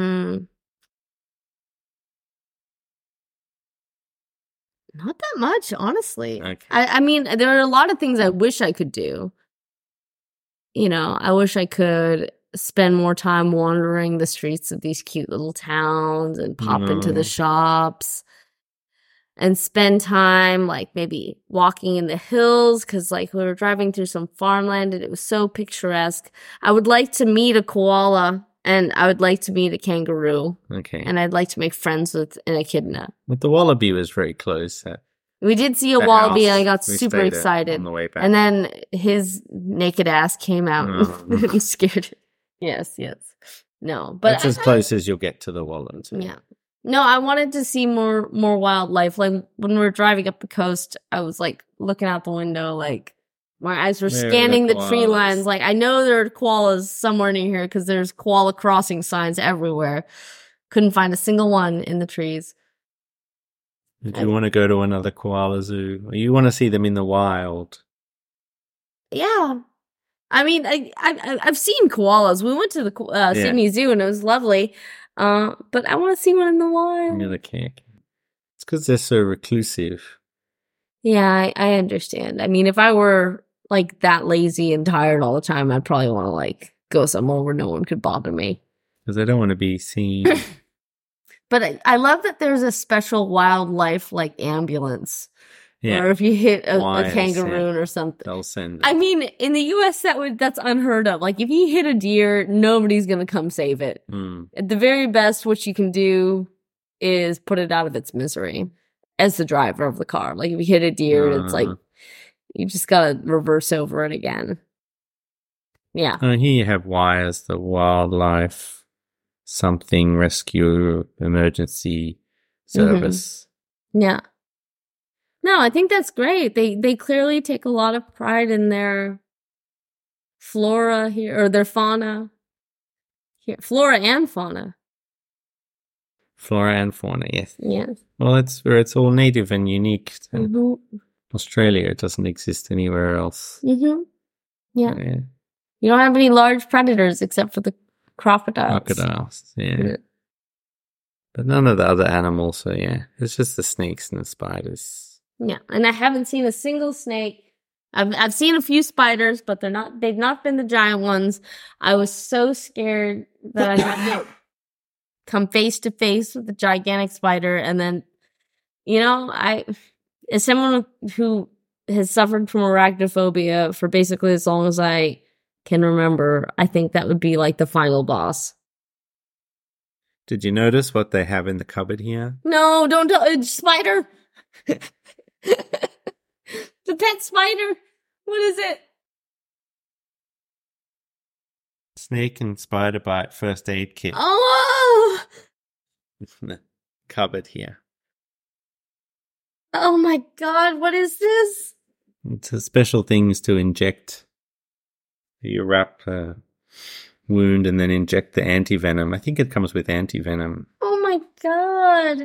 Speaker 3: Not that much, honestly.
Speaker 2: Okay.
Speaker 3: I mean, there are a lot of things I wish I could do. You know, I wish I could spend more time wandering the streets of these cute little towns and pop into the shops and spend time, like, maybe walking in the hills, because, like, we were driving through some farmland and it was so picturesque. I would like to meet a koala, and I would like to meet a kangaroo.
Speaker 2: Okay.
Speaker 3: And I'd like to make friends with an echidna.
Speaker 2: But the wallaby was very close.
Speaker 3: We did see a
Speaker 2: The
Speaker 3: wallaby, and
Speaker 2: house.
Speaker 3: I got
Speaker 2: We
Speaker 3: super
Speaker 2: stayed
Speaker 3: excited.
Speaker 2: on the way back.
Speaker 3: And then his naked ass came out and scared it. Yes. No, but
Speaker 2: That's as close as you'll get to the wallet.
Speaker 3: yeah. No, I wanted to see more wildlife. Like when we were driving up the coast, I was like looking out the window, like my eyes were
Speaker 2: Where are the
Speaker 3: scanning the tree
Speaker 2: koalas?
Speaker 3: lines. Like I know there are koalas somewhere near here because there's koala crossing signs everywhere. Couldn't find a single one in the trees.
Speaker 2: Did you want to go to another koala zoo? Or you want to see them in the wild?
Speaker 3: Yeah. I mean, I've seen koalas. We went to the Sydney Zoo and it was lovely. But I want to see one in the wild.
Speaker 2: Near the cake. It's because they're so reclusive.
Speaker 3: Yeah, I understand. I mean, if I were like that lazy and tired all the time, I'd probably want to like go somewhere where no one could bother me.
Speaker 2: Because they don't want to be seen.
Speaker 3: But I love that there's a special wildlife like ambulance.
Speaker 2: Yeah.
Speaker 3: Or if you hit a
Speaker 2: Wise,
Speaker 3: kangaroo or something.
Speaker 2: They'll send it.
Speaker 3: I mean, in the US that's unheard of. Like if you hit a deer, nobody's gonna come save it. At the very best, what you can do is put it out of its misery as the driver of the car. Like if you hit a deer, it's like you just gotta reverse over it again. Yeah.
Speaker 2: Here you have WIRES, the Wildlife Something Rescue Emergency Service.
Speaker 3: Yeah. No, I think that's great. They clearly take a lot of pride in their flora here, or their fauna here. Flora and fauna.
Speaker 2: Flora and fauna, yes.
Speaker 3: Yes.
Speaker 2: Well, that's where it's all native and unique to
Speaker 3: Mm-hmm.
Speaker 2: Australia. It doesn't exist anywhere else.
Speaker 3: Mm-hmm. Yeah.
Speaker 2: Yeah.
Speaker 3: You don't have any large predators except for the crocodiles.
Speaker 2: Crocodiles, yeah.
Speaker 3: Yeah.
Speaker 2: But none of the other animals, so yeah. It's just the snakes and the spiders.
Speaker 3: Yeah, and I haven't seen a single snake. I've seen a few spiders, but they've not been the giant ones. I was so scared that I had to come face to face with a gigantic spider, and then, you know, as someone who has suffered from arachnophobia for basically as long as I can remember, I think that would be like the final boss.
Speaker 2: Did you notice what they have in the cupboard here?
Speaker 3: No, don't spider. The pet spider. What is it?
Speaker 2: Snake and spider bite first aid kit.
Speaker 3: Oh!
Speaker 2: In the cupboard here.
Speaker 3: Oh my god, what is this?
Speaker 2: It's a special things to inject. You wrap a wound and then inject the anti-venom. I think it comes with anti-venom.
Speaker 3: Oh my god.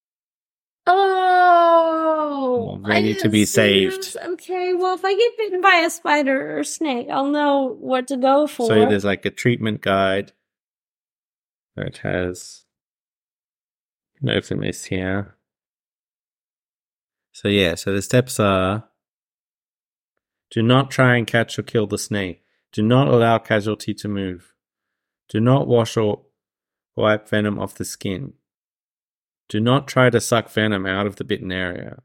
Speaker 3: Oh,
Speaker 2: Ready
Speaker 3: I
Speaker 2: to
Speaker 3: didn't
Speaker 2: be
Speaker 3: see
Speaker 2: saved.
Speaker 3: this. Okay, well, if I get bitten by a spider or snake, I'll know what to go for.
Speaker 2: So there's like a treatment guide. Where it has Nofimis here. So yeah, so the steps are: do not try and catch or kill the snake. Do not allow casualty to move. Do not wash or wipe venom off the skin. Do not try to suck venom out of the bitten area.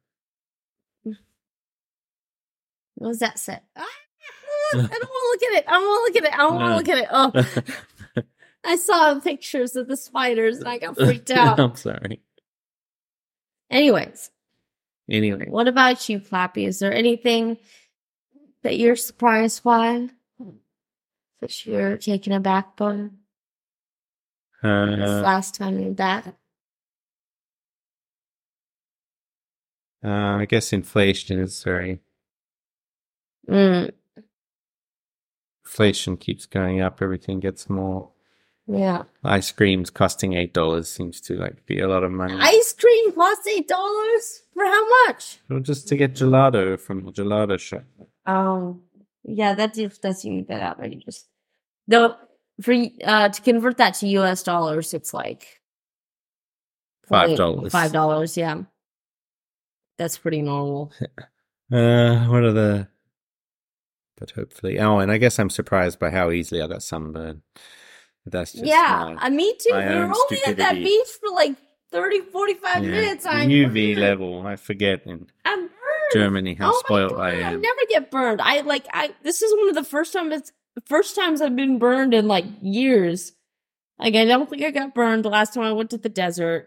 Speaker 3: What does that say? Ah, I don't want to look at it. I don't want to look at it. I don't want to look at it. Oh, I saw pictures of the spiders and I got freaked out.
Speaker 2: I'm sorry.
Speaker 3: Anyways,
Speaker 2: Anyway,
Speaker 3: what about you, Flappy? Is there anything that you're surprised by? That you're taken aback by? This last time you're back?
Speaker 2: I guess inflation is very...
Speaker 3: Mm.
Speaker 2: Inflation keeps going up. Everything gets more
Speaker 3: Yeah.
Speaker 2: Ice cream's costing $8 seems to like be a lot of money.
Speaker 3: Ice cream costs $8 for how much?
Speaker 2: Well, just to get gelato from the gelato shop.
Speaker 3: Yeah, that's even a bit outrageous. Though to convert that to US dollars, it's like
Speaker 2: $5.
Speaker 3: $5, yeah. That's pretty normal.
Speaker 2: What are the? But hopefully, and I guess I'm surprised by how easily I got sunburned. But that's just
Speaker 3: me too. We
Speaker 2: my
Speaker 3: were
Speaker 2: own
Speaker 3: only at that
Speaker 2: stupidity.
Speaker 3: beach for like 30, 45 minutes. I'm
Speaker 2: UV
Speaker 3: burned.
Speaker 2: level. I forget in
Speaker 3: I'm burned.
Speaker 2: Germany how
Speaker 3: Oh my
Speaker 2: spoiled
Speaker 3: God,
Speaker 2: I
Speaker 3: I
Speaker 2: am.
Speaker 3: never get burned. This is one of the first times I've been burned in like years. Like I don't think I got burned the last time I went to the desert.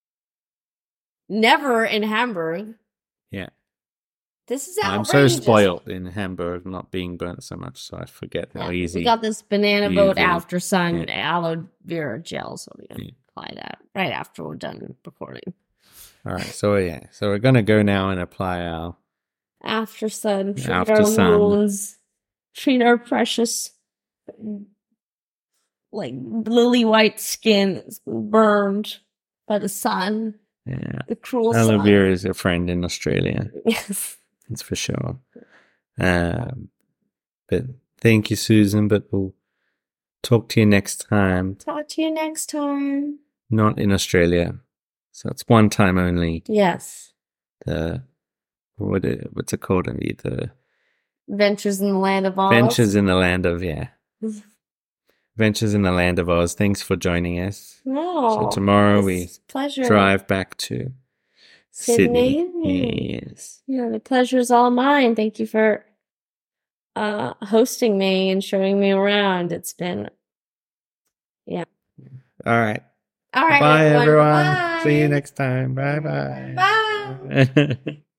Speaker 3: Never in Hamburg.
Speaker 2: Yeah.
Speaker 3: This is
Speaker 2: I'm
Speaker 3: outrageous.
Speaker 2: so spoiled in Hamburg not being burnt so much, so I forget how easy.
Speaker 3: We got this banana boat
Speaker 2: UV.
Speaker 3: after sun aloe vera gel, so we're gonna apply that right after we're done recording.
Speaker 2: All right, so we're gonna go now and apply our
Speaker 3: After sun, treat
Speaker 2: After
Speaker 3: our
Speaker 2: sun.
Speaker 3: wounds, treat our precious, like lily white skin that's burned by the sun, the cruel
Speaker 2: aloe
Speaker 3: sun.
Speaker 2: vera is a friend in Australia.
Speaker 3: Yes.
Speaker 2: That's for sure. But thank you, Susan. But we'll talk to you next time.
Speaker 3: Talk to you next time.
Speaker 2: Not in Australia, so it's one time only.
Speaker 3: Yes.
Speaker 2: What's it called? The
Speaker 3: Ventures in the Land of Oz.
Speaker 2: Ventures in the Land of Ventures in the Land of Oz. Thanks for joining us.
Speaker 3: No.
Speaker 2: So tomorrow
Speaker 3: it's
Speaker 2: we
Speaker 3: a pleasure.
Speaker 2: drive back to Sydney. Yes.
Speaker 3: Yeah, the pleasure's all mine. Thank you for hosting me and showing me around. It's been,
Speaker 2: All right.
Speaker 3: All right.
Speaker 2: Bye, everyone.
Speaker 3: Bye.
Speaker 2: See you next time. Bye-bye.
Speaker 3: Bye.